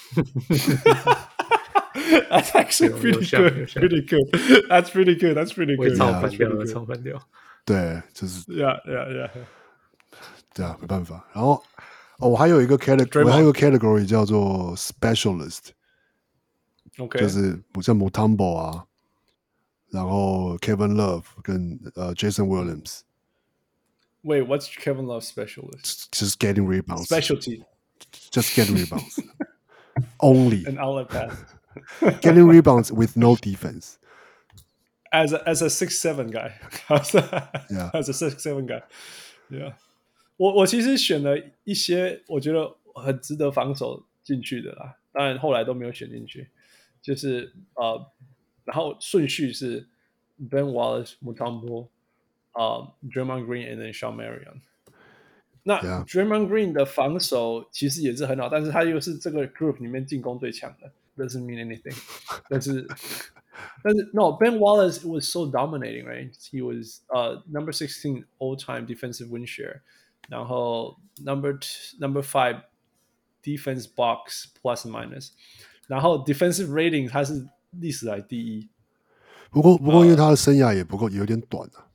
That's actually pretty good. That's pretty good. 唱反調。 對，就是 Yeah. 對啊，没辦法。然後我還有一個 category 叫做 specialist， OK， 就是像 Mutombo 啊，然後 Kevin Love 跟Jason Williams。 Wait, what's Kevin Love's specialist? Just getting rebounds. Specialty. Just getting rebounds. Only. An outlet pass. Getting rebounds with no defense. As a 6'7" guy. Yeah. As a 6'7" guy. Yeah. 我其實選了一些我覺得很值得防守進去的啦，當然後來都沒有選進去。就是然後順序是 Ben Wallace、Mutombo、Draymond Green and then Shawn Marion。那 Draymond Green 的防守其實也是很好，但是他又是這個 group 裡面進攻最強的 ，doesn't mean anything 但是 no, Ben Wallace was so dominating, right? He was number 16 all-time defensive win share. 然後 number 5 defense box plus minus， 然後 defensive rating 他是歷史來第一。 不過因為他的生涯也不夠，有點短啊。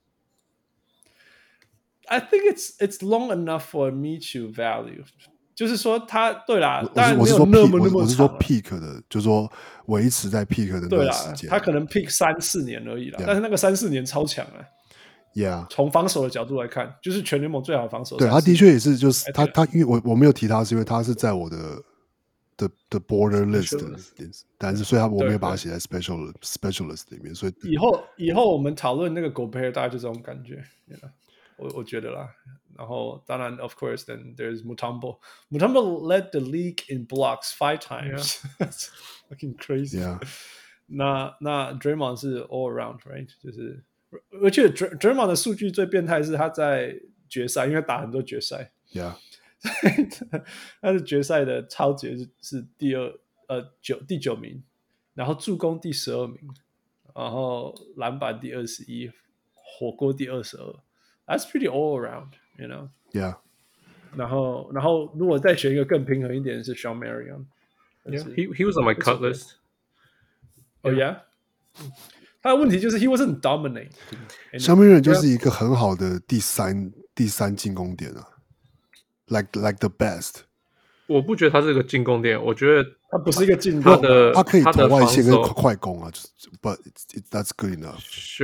I think it's long enough for me to value。就是說他對啦，當然沒有那麼長。 我是說 peak 的，就是說維持在 peak 的那個時間。 他可能 peak 3-4年而已啦，但是那個3-4年超強啊。 Yeah， 從防守的角度來看，就是全聯盟最好的防守。 對，他的確也是，就是他，因為我沒有提他，是因為他是在我的 border list 的，但是所以我沒有把他寫在 specialist 裡面，所以以後我們討論那個 Gobert 大概就這種感覺，我覺得啦。然後當然 of course then there's Mutombo led the league in blocks 5 times. That's fucking crazy. Yeah. 那 Draymond 是 all around, right? 就是而且 Draymond 的數據最變態是他在決賽，因為打很多決賽。 Yeah. 他是決賽的超級是第9名，然後助攻第12名，然後籃板第21，火鍋第22。That's pretty all around, you know. Yeah. 然後如果再選一個更平衡一點是 Shawn Marion. Yeah, he was on my cut list. Oh yeah，他的問題就是 he wasn't dominating。 香槟人就是一個很好的第三進攻點啊 ，like the best。 我不覺得他是個進攻點，我覺得他不是一個進攻的， 他可以投外線跟快快攻啊，就是 ，but that's good enough。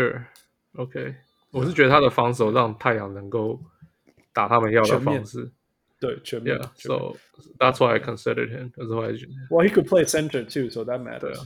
Sure，OK， 我是覺得他的防守讓太陽能夠打他們要的方式。 對，全面。 So that's why I considered him. Well, he could play center too, so that matters.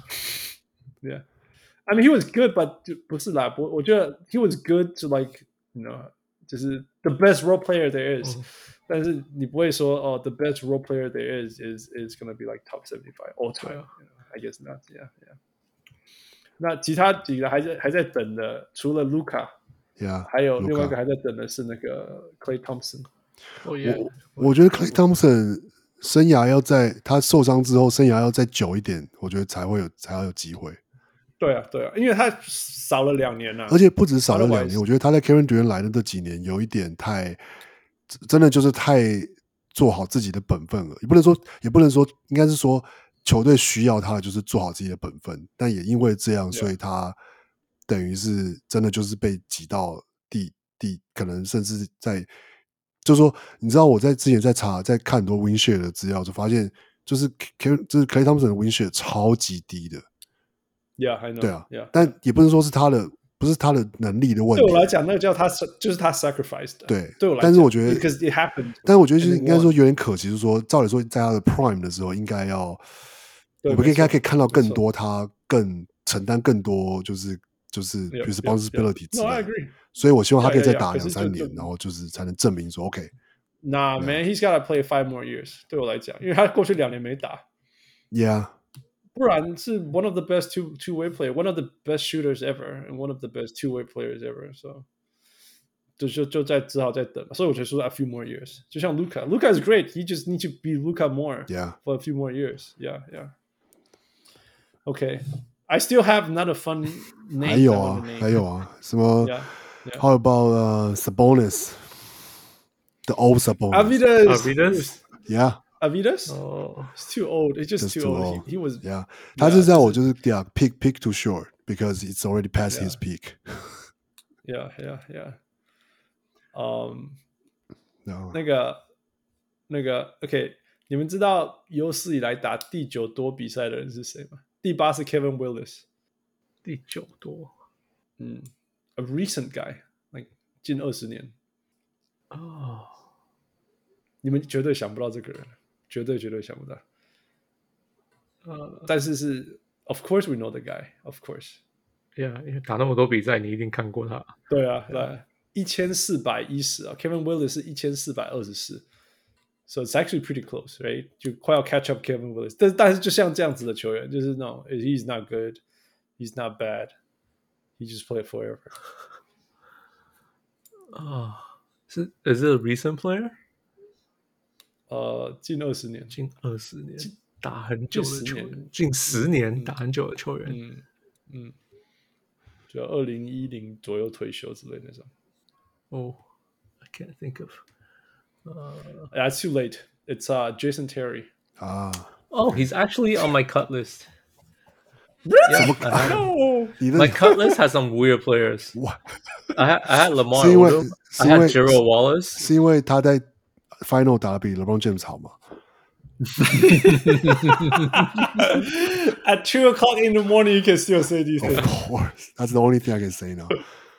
Yeah, I mean he was good, but 不是啦，我覺得 he was good to like you know， 就是 the best role player there is。但是你不會說哦 the best role player there is gonna be like top 75 all time. I guess not. Yeah. 那其他幾個還在等的，除了 Luka， 還有另外一個還在等的是那個 Klay Thompson。 我覺得 Klay Thompson 生涯要在他受傷之後，生涯要再久一點，我覺得才要有機會。 對啊，因為他少了2年了， 而且不止少了2年，我覺得他在 Kevin Durant 來的這幾年有一點真的就是太做好自己的本分了，也不能說，應該是說球隊需要他的就是做好自己的本分，但也因為這樣，所以他等於是真的就是被擠到可能甚至在，就是說，你知道我之前在看很多 win share 的資料，就發現就是 Klay Thompson 的 win share 超級低的。 Yeah, I know. 對啊， yeah. 但也不是说不是他的能力的問題。 對我來講，那個叫他就是他 sacrifice 的。 對我來講，但是我覺得 because it happened。 但是我覺得就是應該說有點可惜，就是說照理說在他的 prime 的時候，應該要我們應該可以看到更多他更承擔更多就是 responsibility 之類的。 No, I agree. 所以我希望他可以再打2-3年，然後就是才能證明說 OK。Nah, man, he's gotta play 5 more years。对我來講，因為他過去2年沒打。 Yeah。 不然是 one of the best two-way player, one of the best shooters ever, and one of the best two-way players ever. So 就只好再等。所以我就說 a few more years. 就像 Luka is great. You just need to be Luka more for a few more years. Yeah. Okay. I still have another fun name. 還有啊，什麼 How about Sabonis? The old Sabonis. Arvydas. Yeah.Avidas? Oh, it's too old. It's just too old. He was. Yeah. 他是在我就是 pick too short because it's already past his peak. Yeah. No. 那個 OK， 你們知道有史以來打第9多比賽的人是誰嗎？第8是 Kevin Willis。 第9多 ，a recent guy， like 近20年。你們絕對想不到這個人。絕對想不到，但是 of course we know the guy, of course. Yeah, 因為打那麼多比賽，你一定看過他。 對啊，1410啊 ，Kevin Willis 是1424 ，so it's actually pretty close, right? 就快要 catch up Kevin Willis， 但是就像這樣子的球員，就是那種 he's not good, he's not bad, he just played forever. Is it a recent player? 近20年， 打很久的球員，近10年打很久的球員， 就2010左右退休之類那種。 Oh, I can't think of. It's too late. It's Jason Terry. Oh, he's actually on my cut list. Really? Yeah, no. My cut list has some weird players. What? I had Lamar Odom. I had Gerald Wallace. 是因為他在Final 打得比 LeBron James 好嗎？ At 2 o'clock in the morning, you can still say these things. Of course, that's the only thing I can say now.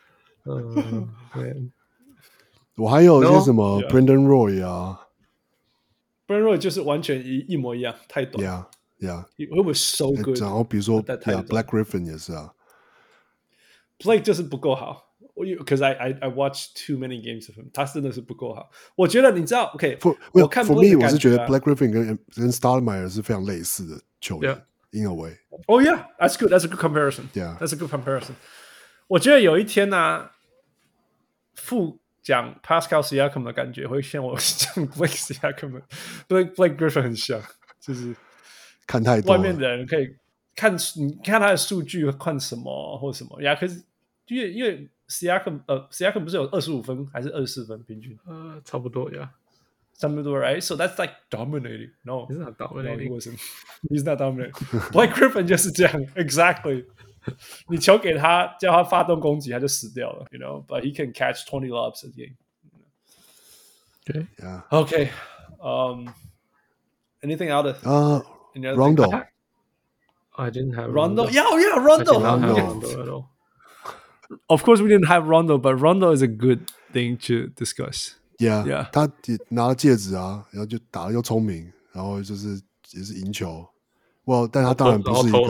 我還有些什麼 Brandon Roy 啊 ，Brandon Roy 就是完全一模一樣，太短。 Yeah. He was so good. 然後比如說 Black Griffin 也是啊 ，Blake 就是不夠好。Because I watched too many games of him， 他真的是不夠好。我覺得你知道 ，OK， 我看 For me， 我是覺得 Black Griffin 跟 Stoudemire 是非常類似的球員 ，in a way. Oh yeah, that's good. That's a good comparison. Yeah, that's a good comparison. 我覺得有一天呢，副講 Pascal Siakam 的感覺會像我講 Blake Siakam 的 Blake Griffin 很像，就是看太多， 外面的人可以看你看他的數據看什麼或什麼呀？可是因為Siakam 不是有25分還是24分平均？ 差不多呀。 Some people, right? So that's like dominating. No, he's not dominating. No, he wasn't. He's not dominating. Blake Griffin 就是这樣 ，exactly. 你球給他，叫他發動攻擊，他就死掉了 ，you know. But he can catch 20 lobs a game. Okay. Yeah. Okay. Anything out of Rondo. I didn't have Rondo. Rondo. Yeah, Rondo. I did not have Rondo. Rondo at all. Of course, we didn't have Rondo, but Rondo is a good thing to discuss. Yeah. 他拿了戒指啊，然後就打得又聰明，然後就是也是贏球。Well， 但他當然不是一個。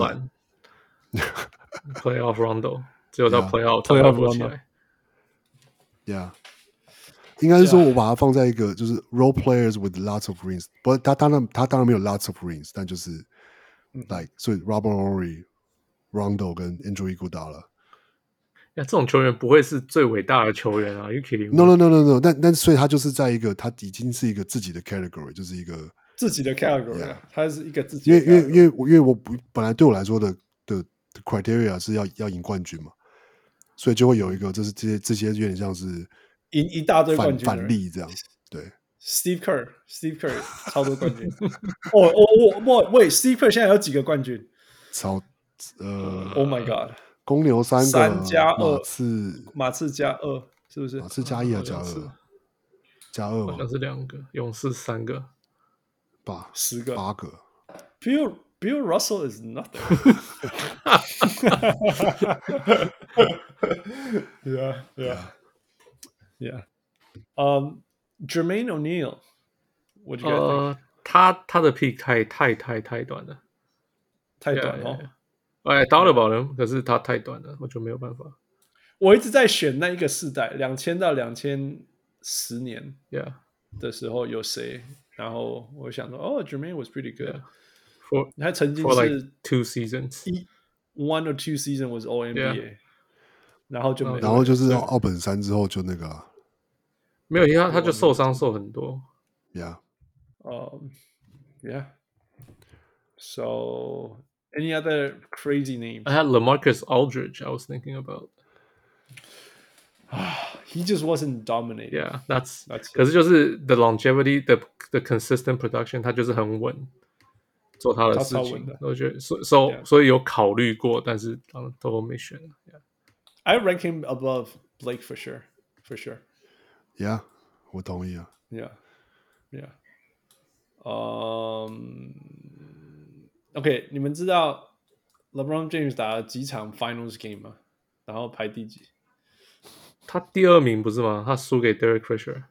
Playoff Rondo 只有到 Playoff Rondo。 Yeah。應該是說，我把它放在一個就是 role players with lots of rings， 不過他當然沒有 lots of rings， 但就是 like 所以 Robert Horry、Rondo 跟 Andrew Iguodala。 这種球員不會是最偉大的球員啊 ？You kidding me？ No， 但所以他就是在一個他已經是一個自己的 category， 就是一個自己的 category， 他是一個自己的 category。 因為我本來對我來說的 criteria 是要贏冠軍嘛，所以就會有一個就是這些有點像是贏一大堆冠軍反例這樣，對。 Steve Kerr 超多冠軍。喂 ，Steve Kerr 現在有幾個冠軍？ Oh my God！ 公牛3加2， 馬刺加2，是不是？ 馬刺加1還加2？加2嗎？ 好像是2個，勇士3個 ，10個 ，8 個。 Bill Russell is nothing. Yeah. Jermaine O'Neal, what do you guys think? 他的 pick 太短了， 太短哦。 thought about him， 可是他太短了，我就沒有辦法。 我一直在選那一個世代，2000到2010年的時候有誰？然後我想說，Jermaine was pretty good。他曾經是 for like 2 seasons， 1 or 2 seasons was All NBA， 然後就沒， 然後就是奧本山之後就那個沒有，因為他就受傷受很多。 Yeah. Yeah. So any other crazy names? I had LaMarcus Aldridge. I was thinking about. He just wasn't dominating. Yeah, that's 可是就是 the longevity, the consistent production， 他就是很穩，做他的事情。我覺得所以有考慮過，但是都沒選。 I rank him above Blake for sure. Yeah, 我同意啊。 Yeah. OK， 你們知道 LeBron James 打了幾場 Finals game 嗎？然後排第幾？ 他第2名不是嗎？他輸給 Derek Fisher。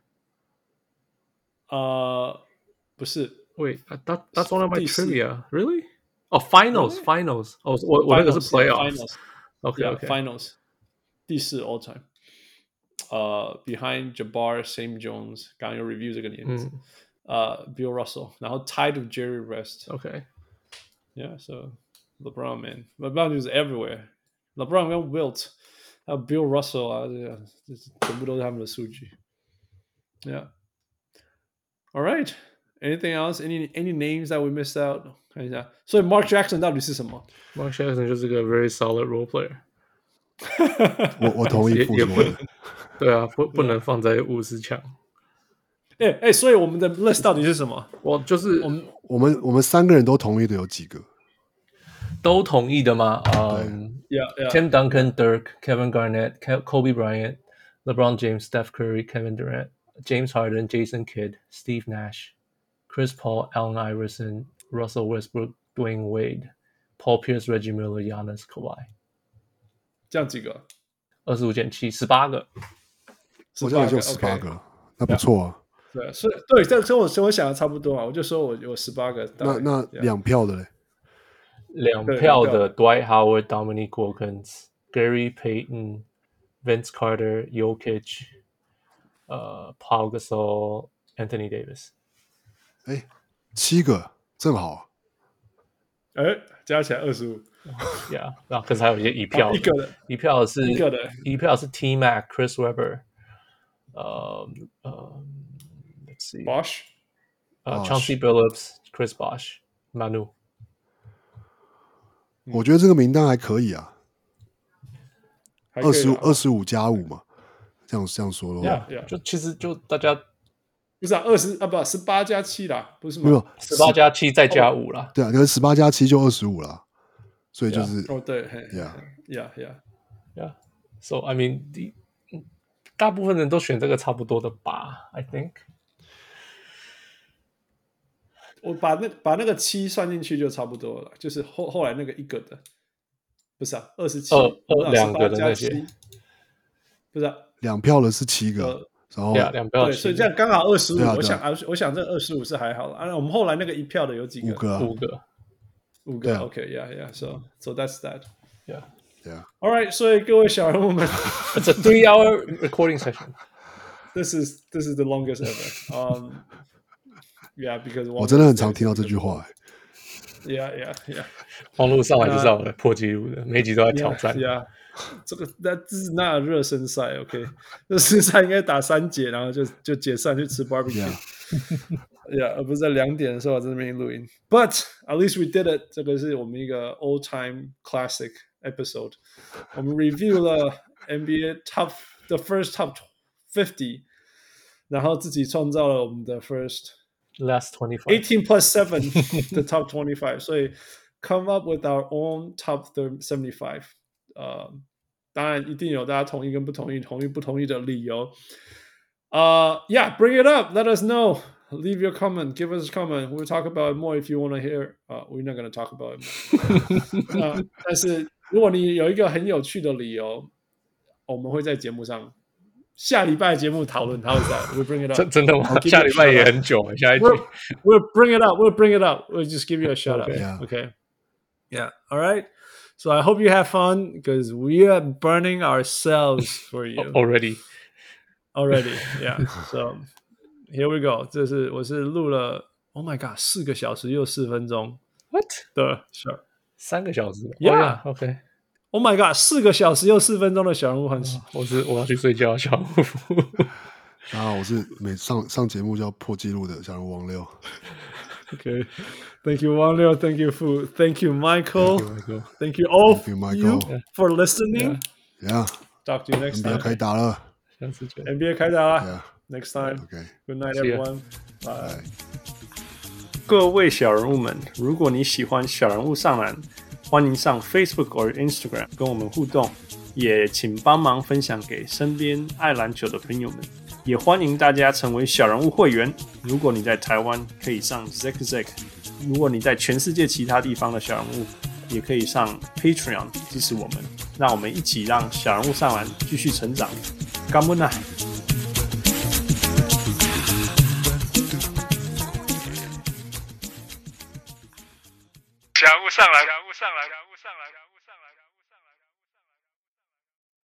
不是。 Wait, that's one of my trivia. Really? Oh, finals. Oh, 我那個是 playoffs. Okay. Finals. 第4 all time. Behind Jabbar, Sam Jones. 剛剛有 review 這個年子。Bill Russell. 然後 tied with Jerry West. Okay. Yeah, so LeBron, man. LeBron is everywhere. LeBron 跟 Wilt 還有 Bill Russell 啊，全部都是他們的數據。Yeah. All right. Anything else? Any names that we missed out? 看一下。所以 Mark Jackson 到底是什麼 ？Mark Jackson 就是個 very solid role player 我同意傅說的。 對啊，不能放在50強。 所以我們的 list 到底是什麼？ 我就是我們3個人都同意的有幾個？ 都同意的嗎 ？Tim Duncan, Dirk, Kevin Garnett, Kobe Bryant, LeBron James, Steph Curry, Kevin Durant, James Harden, Jason Kidd, Steve Nash, Chris Paul, Allen Iverson, Russell Westbrook, Dwayne Wade, Paul Pierce, Reggie Miller, Giannis, Kawhi。 這樣幾個 ？25減7 18個。 我這樣就18個，那不錯啊。 對，所以這我想的差不多啊，我就說我有18個。 那2票的嘞 ？2票的 Dwight Howard, Dominique Wilkins, Gary Payton, Vince Carter, Jokic, Paul Gasol, Anthony Davis。 7個正好。 加起來25。 Yeah， 可是還有一些一票的，一票是 T-Mac, Chris Webber， let's see, Bosh， Chauncey Billups, Chris Bosh, Manu。 我覺得這個名單還可以啊，25+5嘛，這樣說的話， 就其實就大家不是18加7啦，不是嗎？ 沒有 18加7再加5啦。 對啊，可是18加7就25啦，所以就是對 ，Yeah. So I mean， 大部分人都選這個差不多的吧 ，I think。 我把那個7算進去就差不多了，就是後來那個一個的，不是27， 兩個的那些， 不是 2票的是7個，然後 2票對，所以這樣剛好25。我想這25是還好了啊。我們後來那個一票的有幾個 ？5個。 OK，yeah，so that's that。Yeah. All right， 所以各位小人物們 ，It's a 3-hour recording session. This is the longest ever. Yeah, because 我真的很常聽到這句話。 Yeah. 網絡上來就是要破紀錄的，每一集都在挑戰。 Yeah， 這是那熱身賽 ，OK， 熱身賽應該打3節，然後就解散去吃 barbecue。Yeah， 而不是在2點的時候在那邊錄音。But at least we did it。這個是我們一個 old time classic episode。我們 review 了 NBA the first top 50， 然後自己創造了我們的 last 25 18 plus 7 the top 25， 所以 come up with our own top 75。當然一定有大家同意跟不同意，同意不同意的理由。Yeah, bring it up. Let us know. Leave your comment. Give us a comment. We'll talk about it more if you want to hear. We're not going to talk about it more. 但是如果你有一個很有趣的理由，我們會在節目上下禮拜節目討論。How is that? We'll bring it up. 真的嗎？下禮拜也很久。下一集 We'll bring it up. We'll bring it up. We'll just give you a shout out. Okay. Yeah. All right. So I hope you have fun because we are burning ourselves for you already. Yeah. So here we go. 我是錄了 Oh my God 4個小時又4分鐘 What 的小 3個小時 Yeah. OK Oh my God 4個小時又4分鐘的小人物很我要去睡覺小人物我是每上節目就要破紀錄的小人物王六。 Okay. Thank you, Wang Liu. Thank you, Fu. Thank you, Michael. Thank you all for listening. Yeah. Talk to you next time. NBA 開打了。 下次見。 NBA 開打了。Next time. Okay. Good night, everyone. Bye. 各位小人物們，如果你喜歡小人物上籃，歡迎上 Facebook 或 Instagram 跟我們互動，也請幫忙分享給身邊愛籃球的朋友們。也歡迎大家成為小人物會員。如果你在台灣，可以上 Zack； 如果你在全世界其他地方的小人物，也可以上 Patreon 支持我們。讓我們一起讓小人物上籃繼續成長。感恩啊！ 小人物上籃。